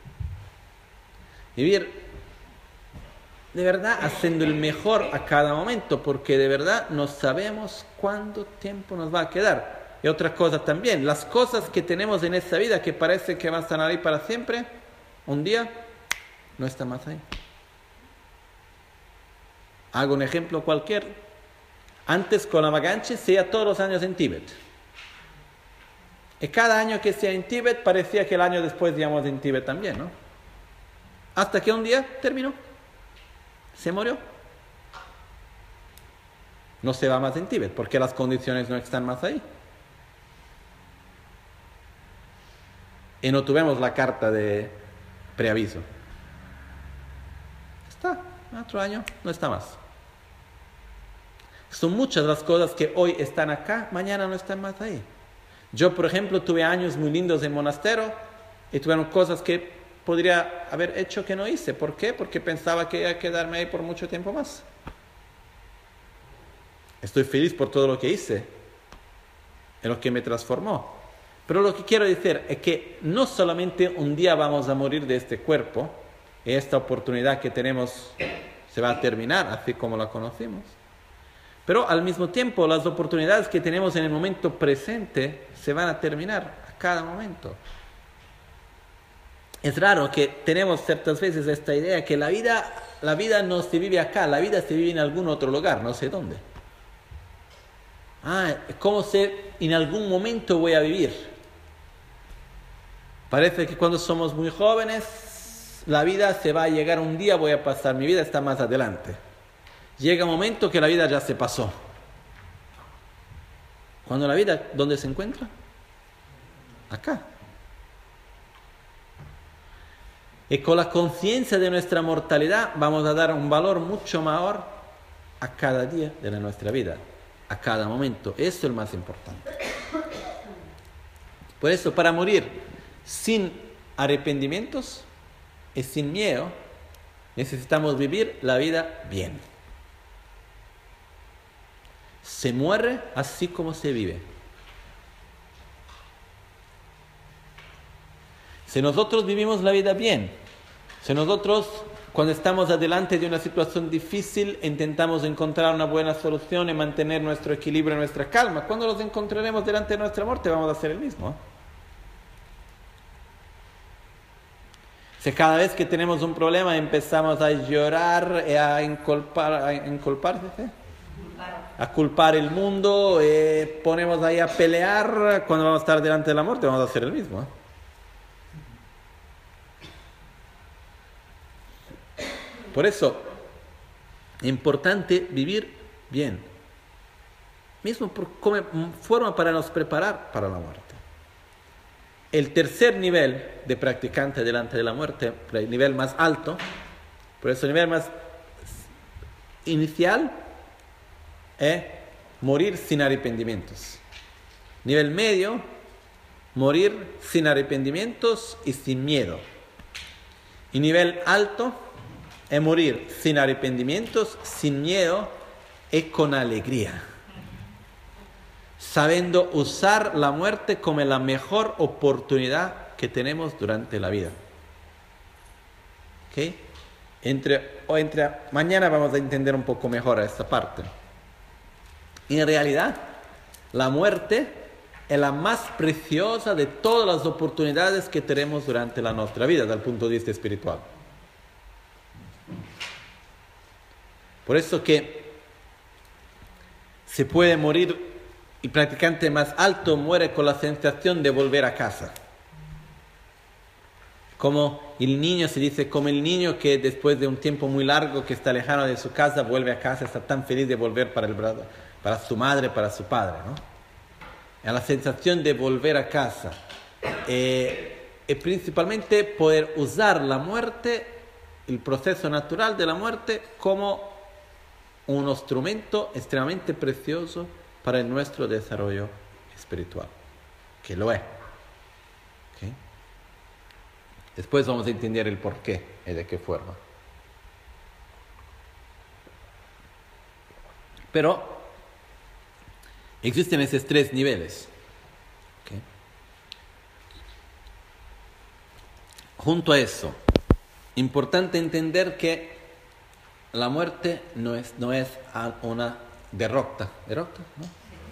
Vivir de verdad haciendo el mejor a cada momento, porque de verdad no sabemos cuánto tiempo nos va a quedar. Y otra cosa también, las cosas que tenemos en esta vida que parece que van a estar ahí para siempre, un día no están más ahí. Hago un ejemplo cualquier. Antes con la Maganchi se iba todos los años en Tíbet. Y cada año que sea en Tíbet parecía que el año después íbamos en Tíbet también, ¿no? Hasta que un día terminó. Se murió. No se va más en Tíbet porque las condiciones no están más ahí. y no tuvimos la carta de preaviso. Está, otro año no está más. Son muchas las cosas que hoy están acá, mañana no están más ahí. Yo, por ejemplo, tuve años muy lindos en monasterio y tuvieron cosas que podría haber hecho que no hice. ¿Por qué? Porque pensaba que iba a quedarme ahí por mucho tiempo más. Estoy feliz por todo lo que hice, en lo que me transformó. Pero lo que quiero decir es que no solamente un día vamos a morir de este cuerpo, y esta oportunidad que tenemos se va a terminar, así como la conocimos. Pero al mismo tiempo, las oportunidades que tenemos en el momento presente se van a terminar a cada momento. Es raro que tenemos ciertas veces esta idea que la vida, la vida no se vive acá, la vida se vive en algún otro lugar, no sé dónde. Ah, ¿cómo sé en algún momento voy a vivir? Parece que cuando somos muy jóvenes, la vida se va a llegar un día, voy a pasar, mi vida está más adelante. Llega un momento que la vida ya se pasó. Cuando la vida, ¿dónde se encuentra? Acá. Y con la conciencia de nuestra mortalidad vamos a dar un valor mucho mayor a cada día de nuestra vida, a cada momento. Eso es lo más importante. Por eso, para morir sin arrepentimientos y sin miedo, necesitamos vivir la vida bien. Se muere así como se vive. Si nosotros vivimos la vida bien, si nosotros cuando estamos adelante de una situación difícil intentamos encontrar una buena solución y mantener nuestro equilibrio y nuestra calma, cuando los encontraremos delante de nuestra muerte vamos a hacer el mismo. ¿eh? Si cada vez que tenemos un problema empezamos a llorar y a inculpar, a inculpar, ¿sí? a culpar el mundo, eh, ponemos ahí a pelear, cuando vamos a estar delante de la muerte vamos a hacer el mismo. ¿eh? Por eso, es importante vivir bien, mismo por, como forma para nos preparar para la muerte. El tercer nivel de practicante delante de la muerte, el nivel más alto, por eso el nivel más inicial, es morir sin arrepentimientos. Nivel medio, morir sin arrepentimientos y sin miedo. Y nivel alto es morir sin arrepentimientos, sin miedo y con alegría, sabiendo usar la muerte como la mejor oportunidad que tenemos durante la vida. ¿Okay? Entre, o entre, mañana vamos a entender un poco mejor esta parte. En realidad, la muerte es la más preciosa de todas las oportunidades que tenemos durante la nuestra vida, desde el punto de vista espiritual. Por eso que se puede morir, y el practicante más alto muere con la sensación de volver a casa. Como el niño, se dice, como el niño que después de un tiempo muy largo que está lejano de su casa, vuelve a casa, está tan feliz de volver para, el, para su madre, para su padre, ¿no? Es la sensación de volver a casa. Eh, y principalmente poder usar la muerte, el proceso natural de la muerte, como un instrumento extremadamente precioso para nuestro desarrollo espiritual, que lo es. ¿Okay? Después vamos a entender el por qué y de qué forma. Pero existen esos tres niveles. ¿Okay? Junto a eso, importante entender que la muerte no es, no es una derrota. ¿Derrota? ¿No?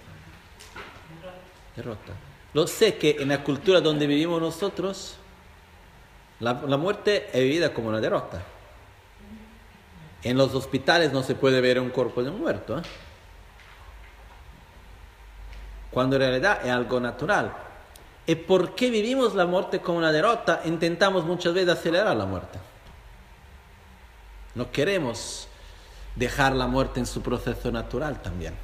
Derrota. Lo sé que en la cultura donde vivimos nosotros, la, la muerte es vivida como una derrota. En los hospitales no se puede ver un cuerpo de un muerto, ¿eh? Cuando en realidad es algo natural. ¿Y por qué vivimos la muerte como una derrota? Intentamos muchas veces acelerar la muerte. No queremos dejar la muerte en su proceso natural también.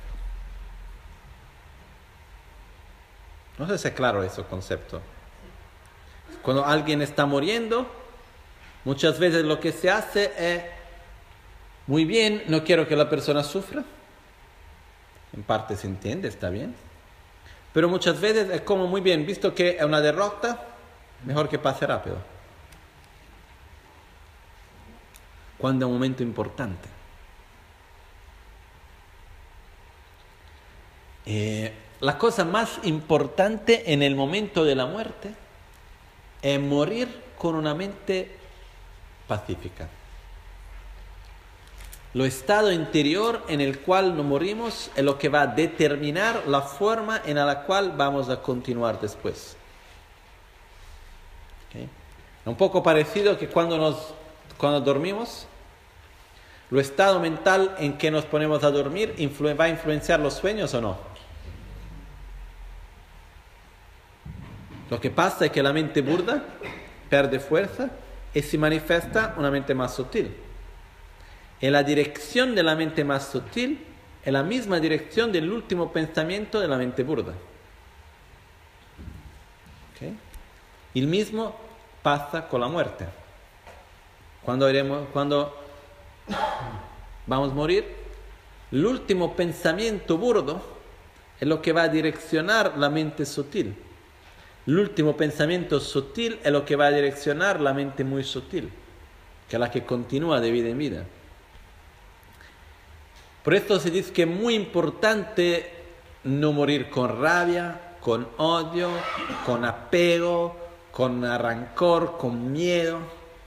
No sé si es claro ese concepto. Cuando alguien está muriendo, muchas veces lo que se hace es, muy bien, no quiero que la persona sufra. En parte se entiende, está bien. Pero muchas veces es como, muy bien, visto que es una derrota, mejor que pase rápido. Cuando es un momento importante. Eh, la cosa más importante en el momento de la muerte es morir con una mente pacífica. Lo estado interior en el cual nos morimos es lo que va a determinar la forma en la cual vamos a continuar después. ¿Okay? Es un poco parecido que cuando, nos, cuando dormimos, lo estado mental en que nos ponemos a dormir influ- va a influenciar los sueños o no. Lo que pasa es que la mente burda pierde fuerza y se manifiesta una mente más sutil. Y la dirección de la mente más sutil es la misma dirección del último pensamiento de la mente burda. ¿Okay? El mismo pasa con la muerte. Cuando, iremos, cuando vamos a morir, el último pensamiento burdo es lo que va a direccionar la mente sutil. El último pensamiento sutil es lo que va a direccionar la mente muy sutil, que es la que continúa de vida en vida. Por esto se dice que es muy importante no morir con rabia, con odio, con apego, con rancor, con miedo.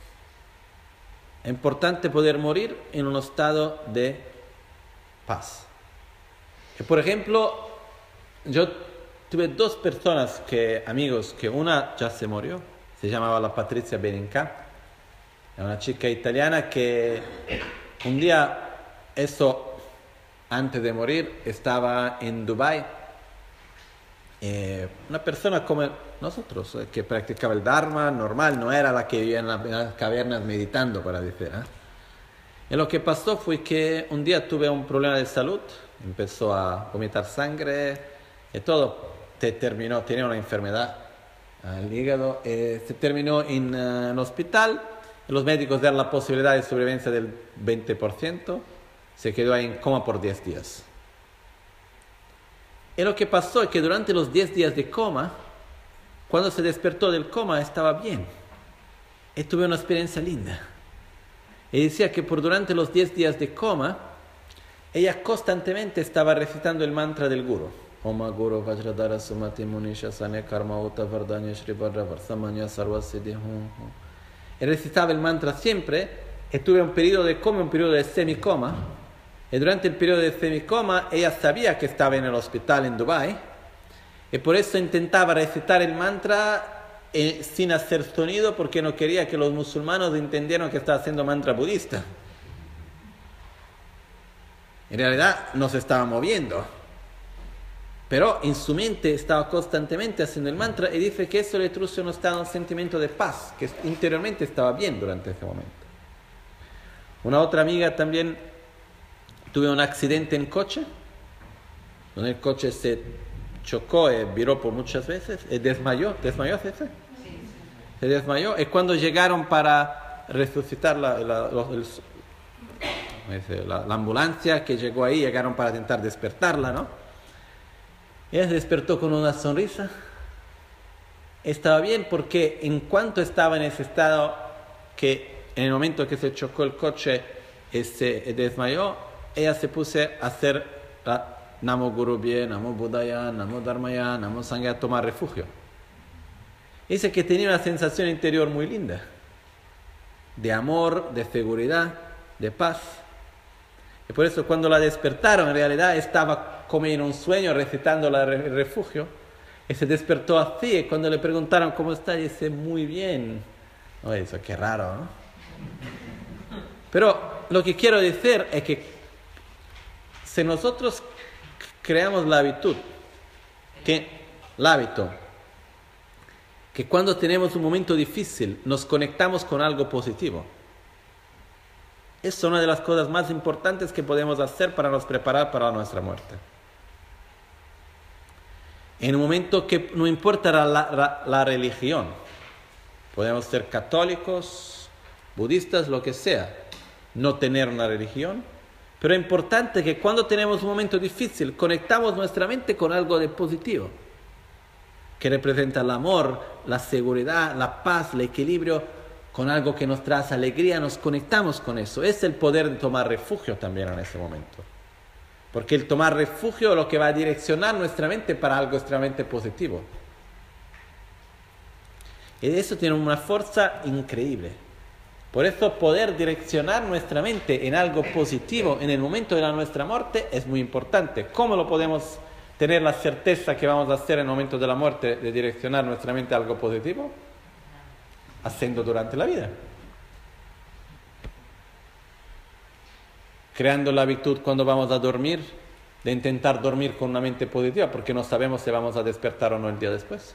Es importante poder morir en un estado de paz. Que, por ejemplo, yo tuve dos personas, que, amigos, que una ya se murió, se llamaba la Patrizia Benincà, è una chica italiana que un día, eso antes de morir, estaba en Dubái, eh, una persona como nosotros, eh, que practicaba el Dharma normal, no era la que vivía en, la, en las cavernas meditando, para decir. ¿eh? Y lo que pasó fue que un día tuve un problema de salud, empezó a vomitar sangre y todo. Se terminó, tenía una enfermedad al hígado, eh, se terminó en uh, un hospital, los médicos dieron la posibilidad de sobrevivencia del veinte por ciento, se quedó ahí en coma por diez días. Y lo que pasó es que durante los diez días de coma, cuando se despertó del coma, estaba bien, y tuve una experiencia linda. Y decía que por durante los diez días de coma, ella constantemente estaba recitando el mantra del Guru. Oma Guru Vajradhara Sumati Munisha Sanya Karma Uta Vardanya Shri Bharra Varsamanya Sarva Siddhi Hum Hum. Y recitaba el mantra siempre, y tuve un periodo de coma, un periodo de semicoma, y durante el periodo de semicoma ella sabía que estaba en el hospital en Dubái, y por eso intentaba recitar el mantra eh, sin hacer sonido, porque no quería que los musulmanes entendieran que estaba haciendo mantra budista. En realidad no se estaba moviendo, pero en su mente estaba constantemente haciendo el mantra, y dice que eso le trajo un estado, un sentimiento de paz, que interiormente estaba bien durante ese momento. Una otra amiga también tuvo un accidente en coche, donde el coche se chocó y viró por muchas veces, y desmayó, ¿desmayó ese? Sí. Se desmayó, y cuando llegaron para resucitar la, la, el, la, la ambulancia que llegó ahí, llegaron para intentar despertarla, ¿no? Ella se despertó con una sonrisa. Estaba bien porque en cuanto estaba en ese estado, que en el momento que se chocó el coche y se desmayó, ella se puso a hacer la Namo Guru Bhye, Namo Buddhaya, Namo Dharmaya, Namo Sanghaya, a tomar refugio. Dice que tenía una sensación interior muy linda, de amor, de seguridad, de paz. Y por eso cuando la despertaron, en realidad estaba como en un sueño recitando el refugio, y se despertó así, y cuando le preguntaron cómo está, dice, muy bien. Oh, eso qué raro, ¿no? Pero lo que quiero decir es que si nosotros creamos la habitud, que el hábito, que cuando tenemos un momento difícil nos conectamos con algo positivo, es una de las cosas más importantes que podemos hacer para nos preparar para nuestra muerte. En un momento que no importa la, la, la religión, Podemos ser católicos, budistas, lo que sea, no tener una religión, pero es importante que cuando tenemos un momento difícil conectamos nuestra mente con algo de positivo, que representa el amor, la seguridad, la paz, el equilibrio, con algo que nos trae alegría, nos conectamos con eso. Es el poder de tomar refugio también en ese momento. Porque el tomar refugio es lo que va a direccionar nuestra mente para algo extremadamente positivo. Y eso tiene una fuerza increíble. Por eso poder direccionar nuestra mente en algo positivo en el momento de la nuestra muerte es muy importante. ¿Cómo lo podemos tener la certeza que vamos a hacer en el momento de la muerte de direccionar nuestra mente a algo positivo? Haciendo durante la vida. Creando la habitude cuando vamos a dormir de intentar dormir con una mente positiva porque no sabemos si vamos a despertar o no el día después.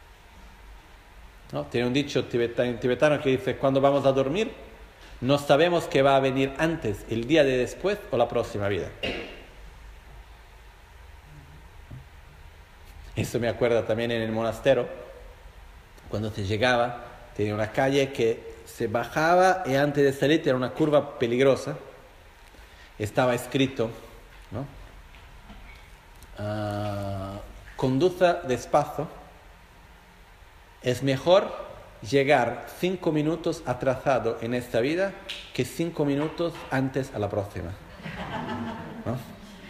¿No? Tiene un dicho tibetano, tibetano que dice: cuando vamos a dormir no sabemos qué va a venir antes, el día de después o la próxima vida. Eso me acuerda también en el monasterio, cuando se llegaba, tenía una calle que se bajaba y antes de salir era una curva peligrosa. Estaba escrito, ¿no? Uh, conduza despacio. Es mejor llegar cinco minutos atrasado en esta vida que cinco minutos antes a la próxima. ¿No?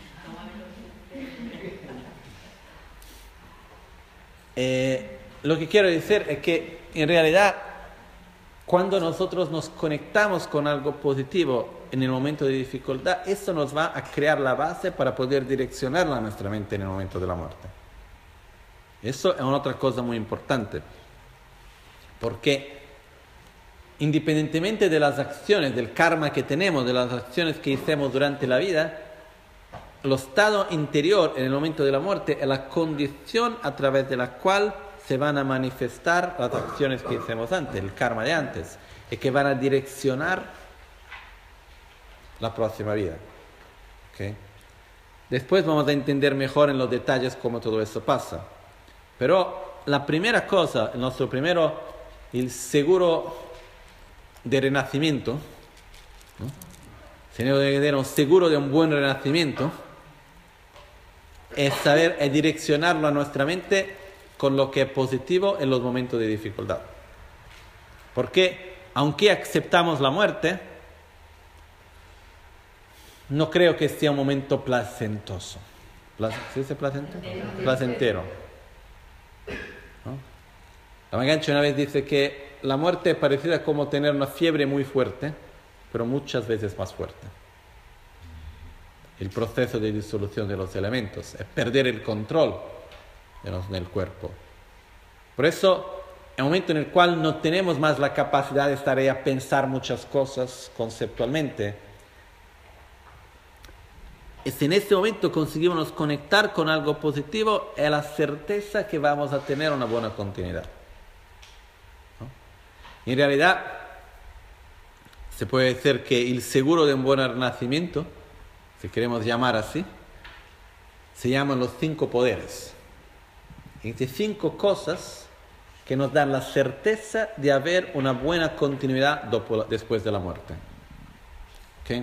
Eh, lo que quiero decir es que en realidad cuando nosotros nos conectamos con algo positivo en el momento de dificultad, eso nos va a crear la base para poder direccionar a nuestra mente en el momento de la muerte. Eso es una otra cosa muy importante, porque independientemente de las acciones, del karma que tenemos, de las acciones que hicimos durante la vida, el estado interior en el momento de la muerte es la condición a través de la cual se van a manifestar las acciones que hicimos antes, el karma de antes, y que van a direccionar la próxima vida. ¿Okay? Después vamos a entender mejor en los detalles cómo todo eso pasa. Pero la primera cosa, el nuestro primero, el seguro de renacimiento, ¿no? Si no debe tener un seguro de un buen renacimiento, es saber, es direccionarlo a nuestra mente con lo que es positivo en los momentos de dificultad. Porque aunque aceptamos la muerte, no creo que sea un momento placentoso. ¿Se dice placentero? Placentero. ¿No? La Magancha una vez dice que la muerte es parecida como tener una fiebre muy fuerte, pero muchas veces más fuerte. El proceso de disolución de los elementos es perder el control del cuerpo. Por eso, en un momento en el cual no tenemos más la capacidad de estar ahí a pensar muchas cosas conceptualmente, es en este momento conseguimos conectar con algo positivo, es la certeza que vamos a tener una buena continuidad. ¿No? En realidad, se puede decir que el seguro de un buen renacimiento, si queremos llamar así, se llaman los cinco poderes. Estas cinco cosas que nos dan la certeza de haber una buena continuidad dopo, después de la muerte. ¿Okay?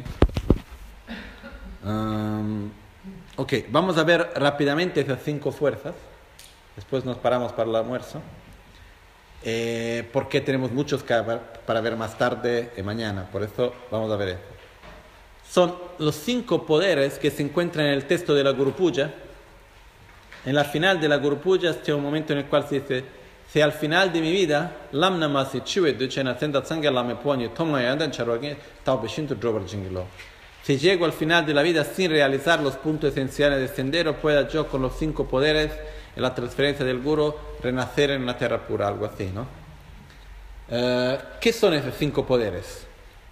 Um, ok, vamos a ver rápidamente esas cinco fuerzas. Después nos paramos para el almuerzo. Eh, porque tenemos muchos que para ver más tarde y mañana. Por eso vamos a ver esto. Son los cinco poderes que se encuentran en el texto de la Guru Puja. En la final de la Guru Puja hay un momento en el cual se dice: si al final de mi vida lam namasi chiwe duchena senda sangala me poni tomla yandan charwagi tao beshinto drobar jinglo. Si llego al final de la vida sin realizar los puntos esenciales del sendero, pueda yo con los cinco poderes en la transferencia del Guru renacer en una tierra pura, algo así, ¿no? Uh, ¿Qué son esos cinco poderes?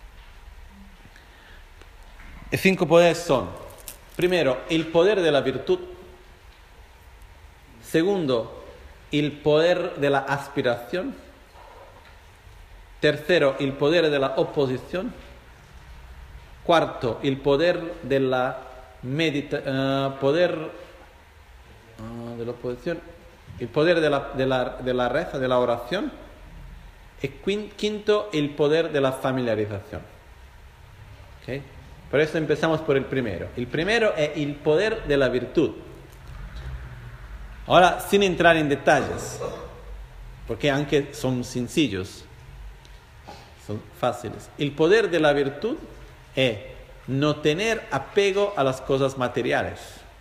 Los cinco poderes son, primero, el poder de la virtud. Segundo, el poder de la aspiración. Tercero, el poder de la oposición. Cuarto, el poder de la meditación, uh, poder uh, de la oposición, el poder de la, de la, de la reza, de la oración. Y quinto, el poder de la familiarización. ¿Okay? Por eso empezamos por el primero. El primero es el poder de la virtud. Ahora, sin entrar en detalles, porque aunque son sencillos, son fáciles. El poder de la virtud es no tener apego a las cosas materiales.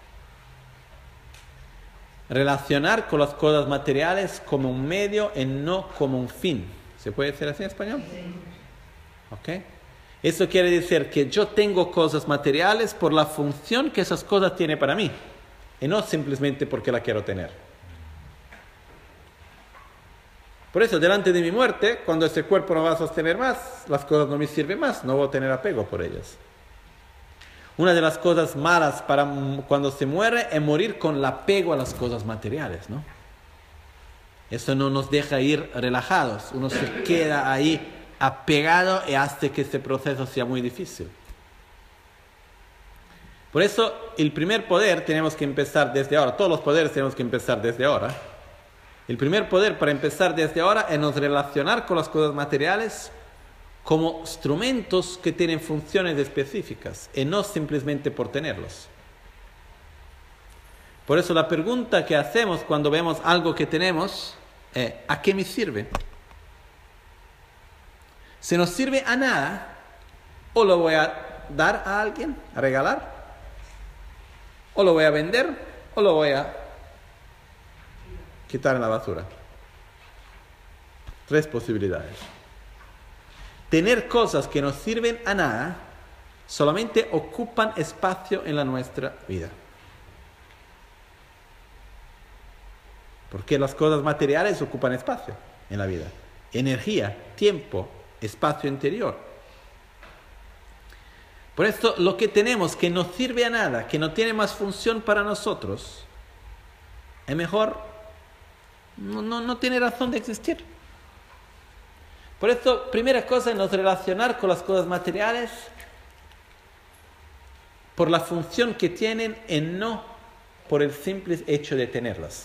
Relacionar con las cosas materiales como un medio y no como un fin. ¿Se puede decir así en español? ¿Ok? Eso quiere decir que yo tengo cosas materiales por la función que esas cosas tienen para mí y no simplemente porque la quiero tener. Por eso, delante de mi muerte, cuando ese cuerpo no va a sostener más, las cosas no me sirven más, no voy a tener apego por ellas. Una de las cosas malas para cuando se muere es morir con el apego a las cosas materiales, ¿no? Eso no nos deja ir relajados, uno se queda ahí apegado y hace que ese proceso sea muy difícil. Por eso, el primer poder tenemos que empezar desde ahora, todos los poderes tenemos que empezar desde ahora. El primer poder para empezar desde ahora es nos relacionar con las cosas materiales como instrumentos que tienen funciones específicas y no simplemente por tenerlos. Por eso la pregunta que hacemos cuando vemos algo que tenemos es ¿a qué me sirve? Si no sirve a nada, o lo voy a dar a alguien, a regalar, o lo voy a vender, o lo voy a quitar en la basura. Tres posibilidades. Tener cosas que no sirven a nada solamente ocupan espacio en la nuestra vida. Porque las cosas materiales ocupan espacio en la vida. Energía, tiempo, espacio interior. Por esto, lo que tenemos que no sirve a nada, que no tiene más función para nosotros, es mejor, no, no, no tiene razón de existir. Por esto, primera cosa es nos relacionar con las cosas materiales por la función que tienen y no por el simple hecho de tenerlas.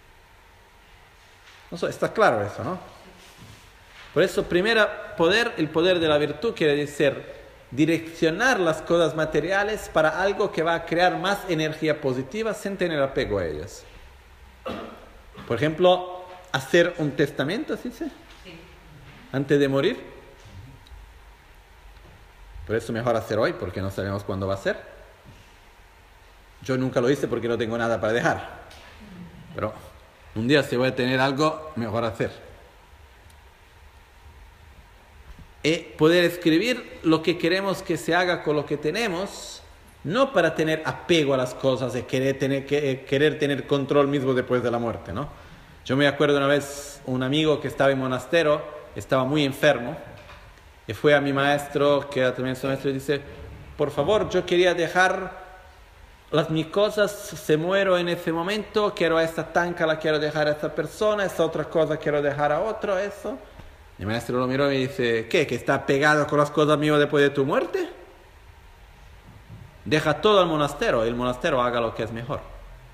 No sé, está claro eso, ¿no? Por eso, primero poder, el poder de la virtud quiere decir direccionar las cosas materiales para algo que va a crear más energía positiva sin tener apego a ellas. Por ejemplo, hacer un testamento, ¿sí? ¿Sí? Antes de morir. Por eso mejor hacer hoy, porque no sabemos cuándo va a ser. Yo nunca lo hice porque no tengo nada para dejar. Pero un día si voy a tener algo, mejor hacer. Y poder escribir lo que queremos que se haga con lo que tenemos, no para tener apego a las cosas y querer tener, que, querer tener control mismo después de la muerte, ¿no? Yo me acuerdo una vez un amigo que estaba en monasterio, estaba muy enfermo, y fue a mi maestro, que era también su maestro, y dice, por favor, yo quería dejar las mis cosas, se muero en ese momento, quiero a esta tanca, la quiero dejar a esta persona, esta otra cosa quiero dejar a otro, eso. Mi maestro lo miró y me dice, ¿qué? ¿Que está pegado con las cosas mías después de tu muerte? Deja todo al monasterio, y el monasterio haga lo que es mejor.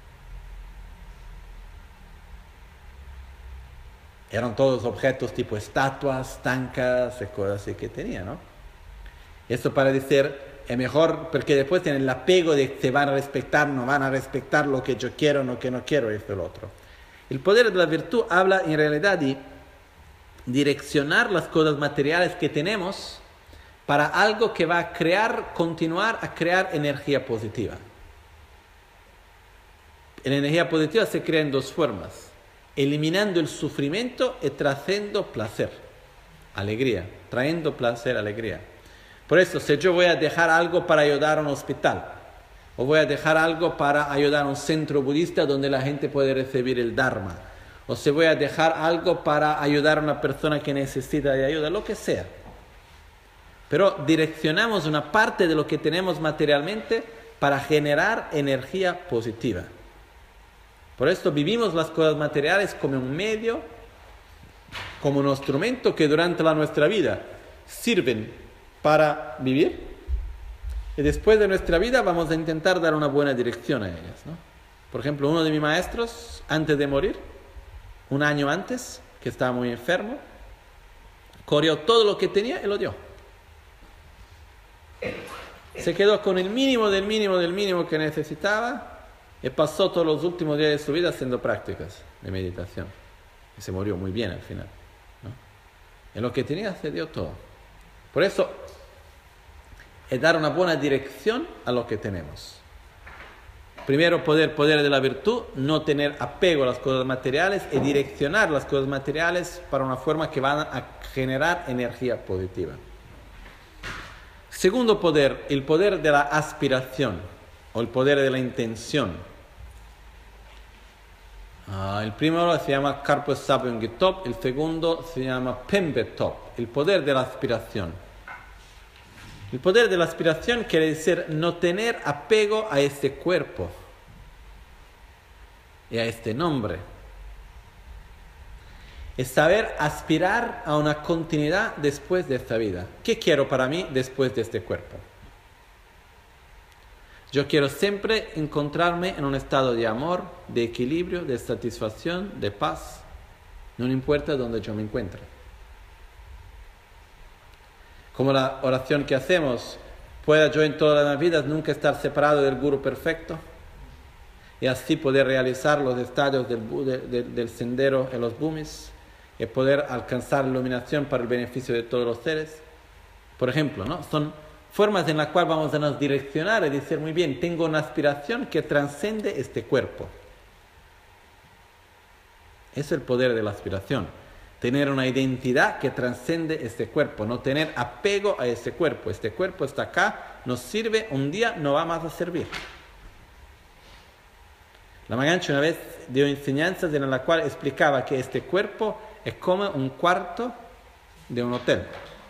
Eran todos objetos tipo estatuas, tancas y cosas así que tenía, ¿no? Eso para decir, es mejor, porque después tienen el apego de que se van a respetar, no van a respetar lo que yo quiero, lo que no quiero, esto y lo otro. El poder de la virtud habla en realidad de direccionar las cosas materiales que tenemos para algo que va a crear, continuar a crear energía positiva. La energía positiva se crea en dos formas. Eliminando el sufrimiento y trayendo placer, alegría, trayendo placer, alegría. Por eso, si yo voy a dejar algo para ayudar a un hospital, o voy a dejar algo para ayudar a un centro budista donde la gente puede recibir el Dharma, o si voy a dejar algo para ayudar a una persona que necesita de ayuda, lo que sea. Pero direccionamos una parte de lo que tenemos materialmente para generar energía positiva. Por esto vivimos las cosas materiales como un medio, como un instrumento que durante la nuestra vida sirven para vivir, y después de nuestra vida vamos a intentar dar una buena dirección a ellas, ¿no? Por ejemplo, uno de mis maestros, antes de morir, un año antes, que estaba muy enfermo, corrió todo lo que tenía y lo dio. Se quedó con el mínimo del mínimo del mínimo que necesitaba y pasó todos los últimos días de su vida haciendo prácticas de meditación. Y se murió muy bien al final, ¿no? En lo que tenía se dio todo. Por eso es dar una buena dirección a lo que tenemos. Primero, poder, poder de la virtud, no tener apego a las cosas materiales y direccionar las cosas materiales para una forma que van a generar energía positiva. Segundo poder, el poder de la aspiración o el poder de la intención. Ah, el primero se llama Karpo Sapyongitop, el segundo se llama Pembetop, el poder de la aspiración. El poder de la aspiración quiere decir no tener apego a este cuerpo y a este nombre. Es saber aspirar a una continuidad después de esta vida. ¿Qué quiero para mí después de este cuerpo? Yo quiero siempre encontrarme en un estado de amor, de equilibrio, de satisfacción, de paz. No importa dónde yo me encuentre. Como la oración que hacemos, pueda yo en todas las vidas nunca estar separado del Guru perfecto y así poder realizar los estadios del, de, de, del sendero en los Bhumis y poder alcanzar la iluminación para el beneficio de todos los seres. Por ejemplo, ¿no? Son formas en las cuales vamos a nos direccionar y decir, muy bien, tengo una aspiración que trascende este cuerpo. Es el poder de la aspiración. Tener una identidad que trascende este cuerpo, no tener apego a este cuerpo. Este cuerpo está acá, nos sirve, un día no va más a servir. La Magancha una vez dio enseñanzas en las cuales explicaba que este cuerpo es como un cuarto de un hotel.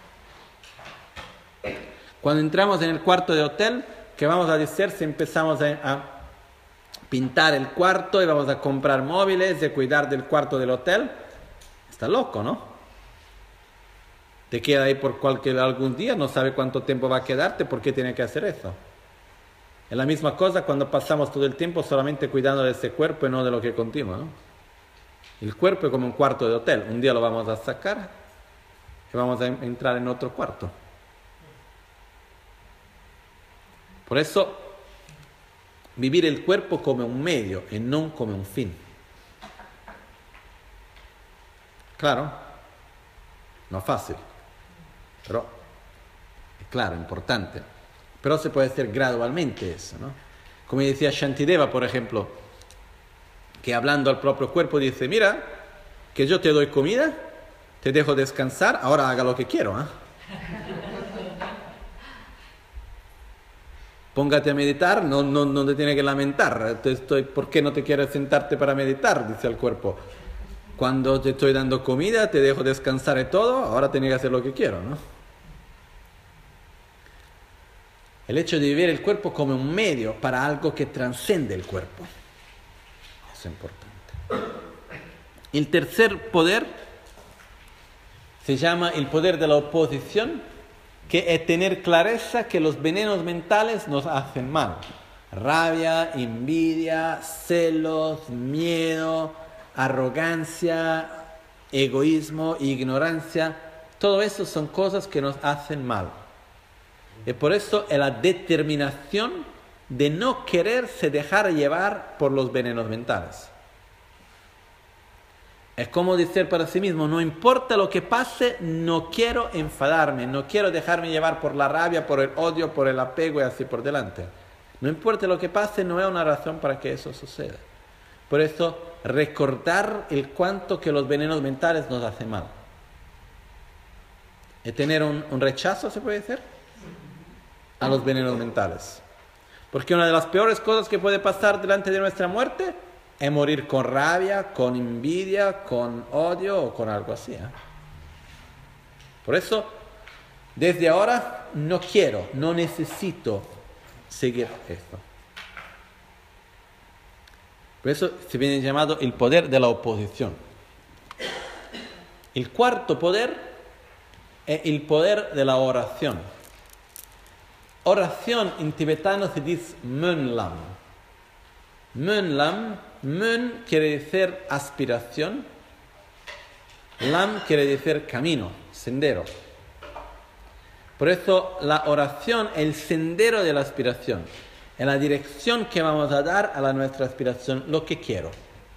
Cuando entramos en el cuarto de hotel, ¿qué vamos a decir si empezamos a, a pintar el cuarto y vamos a comprar móviles y cuidar del cuarto del hotel? Está loco, ¿no? Te queda ahí por cualquier algún día, no sabe cuánto tiempo va a quedarte, ¿por qué tiene que hacer eso? Es la misma cosa cuando pasamos todo el tiempo solamente cuidando de ese cuerpo y no de lo que continúa, ¿no? El cuerpo es como un cuarto de hotel, un día lo vamos a sacar y vamos a entrar en otro cuarto. Por eso, vivir el cuerpo como un medio y no como un fin. Claro, no fácil, pero claro, importante. Pero se puede hacer gradualmente eso, ¿no? Como decía Shantideva, por ejemplo, que hablando al propio cuerpo dice, mira, que yo te doy comida, te dejo descansar, ahora haga lo que quiero, ¿eh? Póngate a meditar, no, no, no te tiene que lamentar. Te estoy, ¿por qué no te quieres sentarte para meditar? Dice el cuerpo. Cuando te estoy dando comida, te dejo descansar y todo, ahora tienes que hacer lo que quiero, ¿no? El hecho de vivir el cuerpo como un medio para algo que trascende el cuerpo. Es importante. El tercer poder se llama el poder de la oposición, que es tener clareza que los venenos mentales nos hacen mal. Rabia, envidia, celos, miedo, arrogancia, egoísmo, ignorancia, todo eso son cosas que nos hacen mal. Y por eso es la determinación de no quererse dejar llevar por los venenos mentales. Es como decir para sí mismo, no importa lo que pase, no quiero enfadarme, no quiero dejarme llevar por la rabia, por el odio, por el apego y así por delante. No importa lo que pase, no es una razón para que eso suceda. Por eso, recordar el cuánto que los venenos mentales nos hacen mal. ¿Y tener un, un rechazo, se puede decir? A los venenos mentales. Porque una de las peores cosas que puede pasar delante de nuestra muerte es morir con rabia, con envidia, con odio o con algo así, ¿eh? Por eso, desde ahora no quiero, no necesito seguir esto. Por eso se viene llamado el poder de la oposición. El cuarto poder es el poder de la oración. Oración en tibetano se dice Mönlam. Mönlam, Mön quiere decir aspiración Lam quiere decir camino, sendero. Por eso la oración es el sendero de la aspiración, es la dirección que vamos a dar a la nuestra aspiración, lo que quiero.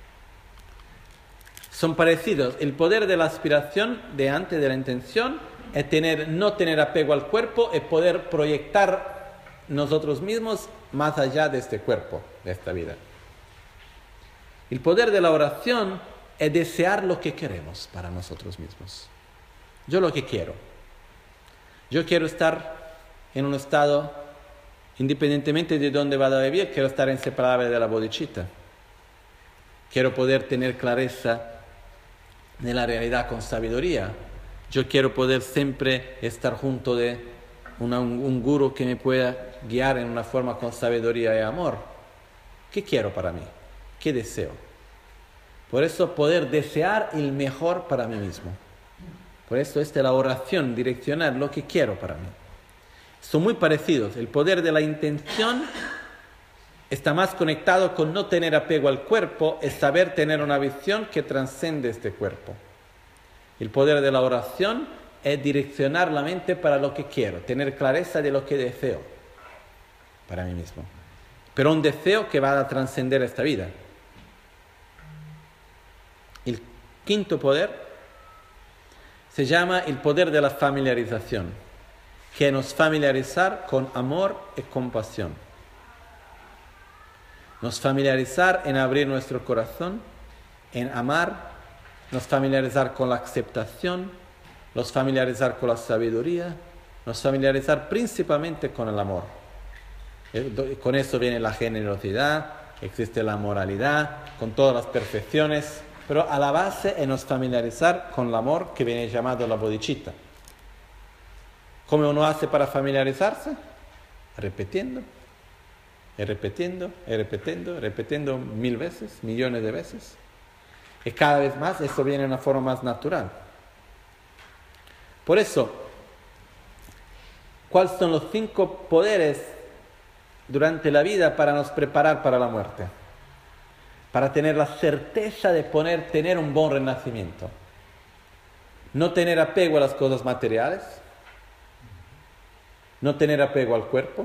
Son parecidos. El poder de la aspiración, de antes de la intención, es tener, no tener apego al cuerpo, es poder proyectar nosotros mismos más allá de este cuerpo, de esta vida. El poder de la oración es desear lo que queremos para nosotros mismos. Yo lo que quiero. Yo quiero estar en un estado, independientemente de dónde vaya a vivir, quiero estar inseparable de la bodhicitta. Quiero poder tener clareza de la realidad con sabiduría. Yo quiero poder siempre estar junto de una, un, un guru que me pueda guiar en una forma con sabiduría y amor. ¿Qué quiero para mí? ¿Qué deseo? Por eso poder desear el mejor para mí mismo. Por eso esta es la oración, direccionar lo que quiero para mí. Son muy parecidos. El poder de la intención está más conectado con no tener apego al cuerpo, es saber tener una visión que trascende este cuerpo. El poder de la oración es direccionar la mente para lo que quiero, tener clareza de lo que deseo para mí mismo. Pero un deseo que va a trascender esta vida. El quinto poder se llama el poder de la familiarización, que nos familiarizar con amor y compasión. Nos familiarizar en abrir nuestro corazón, en amar, nos familiarizar con la aceptación, nos familiarizar con la sabiduría, nos familiarizar principalmente con el amor. Con eso viene la generosidad, existe la moralidad, con todas las perfecciones, pero a la base es nos familiarizar con el amor que viene llamado la bodhicitta. ¿Cómo uno hace para familiarizarse? Repitiendo. Y repitiendo, y repitiendo, repitiendo mil veces, millones de veces. Y cada vez más eso viene de una forma más natural. Por eso, ¿cuáles son los cinco poderes durante la vida para nos preparar para la muerte? Para tener la certeza de poner, tener un buen renacimiento. No tener apego a las cosas materiales. No tener apego al cuerpo.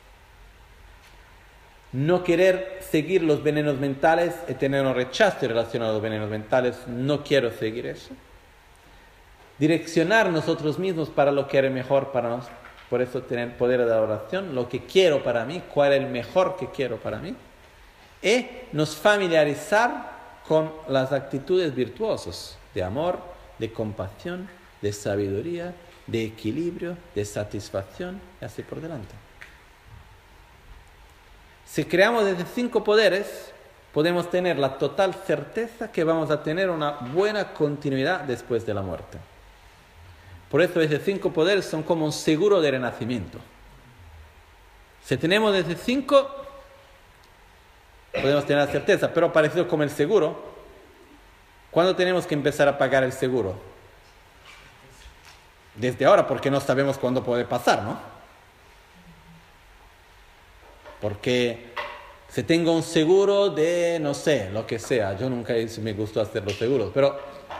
No querer seguir los venenos mentales y tener un rechazo en relación a los venenos mentales. No quiero seguir eso. Direccionar nosotros mismos para lo que es mejor para nosotros. Por eso tener poder de la oración. Lo que quiero para mí. Cuál es el mejor que quiero para mí. Y nos familiarizar con las actitudes virtuosas de amor, de compasión, de sabiduría, de equilibrio, de satisfacción y así por delante. Si creamos estos cinco poderes, podemos tener la total certeza que vamos a tener una buena continuidad después de la muerte. Por eso esos cinco poderes son como un seguro de renacimiento. Si tenemos esos cinco, podemos tener la certeza, pero parecido como el seguro. ¿Cuándo tenemos que empezar a pagar el seguro? Desde ahora, porque no sabemos cuándo puede pasar, ¿no? Porque si tengo un seguro de, no sé, lo que sea, yo nunca me gustó hacer los seguros, pero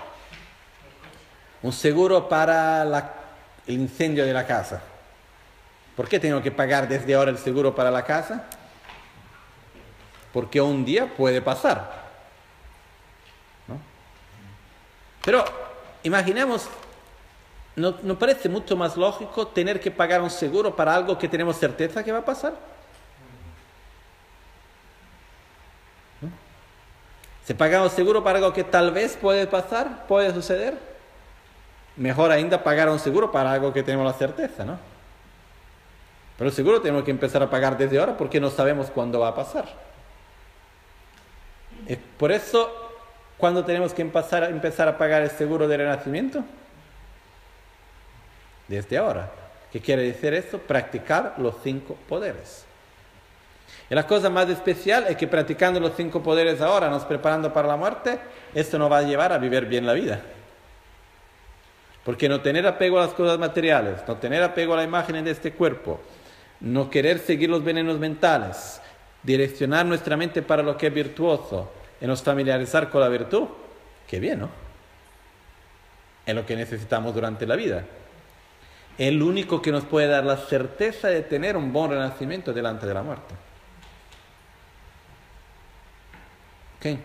un seguro para la, el incendio de la casa. ¿Por qué tengo que pagar desde ahora el seguro para la casa? Porque un día puede pasar, ¿no? Pero imaginemos, ¿no, ¿no parece mucho más lógico tener que pagar un seguro para algo que tenemos certeza que va a pasar? ¿No? Si pagamos seguro para algo que tal vez puede pasar, puede suceder, mejor ainda pagar un seguro para algo que tenemos la certeza, ¿no? Pero el seguro tenemos que empezar a pagar desde ahora porque no sabemos cuándo va a pasar. Por eso, ¿cuándo tenemos que empezar a, empezar a pagar el seguro de renacimiento? Desde ahora. ¿Qué quiere decir esto? Practicar los cinco poderes. Y la cosa más especial es que practicando los cinco poderes ahora, nos preparando para la muerte, esto nos va a llevar a vivir bien la vida. Porque no tener apego a las cosas materiales, no tener apego a la imagen de este cuerpo, no querer seguir los venenos mentales, direccionar nuestra mente para lo que es virtuoso y nos familiarizar con la virtud, qué bien, ¿no? es lo que necesitamos durante la vida. Es el único que nos puede dar la certeza de tener un buen renacimiento delante de la muerte. ¿Ok?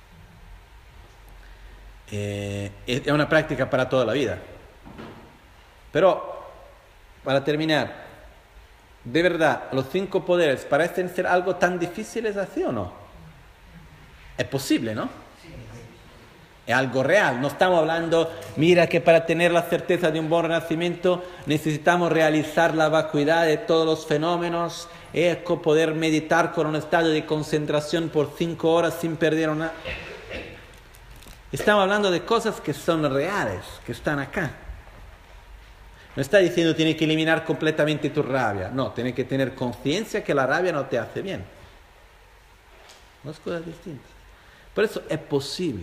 Eh, es una práctica para toda la vida. Pero, para terminar, de verdad, los cinco poderes parecen ser algo tan difíciles así o no? Es posible, ¿no? Es algo real. No estamos hablando, mira que para tener la certeza de un buen renacimiento necesitamos realizar la vacuidad de todos los fenómenos, es poder meditar con un estado de concentración por cinco horas sin perder una... Estamos hablando de cosas que son reales, que están acá. No está diciendo tienes que eliminar completamente tu rabia. No, tienes que tener conciencia que la rabia no te hace bien. Dos cosas distintas. Por eso es posible.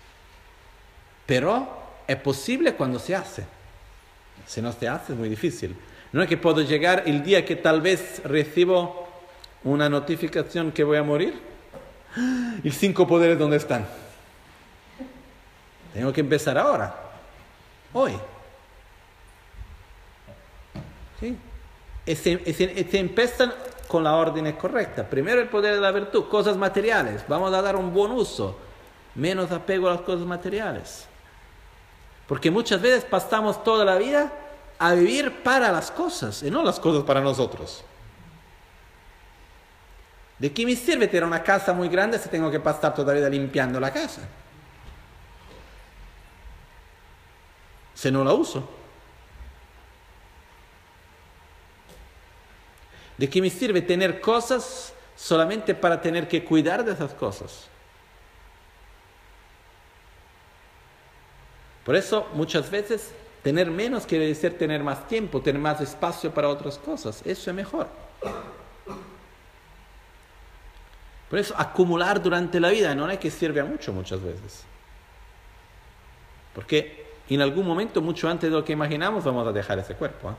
Pero es posible cuando se hace. Si no se hace es muy difícil. No es que puedo llegar el día que tal vez recibo una notificación que voy a morir. ¿Y cinco poderes dónde están? Tengo que empezar ahora. Hoy. ¿Sí? Y se, y se, y se empiezan con la orden correcta. Primero el poder de la virtud, cosas materiales. Vamos a dar un buen uso. Menos apego a las cosas materiales. Porque muchas veces pasamos toda la vida a vivir para las cosas y no las cosas para nosotros. ¿De qué me sirve tener una casa muy grande si tengo que pasar toda la vida limpiando la casa? Si no la uso. ¿De qué me sirve tener cosas solamente para tener que cuidar de esas cosas? Por eso, muchas veces, tener menos quiere decir tener más tiempo, tener más espacio para otras cosas. Eso es mejor. Por eso, acumular durante la vida no es que sirve a mucho muchas veces. Porque en algún momento, mucho antes de lo que imaginamos, vamos a dejar ese cuerpo. ¿eh?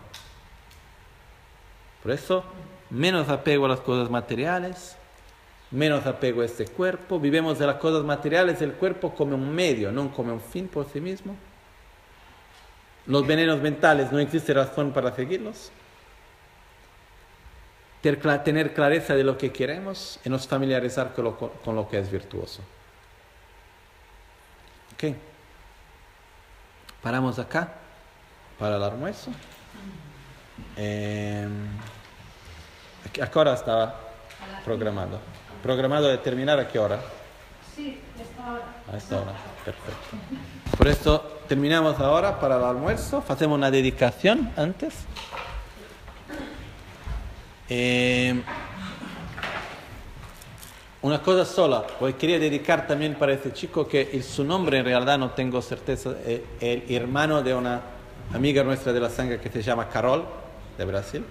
Por eso, menos apego a las cosas materiales, menos apego a este cuerpo. Vivimos de las cosas materiales del cuerpo como un medio, no como un fin por sí mismo. Los venenos mentales, no existe razón para seguirlos. Tener clareza de lo que queremos y nos familiarizar con lo, con lo que es virtuoso. Ok. Paramos acá para el almuerzo. Eh, ¿A qué hora estaba programado? ¿Programado de terminar a qué hora? Sí, a esta hora. A esta hora, perfecto. Por esto terminamos ahora para el almuerzo. Hacemos una dedicación antes. Eh, una cosa sola, pues quería dedicar también para este chico que el, su nombre en realidad no tengo certeza, es el hermano de una amiga nuestra de la sangre que se llama Carol, de Brasil.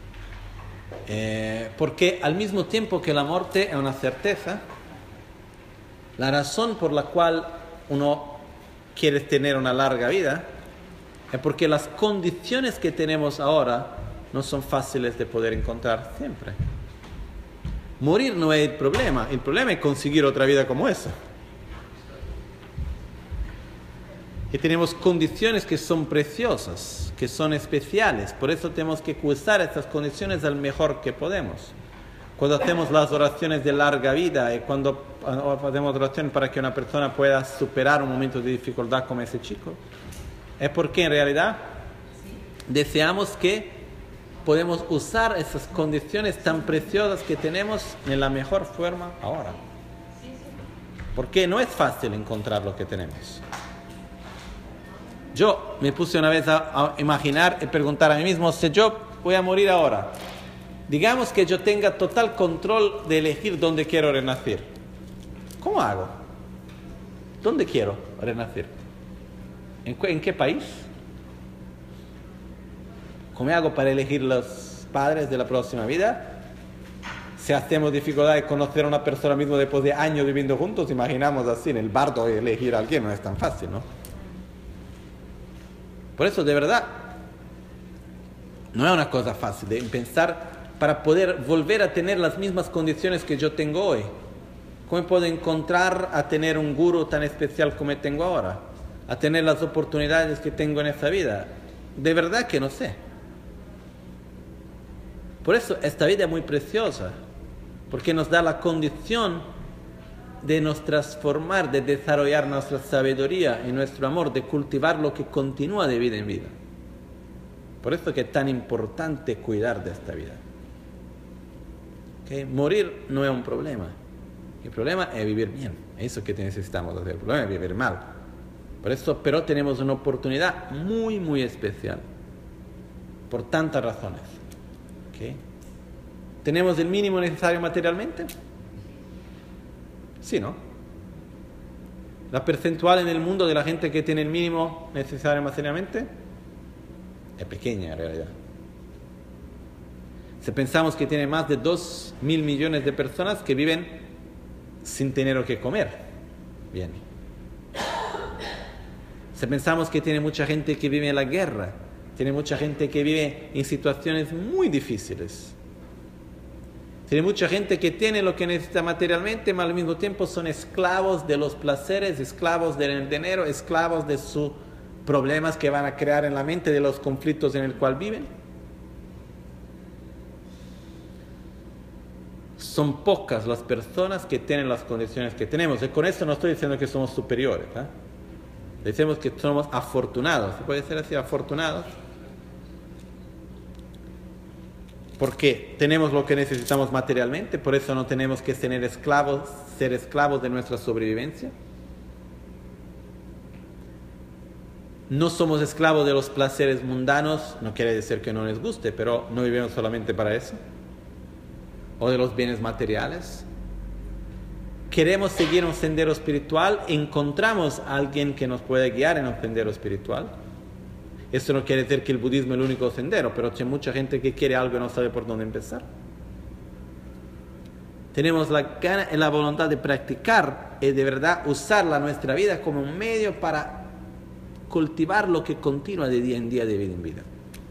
Eh, porque al mismo tiempo que la muerte es una certeza, la razón por la cual uno quiere tener una larga vida es porque las condiciones que tenemos ahora no son fáciles de poder encontrar siempre. Morir no es el problema, el problema es conseguir otra vida como esa. Y tenemos condiciones que son preciosas, que son especiales, por eso tenemos que usar estas condiciones al mejor que podemos. Cuando hacemos las oraciones de larga vida y cuando hacemos oraciones para que una persona pueda superar un momento de dificultad como ese chico, es porque en realidad deseamos que podemos usar esas condiciones tan preciosas que tenemos en la mejor forma ahora. Porque no es fácil encontrar lo que tenemos. Yo me puse una vez a, a imaginar y preguntar a mí mismo, si yo voy a morir ahora, digamos que yo tenga total control de elegir dónde quiero renacer. ¿Cómo hago? ¿Dónde quiero renacer? ¿En, en qué país? ¿Cómo hago para elegir los padres de la próxima vida? Si hacemos dificultad de conocer a una persona mismo después de años viviendo juntos, imaginamos así, en el bardo elegir a alguien no es tan fácil, ¿no? Por eso, de verdad, no es una cosa fácil de pensar para poder volver a tener las mismas condiciones que yo tengo hoy. ¿Cómo puedo encontrar a tener un gurú tan especial como tengo ahora? a tener las oportunidades que tengo en esta vida? De verdad que no sé. Por eso esta vida es muy preciosa, porque nos da la condición de nos transformar, de desarrollar nuestra sabiduría y nuestro amor, de cultivar lo que continúa de vida en vida. Por eso que es tan importante cuidar de esta vida. ¿Okay? Morir no es un problema. El problema es vivir bien. Eso es lo que necesitamos hacer. El problema es vivir mal. Por eso, pero tenemos una oportunidad muy, muy especial. Por tantas razones. ¿Okay? ¿Tenemos el mínimo necesario materialmente? Sí, ¿no? La percentual en el mundo de la gente que tiene el mínimo necesario materialmente es pequeña en realidad. Si pensamos que tiene más de dos mil millones de personas que viven sin tener que comer, bien. Si pensamos que tiene mucha gente que vive en la guerra, tiene mucha gente que vive en situaciones muy difíciles, tiene mucha gente que tiene lo que necesita materialmente, pero al mismo tiempo son esclavos de los placeres, esclavos del dinero, esclavos de sus problemas que van a crear en la mente, de los conflictos en el cual viven. Son pocas las personas que tienen las condiciones que tenemos. Y con esto no estoy diciendo que somos superiores, ¿eh? Decimos que somos afortunados. ¿Se puede ser así, afortunados? Porque tenemos lo que necesitamos materialmente, por eso no tenemos que tener esclavos, ser esclavos de nuestra sobrevivencia. No somos esclavos de los placeres mundanos, no quiere decir que no les guste, pero no vivimos solamente para eso. O de los bienes materiales. Queremos seguir un sendero espiritual, encontramos a alguien que nos puede guiar en un sendero espiritual. Eso no quiere decir que el budismo es el único sendero, pero hay mucha gente que quiere algo y no sabe por dónde empezar. Tenemos la gana y la voluntad de practicar y de verdad usarla nuestra vida como un medio para cultivar lo que continúa de día en día, de vida en vida.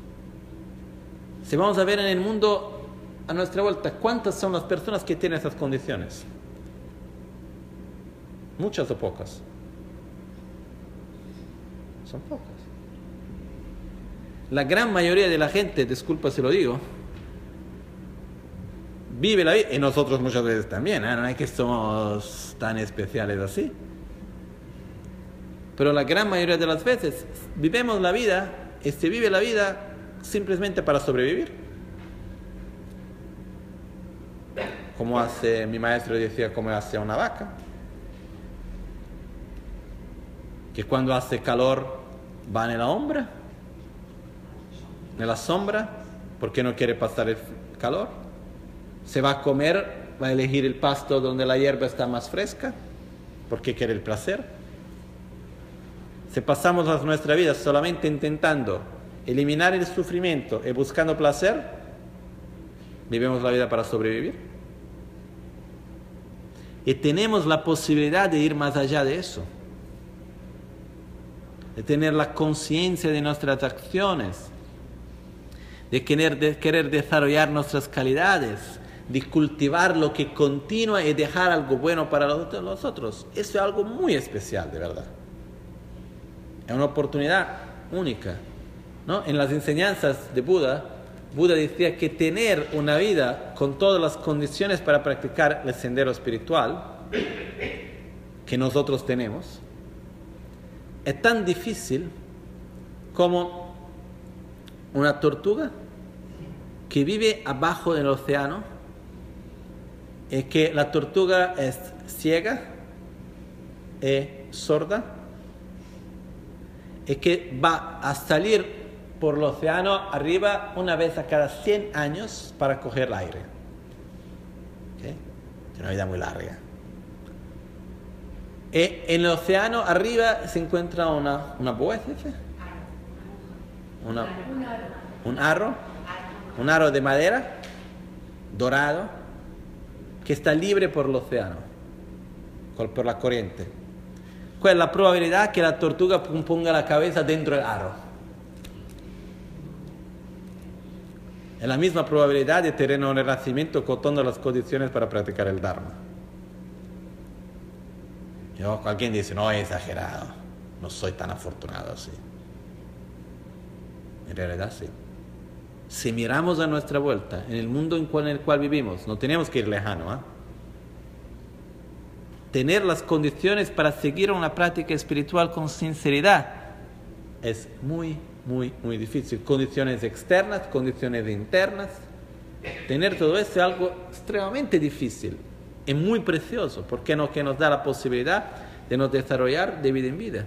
Si vamos a ver en el mundo a nuestra vuelta, ¿cuántas son las personas que tienen esas condiciones? ¿Muchas o pocas? Son pocas. La gran mayoría de la gente, disculpa si lo digo, vive la vida, y nosotros muchas veces también, ¿eh? No es que somos tan especiales así, pero la gran mayoría de las veces vivimos la vida y se vive la vida simplemente para sobrevivir. Como hace, mi maestro decía, como hace una vaca, que cuando hace calor va en la sombra, en la sombra, porque no quiere pasar el calor. Se va a comer, va a elegir el pasto donde la hierba está más fresca, porque quiere el placer. Si pasamos nuestra vida solamente intentando eliminar el sufrimiento y buscando placer, vivimos la vida para sobrevivir. Y tenemos la posibilidad de ir más allá de eso, de tener la conciencia de nuestras acciones, de querer, de querer desarrollar nuestras calidades, de cultivar lo que continúa y dejar algo bueno para los otros. Eso es algo muy especial, de verdad. Es una oportunidad única, ¿no? En las enseñanzas de Buda, Buda decía que tener una vida con todas las condiciones para practicar el sendero espiritual que nosotros tenemos es tan difícil como una tortuga que vive abajo del océano, y que la tortuga es ciega y sorda, y que va a salir por el océano arriba una vez a cada cien años para coger el aire. ¿Okay? Es una vida muy larga. Y en el océano arriba se encuentra una, una boa, una, un aro, un aro de madera dorado que está libre por el océano, por la corriente. ¿Cuál es la probabilidad que la tortuga ponga la cabeza dentro del aro? Es la misma probabilidad de tener un renacimiento con todas las condiciones para practicar el Dharma. Yo, alguien dice, no, es exagerado. no soy tan afortunado así. En realidad sí. Si miramos a nuestra vuelta, en el mundo en, cual, en el cual vivimos, no tenemos que ir lejano, ¿eh? Tener las condiciones para seguir una práctica espiritual con sinceridad es muy, muy, muy difícil. Condiciones externas, condiciones internas. Tener todo eso es algo extremadamente difícil y muy precioso, porque nos, que nos da la posibilidad de nos desarrollar de vida en vida.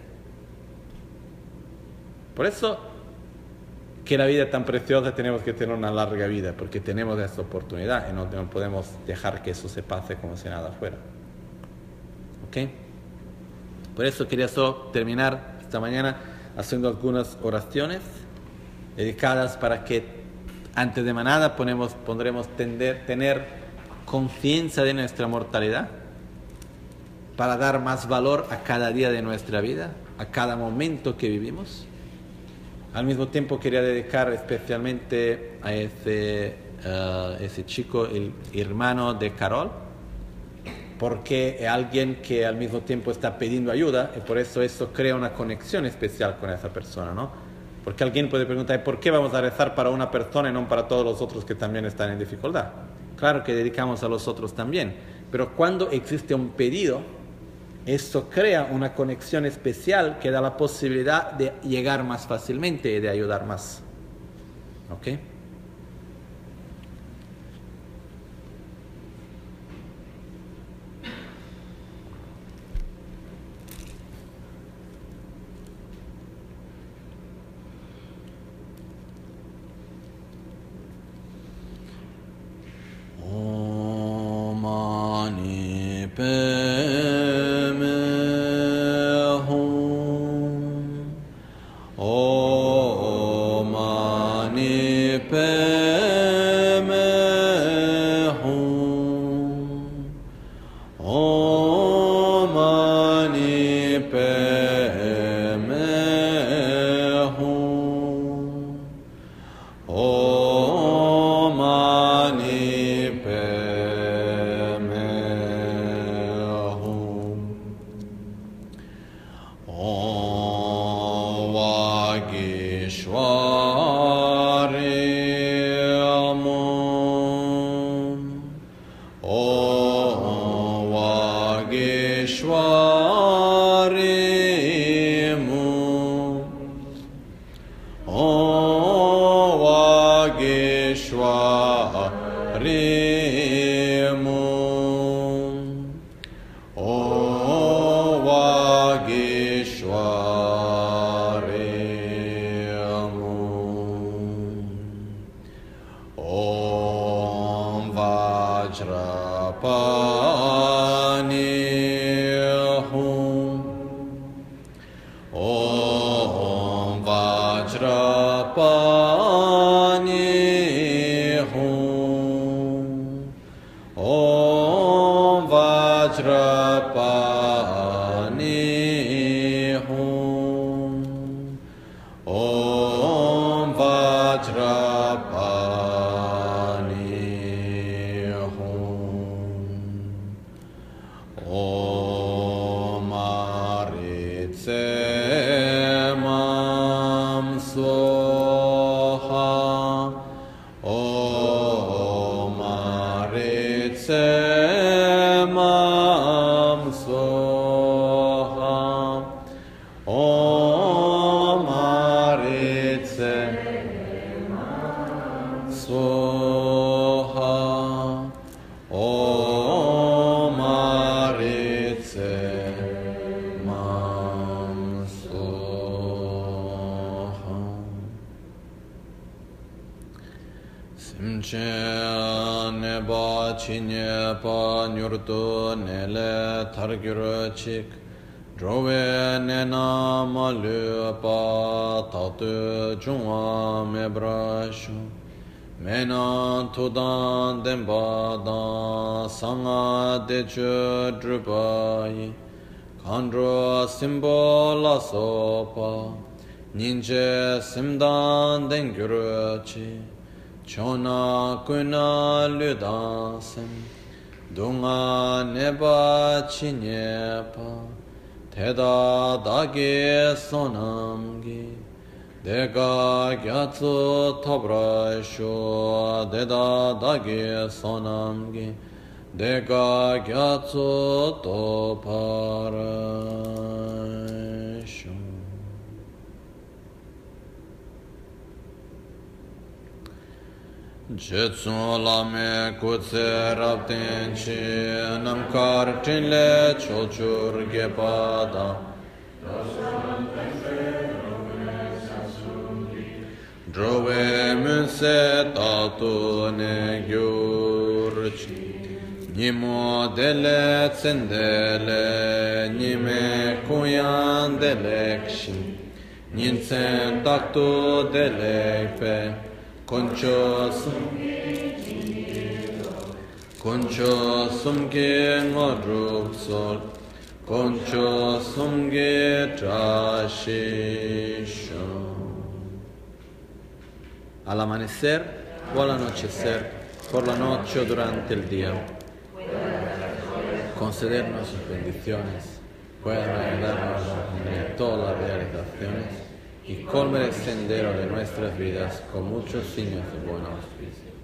Por eso que la vida es tan preciosa, tenemos que tener una larga vida, porque tenemos esta oportunidad y no, no podemos dejar que eso se pase como si nada fuera. ¿Ok? Por eso quería solo terminar esta mañana haciendo algunas oraciones dedicadas para que antes de nada ponemos, pondremos tender, tener conciencia de nuestra mortalidad, para dar más valor a cada día de nuestra vida, a cada momento que vivimos. Al mismo tiempo quería dedicar especialmente a ese, uh, ese chico, el hermano de Carol, porque es alguien que al mismo tiempo está pidiendo ayuda y por eso eso crea una conexión especial con esa persona, ¿no? Porque alguien puede preguntar, ¿por qué vamos a rezar para una persona y no para todos los otros que también están en dificultad? Claro que dedicamos a los otros también, pero cuando existe un pedido, esto crea una conexión especial que da la posibilidad de llegar más fácilmente y de ayudar más. ¿Ok? Om Mani Padme Hum. Om Mani Padme Hum. Om Mani Padme Hum. Om Mani Padme Hum. Om Vagishvari Mum. Om Vagishvari Mum. Om Vagishvari Mum. Om Vagishvari Mum. Om Vajrapani Hum. Om Vajrapani Hum. Om Vajrapani Hum. Om Vajrapani Hum. Om Aritse Mam Soha. Om Aritse Mam Soha. Om Aritse Soha. Om Aritse Mam Soha. Simche neba chinye pa nyurtu nele thargyur chik. Drove nena malu pa tatu jungwa mebrashu. Mena tudan dembadan sanga dechu drupayi. Kandro simbola sopa. Ninje simdan dengyuruchi. Chona kuna ludansem. Dunga neba chinyepa. Teda dagi sonamgi Dega gyatsu tabrasho Deda dagi sonamgi Dega gyatsu toparasho. Jetsu lame kutse rabden chi namkar tinle chochur gepada drove munse tatu ne gyurchi nimo dele tsendele nime kuyan delekshi ninsen taktu delekpe Concho sumge Concho sumge ngodruksol Concho sumge trashisho. Al amanecer o al anochecer, por la noche o durante el día, concedernos sus bendiciones, puedan ayudarnos a obtener todas las realizaciones y colme el sendero de nuestras vidas con muchos signos de buen auspicio.